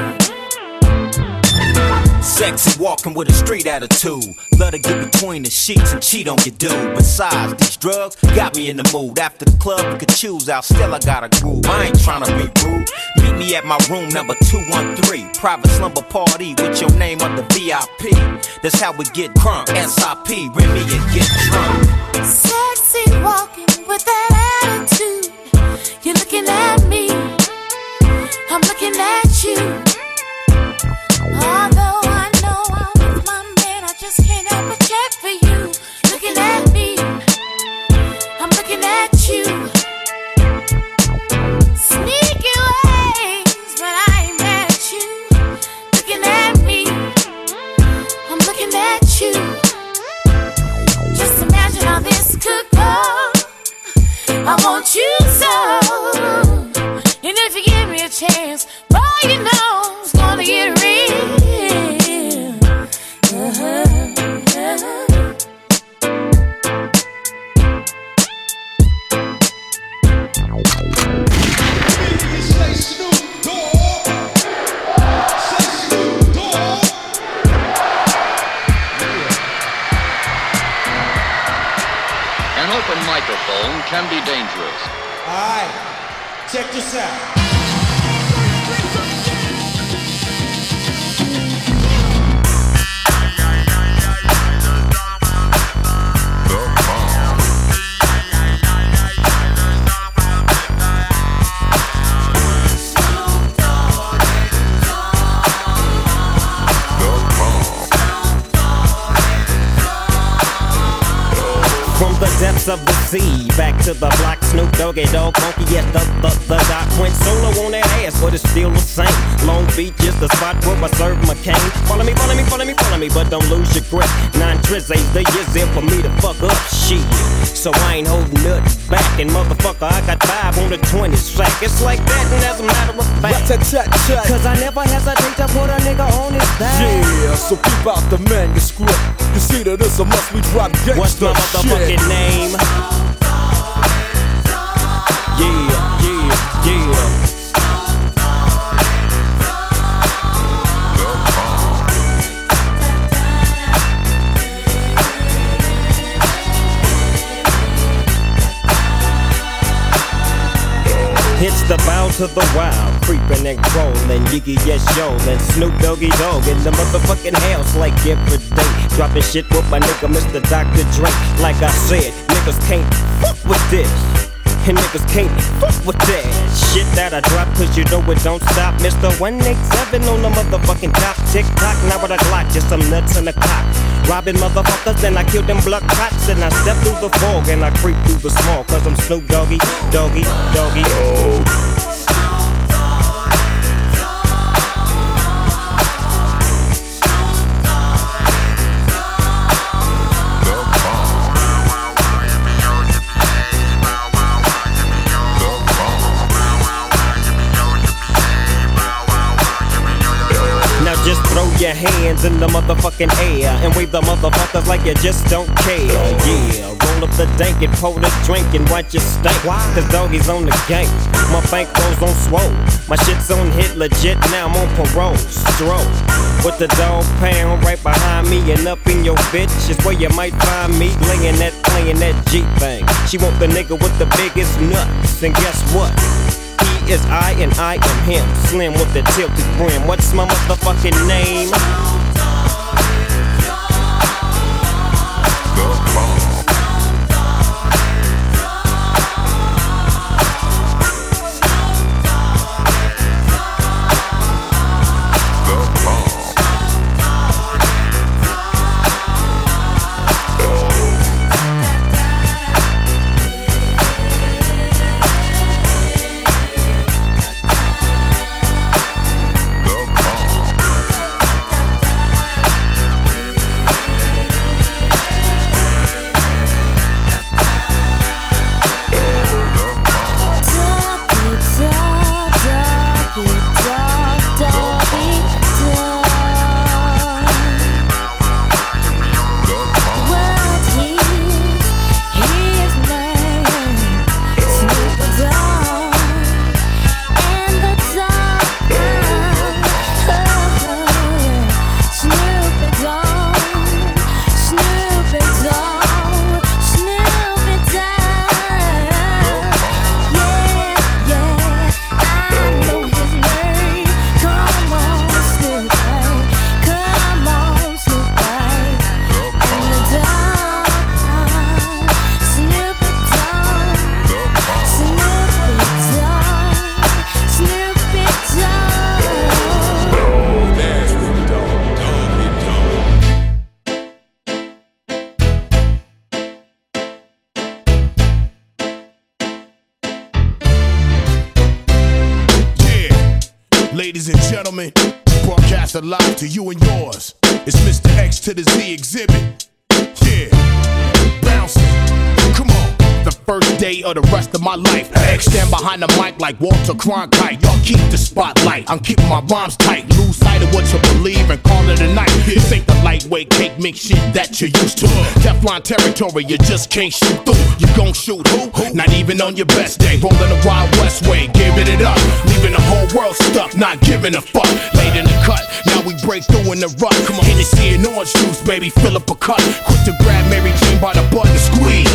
Sexy walking with a street attitude. Let her get between the sheets and cheat on your dude. Besides, these drugs got me in the mood. After the club, you could choose out. Still, I got a groove. I ain't tryna be rude. Meet me at my room number two one three. Private slumber party with your name on the V I P. That's how we get crunk. S I P, Remy and get drunk. Sexy walking with that attitude. You're looking at me, I'm looking at you. Although I know I'm with my man, I just can't help but check for you. Looking at me, I'm looking at you. Sneaky ways, but I ain't mad at you. Looking at me, I'm looking at you. Just imagine how this could go. can be dangerous. Alright, check this out. The depths of the sea, back to the block, Snoop Doggy Dogg, funky yes, the, the, the doc went solo on that ass, but it's still the same. Long Beach is the spot where I serve my cane. Follow me, follow me, follow me, follow me, but don't lose your grip. Nine trizzies, the years there for me to fuck up shit. So I ain't holding nothing back, and motherfucker, I got five on the twenty sack. It's like that, and as a matter of fact, cause I never hesitate to put a nigga on his back. Yeah, so keep out the manuscript. You see that it's a must we drop gangsta. What's my motherfucking shit. name? Yeah, yeah, yeah. It's the bow to the wild, creeping and crawling, Yiggy yes yo, and Snoop Doggy Dogg in the motherfucking house like every day. Dropping shit with my nigga Mister Doctor Dre. Like I said, niggas can't fuck with this, and niggas can't fuck with that shit that I drop, cause you know it don't stop. Mister one eighty-seven on the motherfucking top. Tick tock, now with a Glock, just some nuts in the cock. Robbing motherfuckers, then I kill them blood cops. And I step through the fog and I creep through the small, cause I'm Snoop Doggy, Doggy, Doggy. Oh. Just throw your hands in the motherfucking air and wave the motherfuckers like you just don't care. Yeah, roll up the dank and pour the drink and watch it stink. Cause doggy's on the gang. My bank rolls on swole. My shit's on hit legit, now I'm on parole. Stroll with the dog pound right behind me and up in your bitch is where you might find me laying that, playing that G thing. She want the nigga with the biggest nuts, and guess what? He is I and I am him. Slim with the tilted brim. What's my motherfucking name? Ladies and gentlemen, broadcast live to you and yours. It's Mister X to the Z exhibit. Yeah, bouncing. Come on. The first day of the rest of my life. X stand behind the mic like Walter Cronkite. Y'all keep the spotlight. I'm keeping my rhymes tight. Lose sight of what you believe and call it a night. This ain't the lightweight cake mix shit that you're used to. Teflon territory, you just can't shoot through. You gon' shoot who? Not even on your best day. Rolling the Wild West way, giving it up. Leaving the whole world stuck, not giving a fuck. Late in the cut, now we break through in the rut. Come on, Hennessy and orange juice, baby, fill up a cup. Quick to grab Mary Jane by the butt and squeeze. Lose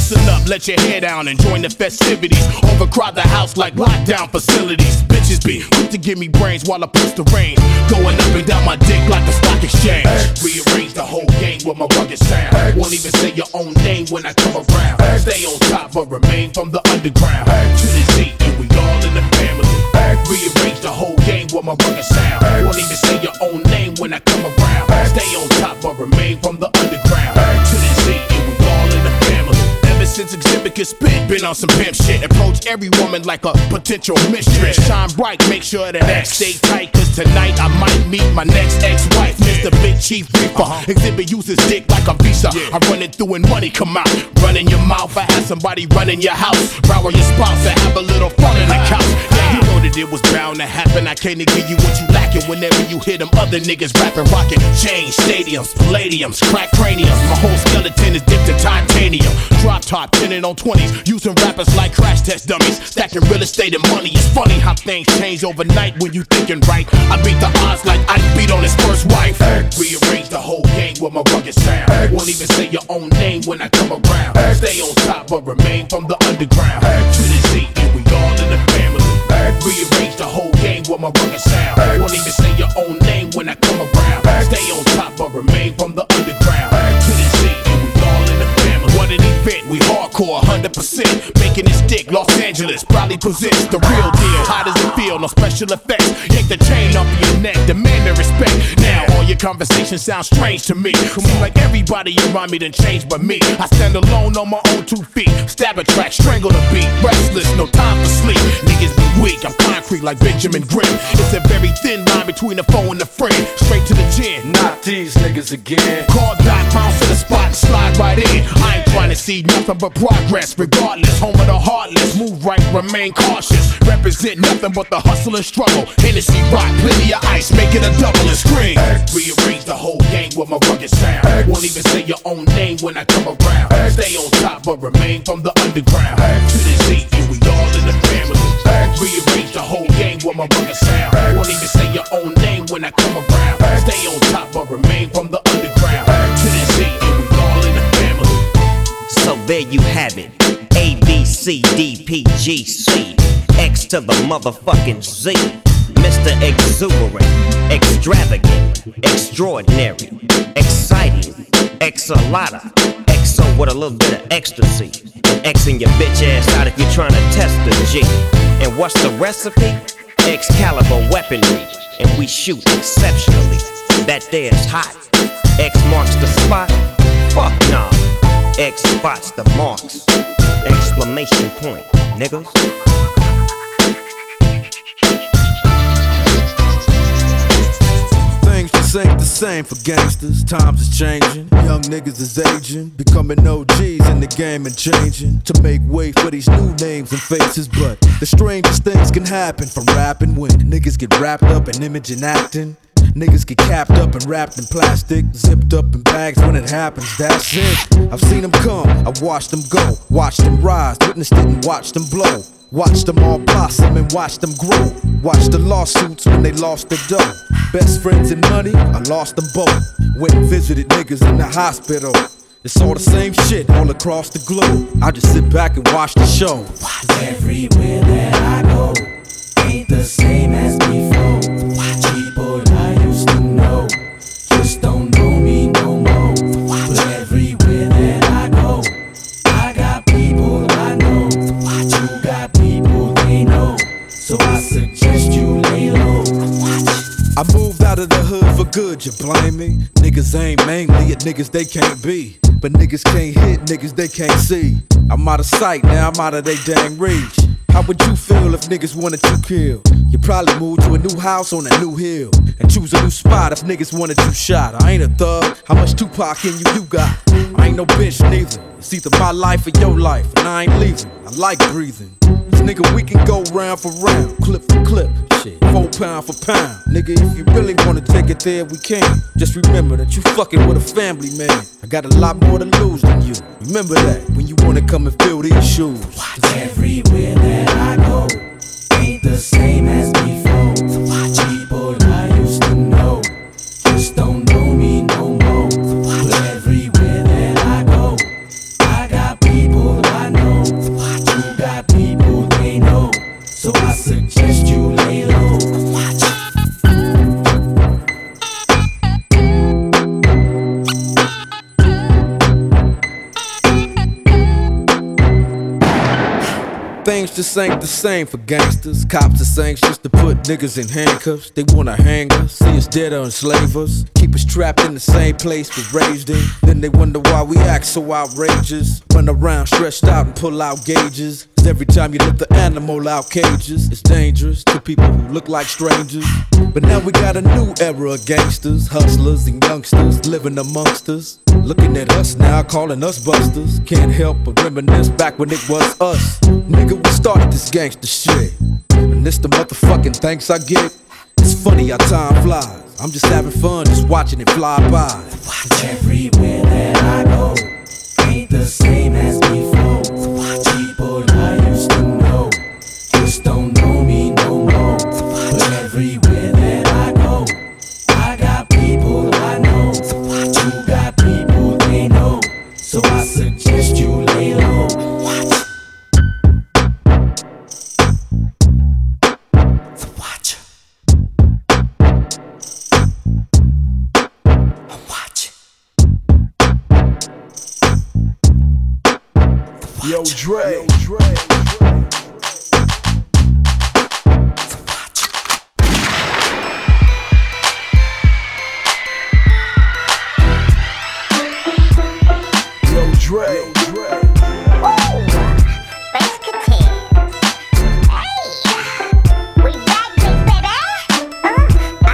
Listen up, let your hair down and join the festivities. Overcrowd the house like lockdown facilities. Bitches be quick to give me brains while I push the rain. Going up and down my dick like the stock exchange. Rearrange the whole game with my rugged sound. Won't even say your own name when I come around. Stay on top but remain from the underground. To the Z and we all in the family. Rearrange the whole game with my rugged sound. Won't even say your own name when I come around. Stay on top but remain from the underground. To the Z and we all in the family. Ever since Exhibit could spit, been on some pimp shit. Approach every woman like a potential mistress. Shine bright, make sure that X stay tight. Cause tonight I might meet my next ex-wife, Mister Big Chief Reaper. Exhibit uses dick like a visa. I run it through and money come out. Run in your mouth, I have somebody run in your house. Row your spouse and have a little fun in the couch. Yeah, you know that it was bound to happen. I can't give you what you lacking whenever you hear them other niggas rapping, rocking. Change stadiums, palladiums, crack craniums. My whole skeleton is dipped in titanium. Drop top, pinning on twenties, using rappers like crash test dummies. Stacking real estate and money. It's funny how things change overnight when you thinking right. I beat the odds like I beat on his first wife. Rearrange the whole game with my rugged sound. Won't even say your own name when I come around. Stay on top but remain from the underground. To the Z and we all in the family. Rearrange the whole game with my rugged sound. Won't even say your own name when I come around. Stay on top but remain from the underground. To the Z and we all in the family. What an event, we hardcore, one hundred percent. Making it stick, Los Angeles probably presents the real deal. How does it feel? No special effects. Yank the chain off your neck, demand the respect. Now all your conversations sound strange to me. Seems like everybody around me done changed but me. I stand alone on my own two feet. Stab a track, strangle the beat. Restless, no time for sleep. Niggas be weak, I'm concrete like Benjamin Grimm. It's a very thin line between the foe and the friend. Straight to the chin. Not these niggas again. Call dot, bounce to the spot and slide right in. I ain't trying to see nothing but progress. Regardless, home of the heartless. Move right, remain cautious. Represent nothing but the hustle and struggle. Hennessy rock, plenty of ice, make it a double and scream. Rearrange the whole game with my rugged sound. Won't even say your own name when I come around. Stay on top but remain from the underground. To the Z and we all in the family. Rearrange the whole game with my rugged sound. Won't even say your own name when I come around. Stay on top but remain from the underground. To the Z and we all in the family. So there you have it. A, B, C, D, P, G, C. X to the motherfucking Z. Mister Exuberant, extravagant, extraordinary, exciting, X-a-lotta, X O with a little bit of ecstasy. And Xing your bitch ass out if you're trying to test the G. And what's the recipe? Excalibur weaponry. And we shoot exceptionally. That there's hot. X marks the spot. Fuck nah. X spots the marks. Exclamation point, niggas. Things just ain't the same for gangsters. Times is changing. Young niggas is aging. Becoming O Gs in the game and changing. To make way for these new names and faces. But the strangest things can happen from rapping when niggas get wrapped up in image and acting. Niggas get capped up and wrapped in plastic, zipped up in bags when it happens, that's it. I've seen them come, I've watched them go, watched them rise, witnessed it and watched them blow. Watched them all blossom and watched them grow. Watched the lawsuits when they lost their dough. Best friends and money, I lost them both. Went and visited niggas in the hospital. It's all the same shit all across the globe. I just sit back and watch the show. Everywhere that I go ain't the same as before. People I used to know just don't know me no more. But everywhere that I go, I got people I know. You got people they know. So I suggest you lay low. I moved out of the hood for good, you blame me? Niggas aim mainly at niggas they can't be. But niggas can't hit niggas they can't see. I'm out of sight, now I'm out of they dang reach. How would you feel if niggas wanted you killed? You probably move to a new house on a new hill and choose a new spot if niggas wanted you shot. I ain't a thug, how much Tupac in you you got? I ain't no bitch neither. It's either my life or your life, and I ain't leaving. I like breathing. Cause nigga, we can go round for round, clip for clip, shit, four pound for pound. Nigga, if you really wanna take it there, we can. Just remember that you fucking with a family man. I got a lot more to lose than you. Remember that when you wanna come and fill these shoes. Everywhere that I go ain't the same as before. People I used to know just don't know me no more. But everywhere that I go, I got people This ain't the same for gangsters. Cops is anxious to put niggas in handcuffs. They wanna hang us, see us dead or enslave us. Keep us trapped in the same place we're raised in. Then they wonder why we act so outrageous. Run around stretched out and pull out gauges. Cause every time you lift the animal out cages, it's dangerous to people who look like strangers. But now we got a new era of gangsters, hustlers and youngsters living amongst us. Looking at us now, calling us busters. Can't help but reminisce back when it was us. Nigga, we started this gangster shit. And this the motherfucking thanks I get. It's funny how time flies. I'm just having fun, just watching it fly by. Everywhere that I go ain't the same as before. People I used to know just don't know me no more. But everywhere that I go, I got people I know who got people they know. So I suggest you lay low. Watch. Yo, Dre. Yo, Dre. Yo, Dre. Yo, Dre. Bass Katiz. Hey, we back, big baby. Uh,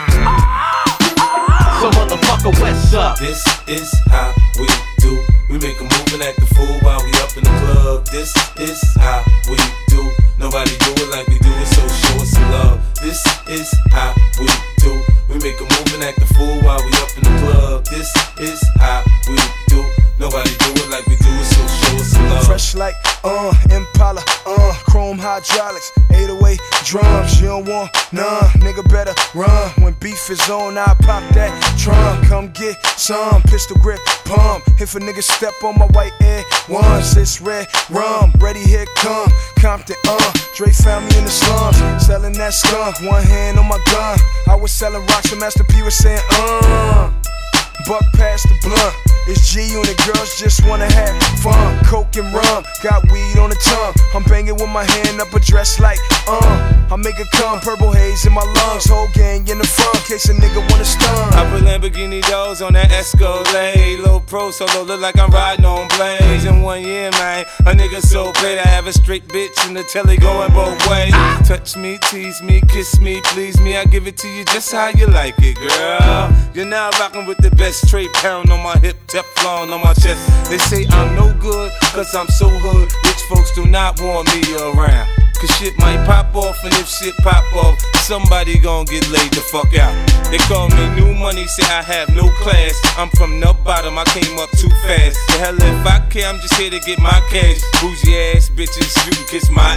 ah. So motherfucker, what's up? This is how we do. We make a move and act the fool while we up in the club. This is how we do. Nobody do it like we do it, so show us some love. This is how we do. We make a move and act the fool while we up in the club. This is how we do. Nobody do it like we do it, so show us some love. Fresh like, uh, Impala, uh, chrome hydraulics, eight oh eight drums. You don't want none, nigga better run. When beef is on, I pop that trunk. Come get some, pistol grip, pump. If a nigga step on my white air once, it's red rum. Ready, here come Compton, uh. Dre found me in the slums, selling that skunk. One hand on my gun. I was selling rocks, and Master P was saying, uh. Buck past the blunt. It's G Unit, girls just wanna have fun. Coke and rum, got weed on the tongue. I'm banging with my hand up a dress like, uh. I make it come, purple haze in my lungs. Whole gang in the front, case a nigga wanna stun. I put Lamborghini doors on that Escalade. Low pro solo, look like I'm riding on blades. In one year, man, a nigga so great. I have a straight bitch in the telly going both ways. Touch me, tease me, kiss me, please me. I give it to you just how you like it, girl. You're now rocking with the best. Straight pound on my hip, Teflon on my chest. They say I'm no good, cause I'm so hood. Rich folks do not want me around. Cause shit might pop off, and if shit pop off, somebody gon' get laid the fuck out. They call me new money, say I have no class. I'm from the bottom, I came up too fast. The hell if I care, I'm just here to get my cash. Bougie ass bitches, you can kiss my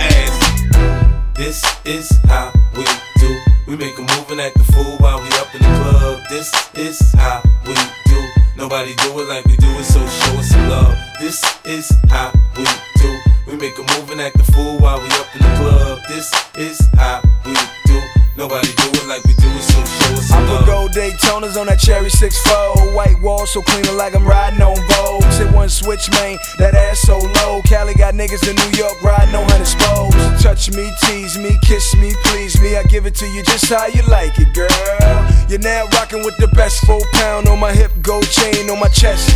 ass. This is how we do. We make a move and act the fool while we up in the club. This is how we do. Nobody do it like we do it, so show us some love. This is how we do. We make a move and act the fool while we up in the club. This is how we do. Nobody do it like we do it, so show us some love. I put gold Daytonas on that cherry six four. White wall so clean like I'm riding on Vogues. Hit one switch, man, that ass so low. Cali got niggas in New York riding on hundred spokes. Touch me, tease me, kiss me, please me. I give it to you just how you like it, girl. You're now rocking with the best. Four pound on my hip, gold chain on my chest.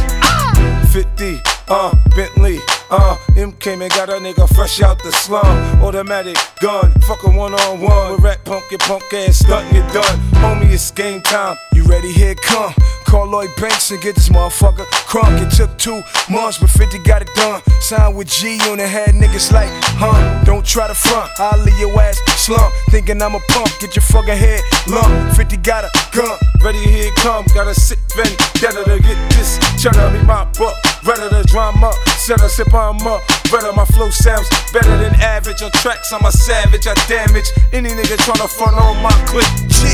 fifty, uh, Bentley, uh, M came and got a nigga fresh out the slum. Automatic gun, fuck a one on one. With rat punk, your punk ass stuntin', you done. Homie, it's game time. You ready? Here it come. Call Lloyd Banks and get this motherfucker crunk. It took two months, but fifty got it done. Signed with G Unit, had niggas like, huh? Don't try to front, I'll leave your ass slump. Thinking I'm a punk, get your fucking head lump. fifty got a gun. Ready, here it come. Got a sick vendetta to get this. Cheddar me my buck. Redder the drama, set a sip on up. Redder my flow sounds better than average. On tracks, I'm a savage, I damage any nigga tryna front on my clip. Shit,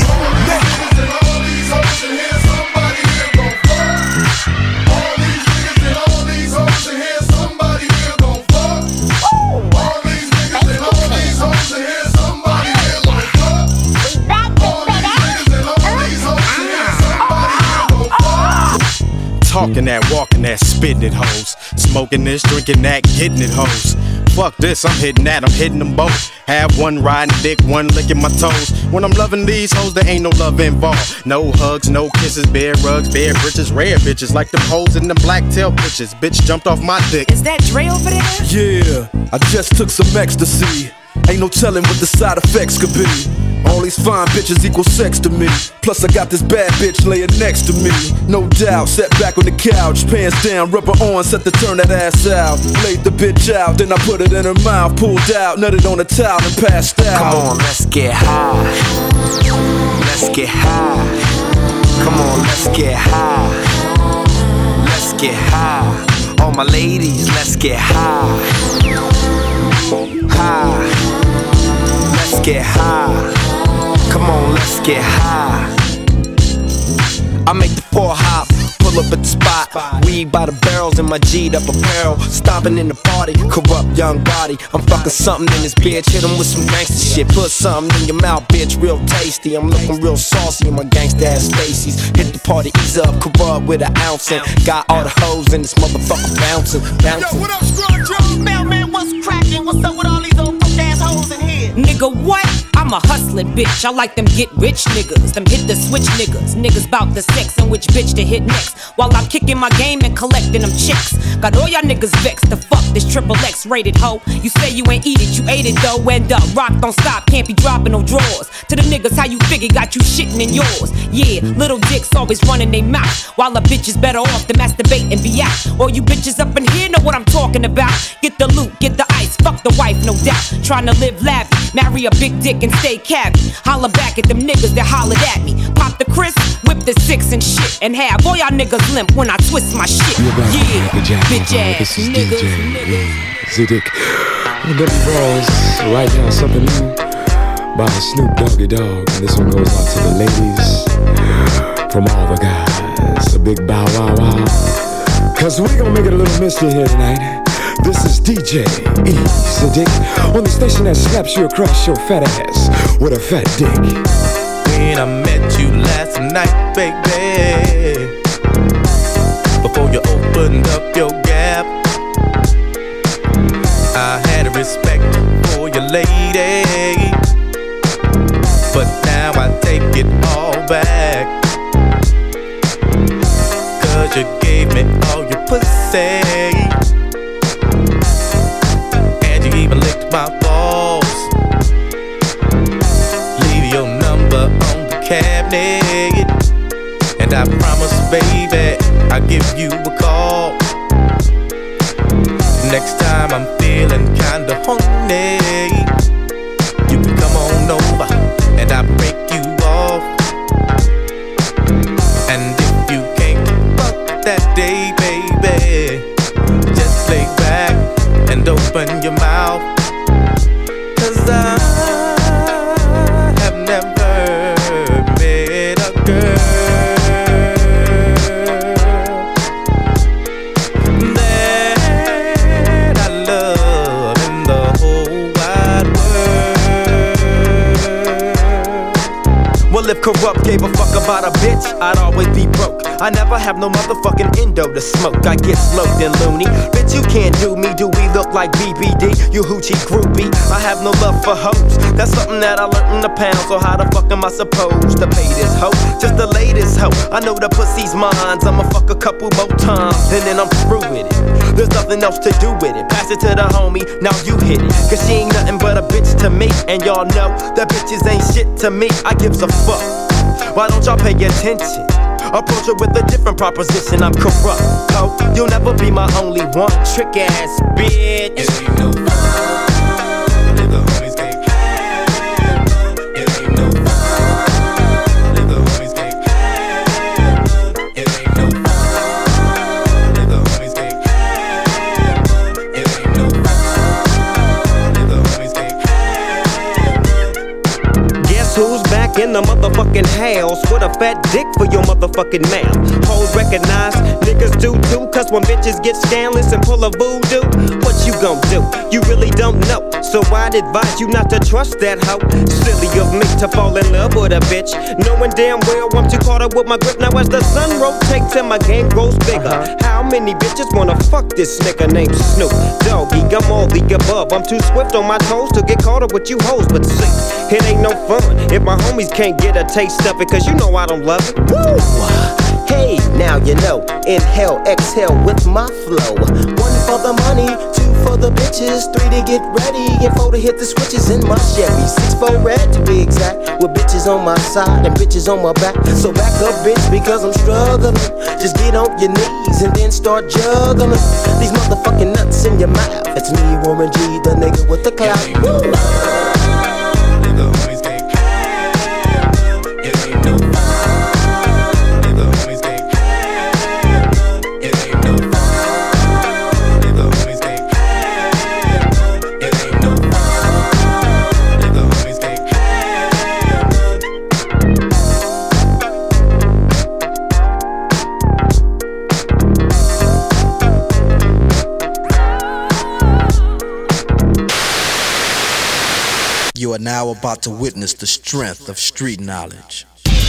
all these hoes in here, somebody here gon' fuck. All these niggas and all these hoes in here, somebody here gon' fuck. All these niggas and all these hoes in here, somebody here gon' fuck. All these niggas and all these hoes in here, somebody here gon' fuck. Talking that, walking that, spitting it, hoes. Smoking this, drinking that, getting it, hoes. Fuck this, I'm hitting that, I'm hitting them both. Have one riding dick, one licking my toes. When I'm loving these hoes, there ain't no love involved. No hugs, no kisses, bare rugs, bare britches, rare bitches. Like them hoes in them black tail bitches. Bitch jumped off my dick. Is that Dre over there? Yeah, I just took some ecstasy. Ain't no telling what the side effects could be. All these fine bitches equal sex to me. Plus I got this bad bitch laying next to me. No doubt, sat back on the couch, pants down, rubber on, set to turn that ass out. Laid the bitch out, then I put it in her mouth, pulled out, nutted on the towel and passed out. Come on, let's get high. Let's get high. Come on, let's get high. Let's get high. All my ladies, let's get high. High. Let's get high. Come on, let's get high. I make the four hop, pull up at the spot. Weed by the barrels in my G'd up apparel. Stomping in the party, corrupt young body. I'm fucking something in this bitch, hit him with some gangster shit. Put something in your mouth, bitch, real tasty. I'm looking real saucy in my gangsta ass Stacy's. Hit the party, ease up, corrupt with an ounce. And got all the hoes in this motherfucker bouncing, bouncing. Yo, what up, Scrub Joe? Mailman, what's cracking? What's up with all these old fuck ass hoes in here? Nigga, what? I'm a hustling bitch. I like them get rich niggas, them hit the switch niggas. Niggas bout the sex and which bitch to hit next. While I'm kicking my game and collecting them chicks. Got all y'all niggas vexed to fuck this triple X rated hoe. You say you ain't eat it, you ate it though. End up, rock don't stop, can't be dropping no drawers. To the niggas, how you figure got you shitting in yours. Yeah, little dicks always running they mouth. While a bitch is better off to masturbate and be out. All you bitches up in here know what I'm talking about. Get the loot, get the ice, fuck the wife, no doubt. Trying to live lavish, marry a big dick and stay cabby. Holla back at them niggas that hollered at me. Pop the crisp, whip the six and shit. And have all y'all niggas limp when I twist my shit. Yeah, bitch ass niggas. Zedek, on W Balls, right now something new by Snoop Doggy Dogg. And this one goes out to the ladies from all the guys. A big bow wow wow. Cause we gonna make it a little mystery here tonight. This is D J E Zedek on the station that slaps you across your fat ass with a fat dick. When I met you last night, baby, before you opened up your gap, I had a respect for your lady, but now I take it all back. Cause you gave me all your pussy, and you even licked my balls. Leave your number on the cabinet, and I promise, baby, I'll give you a call. Next time I'm feeling kinda horny, you can come on over and I'll break you off. And if you can't fuck that day, baby, just lay back and open your mouth. Cause I have never met a girl if corrupt gave a fuck about a bitch, I'd always be broke. I never have no motherfucking endo to smoke. I get smoked and loony. Bitch, you can't do me. Do we look like B B D? You hoochie groupie. I have no love for hoes. That's something that I learned in the pound. So how the fuck am I supposed to pay this hoe? Just the latest hoe. I know the pussy's mine. I'ma fuck a couple more times, and then I'm through with it. There's nothing else to do with it. Pass it to the homie, now you hit it. Cause she ain't nothing but a bitch to me. And y'all know that bitches ain't shit to me. I gives a fuck. Why don't y'all pay attention? Approach her with a different proposition. I'm corrupt, ho. You'll never be my only one. Trick ass bitch. It ain't no fun if the homies can't have none. It ain't no fun if the homies can't have none. It ain't no fun if the homies can't have none. It ain't no fun if the homies can't have none. Guess who's back? back in the motherfucking house with a fat dick for your motherfucking mouth. Hoes recognize, niggas do too, cause when bitches get scandalous and pull a voodoo, what you gon' do? You really don't know, so I'd advise you not to trust that hoe. Silly of me to fall in love with a bitch, knowing damn well I'm too caught up with my grip. Now as the sun rotates and my game grows bigger, uh-huh. How many bitches wanna fuck this nigga named Snoop Doggy? I'm all the above, I'm too swift on my toes to get caught up with you hoes. But see, it ain't no fun if my homies can't get a taste of it, cause you know I don't love it. Woo! Hey, now you know, inhale, exhale with my flow. One for the money, two for the bitches, three to get ready, and four to hit the switches in my Chevy. Six for red to be exact, with bitches on my side and bitches on my back. So back up, bitch, because I'm struggling. Just get on your knees and then start juggling these motherfucking nuts in your mouth. It's me, Warren G, the nigga with the clout. Woo! You are now about to witness the strength of street knowledge.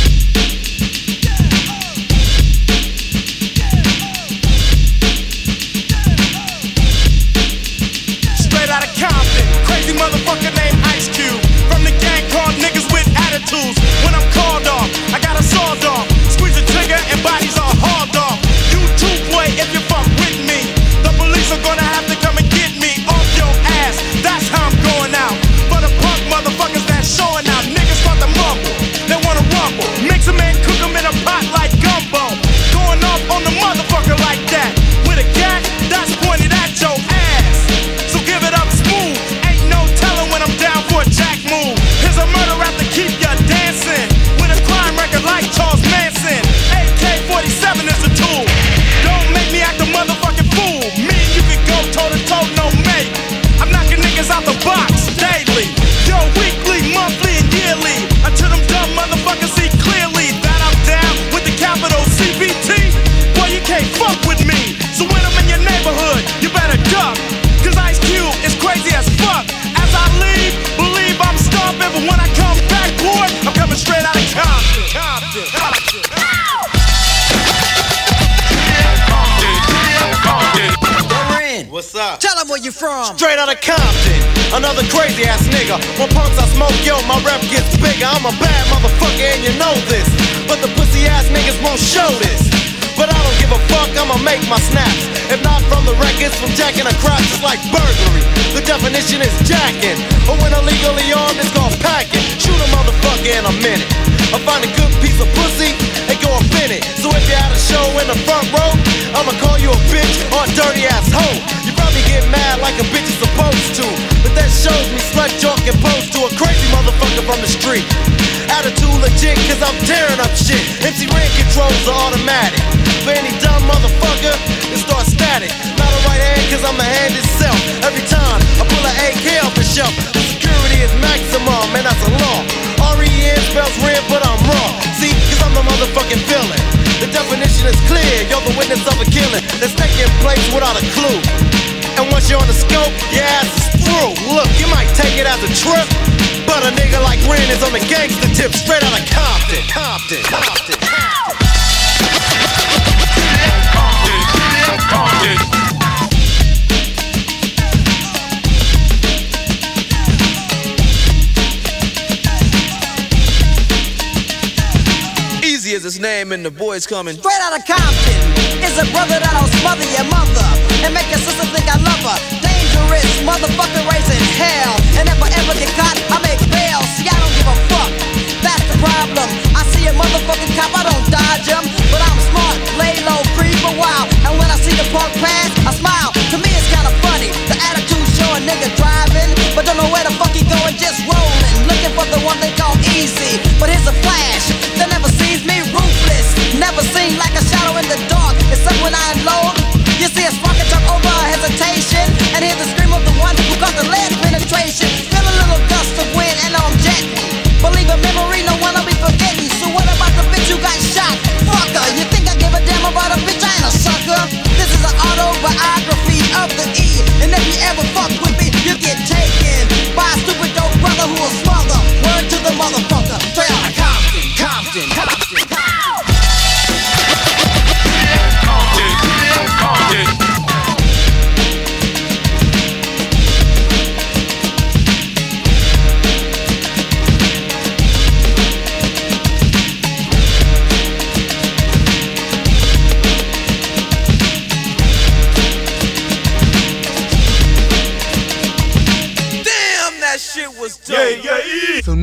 Straight out of Compton, crazy motherfucker named Ice Cube. From the gang called niggas with attitudes. When I'm called off, I got a sawed off. Squeeze the trigger and bodies are hauled off. You too, boy, if you fuck with me. The police are gonna have to come and get me off your ass. That's how I'm going out. For the punk motherfuckers that's showing out. Niggas want to mumble, they wanna rumble. Mix 'em and cook 'em in a pot like gumbo. Going off on the motherfucker like that. With a gat that's pointed at your ass. So give it up smooth. Ain't no telling when I'm down for a jack move. Here's a murder rap to keep ya dancing. With a crime record like Charles Manson. A K forty-seven is a tool. Don't make me act a motherfucking fool. Me and you can go toe to toe, no mate. I'm knocking niggas out the box daily. Yo, weekly, monthly, and yearly. Until them dumb motherfuckers see clearly that I'm down with the capital C B T. Boy, you can't fuck with me. So when I'm in your neighborhood, you better duck. Cause Ice Cube is crazy as fuck. As I leave, believe I'm stomping. But when I come back, boy, I'm coming straight out of Compton. Compton. Compton. What's up? Tell them where you from. Straight out of Compton. Another crazy ass nigga. When punks I smoke, yo, my rep gets bigger. I'm a bad motherfucker and you know this. But the pussy ass niggas won't show this. But I don't give a fuck, I'ma make my snaps. If not from the records, from jacking a crotch, it's like burglary. The definition is jacking. Or when illegally armed, it's called packing. Shoot a motherfucker in a minute. I find a good piece of pussy and go up in it. So if you had a show in the front row, I'ma call you a bitch or a dirty ass hoe. You probably get mad like a bitch is supposed to. But that shows me slut joke and pose to a crazy motherfucker from the street. Attitude legit, cause I'm tearing up shit. M C Ren controls are automatic. For any dumb motherfucker, it starts static. Not a right hand, cause I'm a hand itself. Every time I pull an A K off the shelf, the security is maximum, and that's a law. R E N spells red, but I'm raw. See, cause I'm the motherfucking villain. The definition is clear, you're the witness of a killing that's taking place without a clue. And once you're on the scope, your ass is through. Look, you might take it as a trip, but a nigga like Ren is on the gangster tip, straight out of Compton. Compton, Compton, Compton. Easy as his name and the boys coming. Straight out of Compton is a brother that'll smother your mother and make your sister think I love her. Dangerous motherfucker raising hell. And if I ever get caught, I make bail. See, I don't give a fuck. That's the problem. I see a motherfucking cop, I don't dodge him, but I'm smart, lay low, creep a while. And when I see the punk pass, I smile. To me it's kinda funny. The attitude show a nigga driving, but don't know where the fuck he going, just rolling. Looking for the one they call easy. But here's a flash that never sees me, ruthless. Never seen like a shadow in the dark. Except when I unload. You see a spark and jump over a hesitation, and hear the scream of the one who got the lead penetration. Feel a little gust of wind and I'm jetting.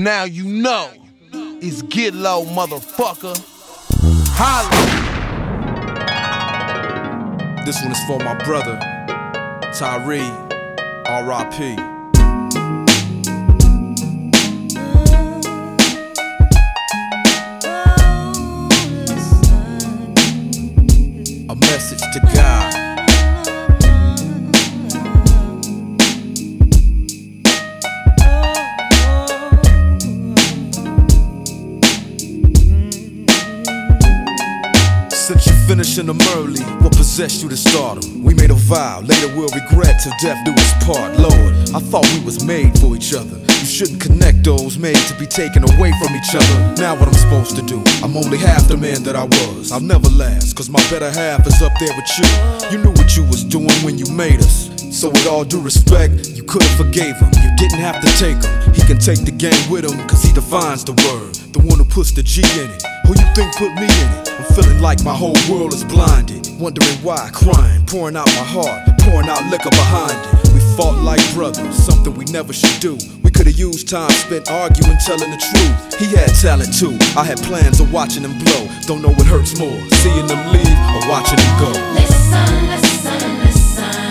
Now you know it's Get Low, motherfucker. Holla. This one is for my brother, Tyree, R I P A message to God. Since you finishing them early, what possessed you to stardom? We made a vow, later we'll regret till death do us part. Lord, I thought we was made for each other. You shouldn't connect those made to be taken away from each other. Now what I'm supposed to do? I'm only half the man that I was. I'll never last, cause my better half is up there with you. You knew what you was doing when you made us. So with all due respect, you could've forgave him. You didn't have to take him. He can take the game with him, cause he defines the word. The one who puts the G in it. Who you think put me in it? I'm feeling like my whole world is blinded. Wondering why, crying, pouring out my heart, pouring out liquor behind it. We fought like brothers, something we never should do. We could've used time spent arguing, telling the truth. He had talent too, I had plans of watching him blow. Don't know what hurts more, seeing them leave or watching him go. Listen, listen, listen.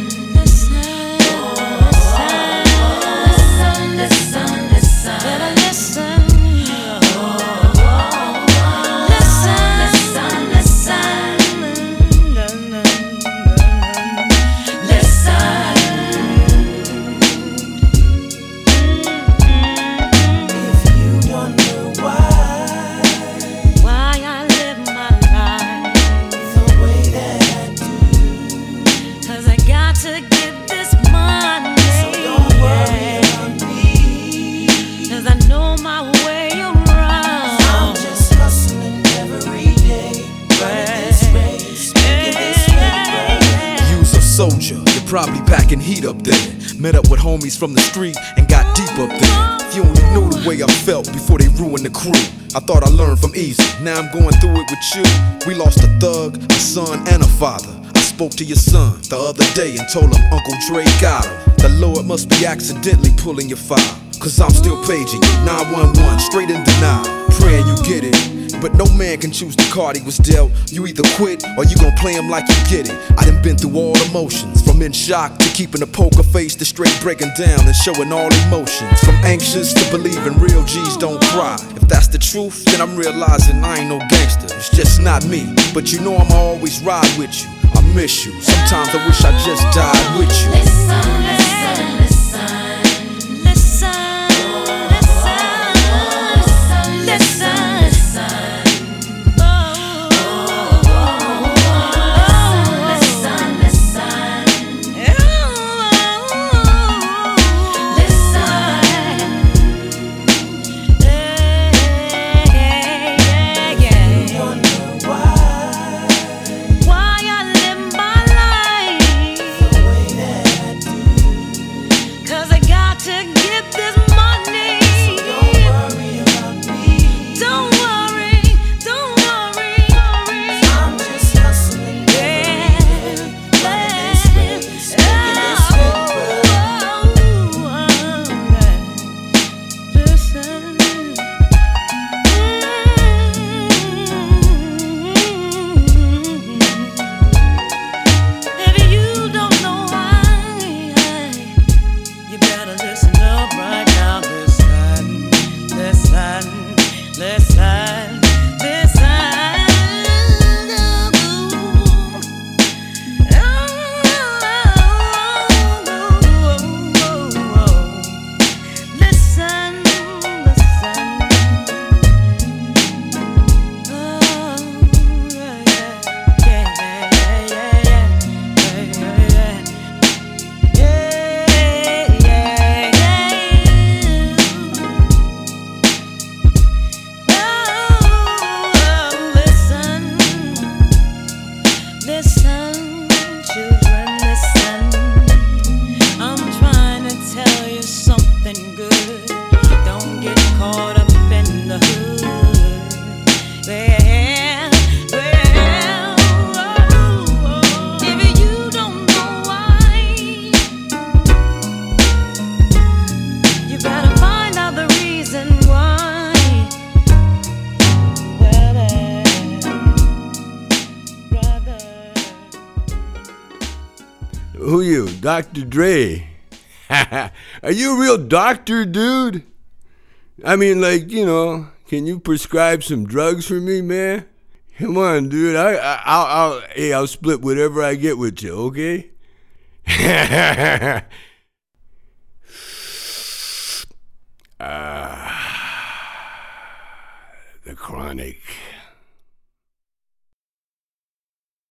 Soldier, you're probably packing heat up there. Met up with homies from the street and got deep up there. If you only knew the way I felt before they ruined the crew. I thought I learned from easy, now I'm going through it with you. We lost a thug, a son, and a father. I spoke to your son the other day and told him Uncle Dre got him. The Lord must be accidentally pulling your file, cause I'm still paging you, nine one one, straight in denial. Praying you get it, but no man can choose the card he was dealt. You either quit or you gon' play him like you get it. I done been through all emotions, from in shock to keeping a poker face to straight breaking down and showing all emotions. From anxious to believing real G's don't cry. If that's the truth, then I'm realizing I ain't no gangster. It's just not me, but you know I'ma always ride with you. I miss you, sometimes I wish I just died with you. Listen, listen, listen. Who you, Doctor Dre? Are you a real doctor, dude? I mean, like, you know, can you prescribe some drugs for me, man? Come on, dude. I, I, I'll, I'll, hey, I'll split whatever I get with you, okay? Ah, the Chronic.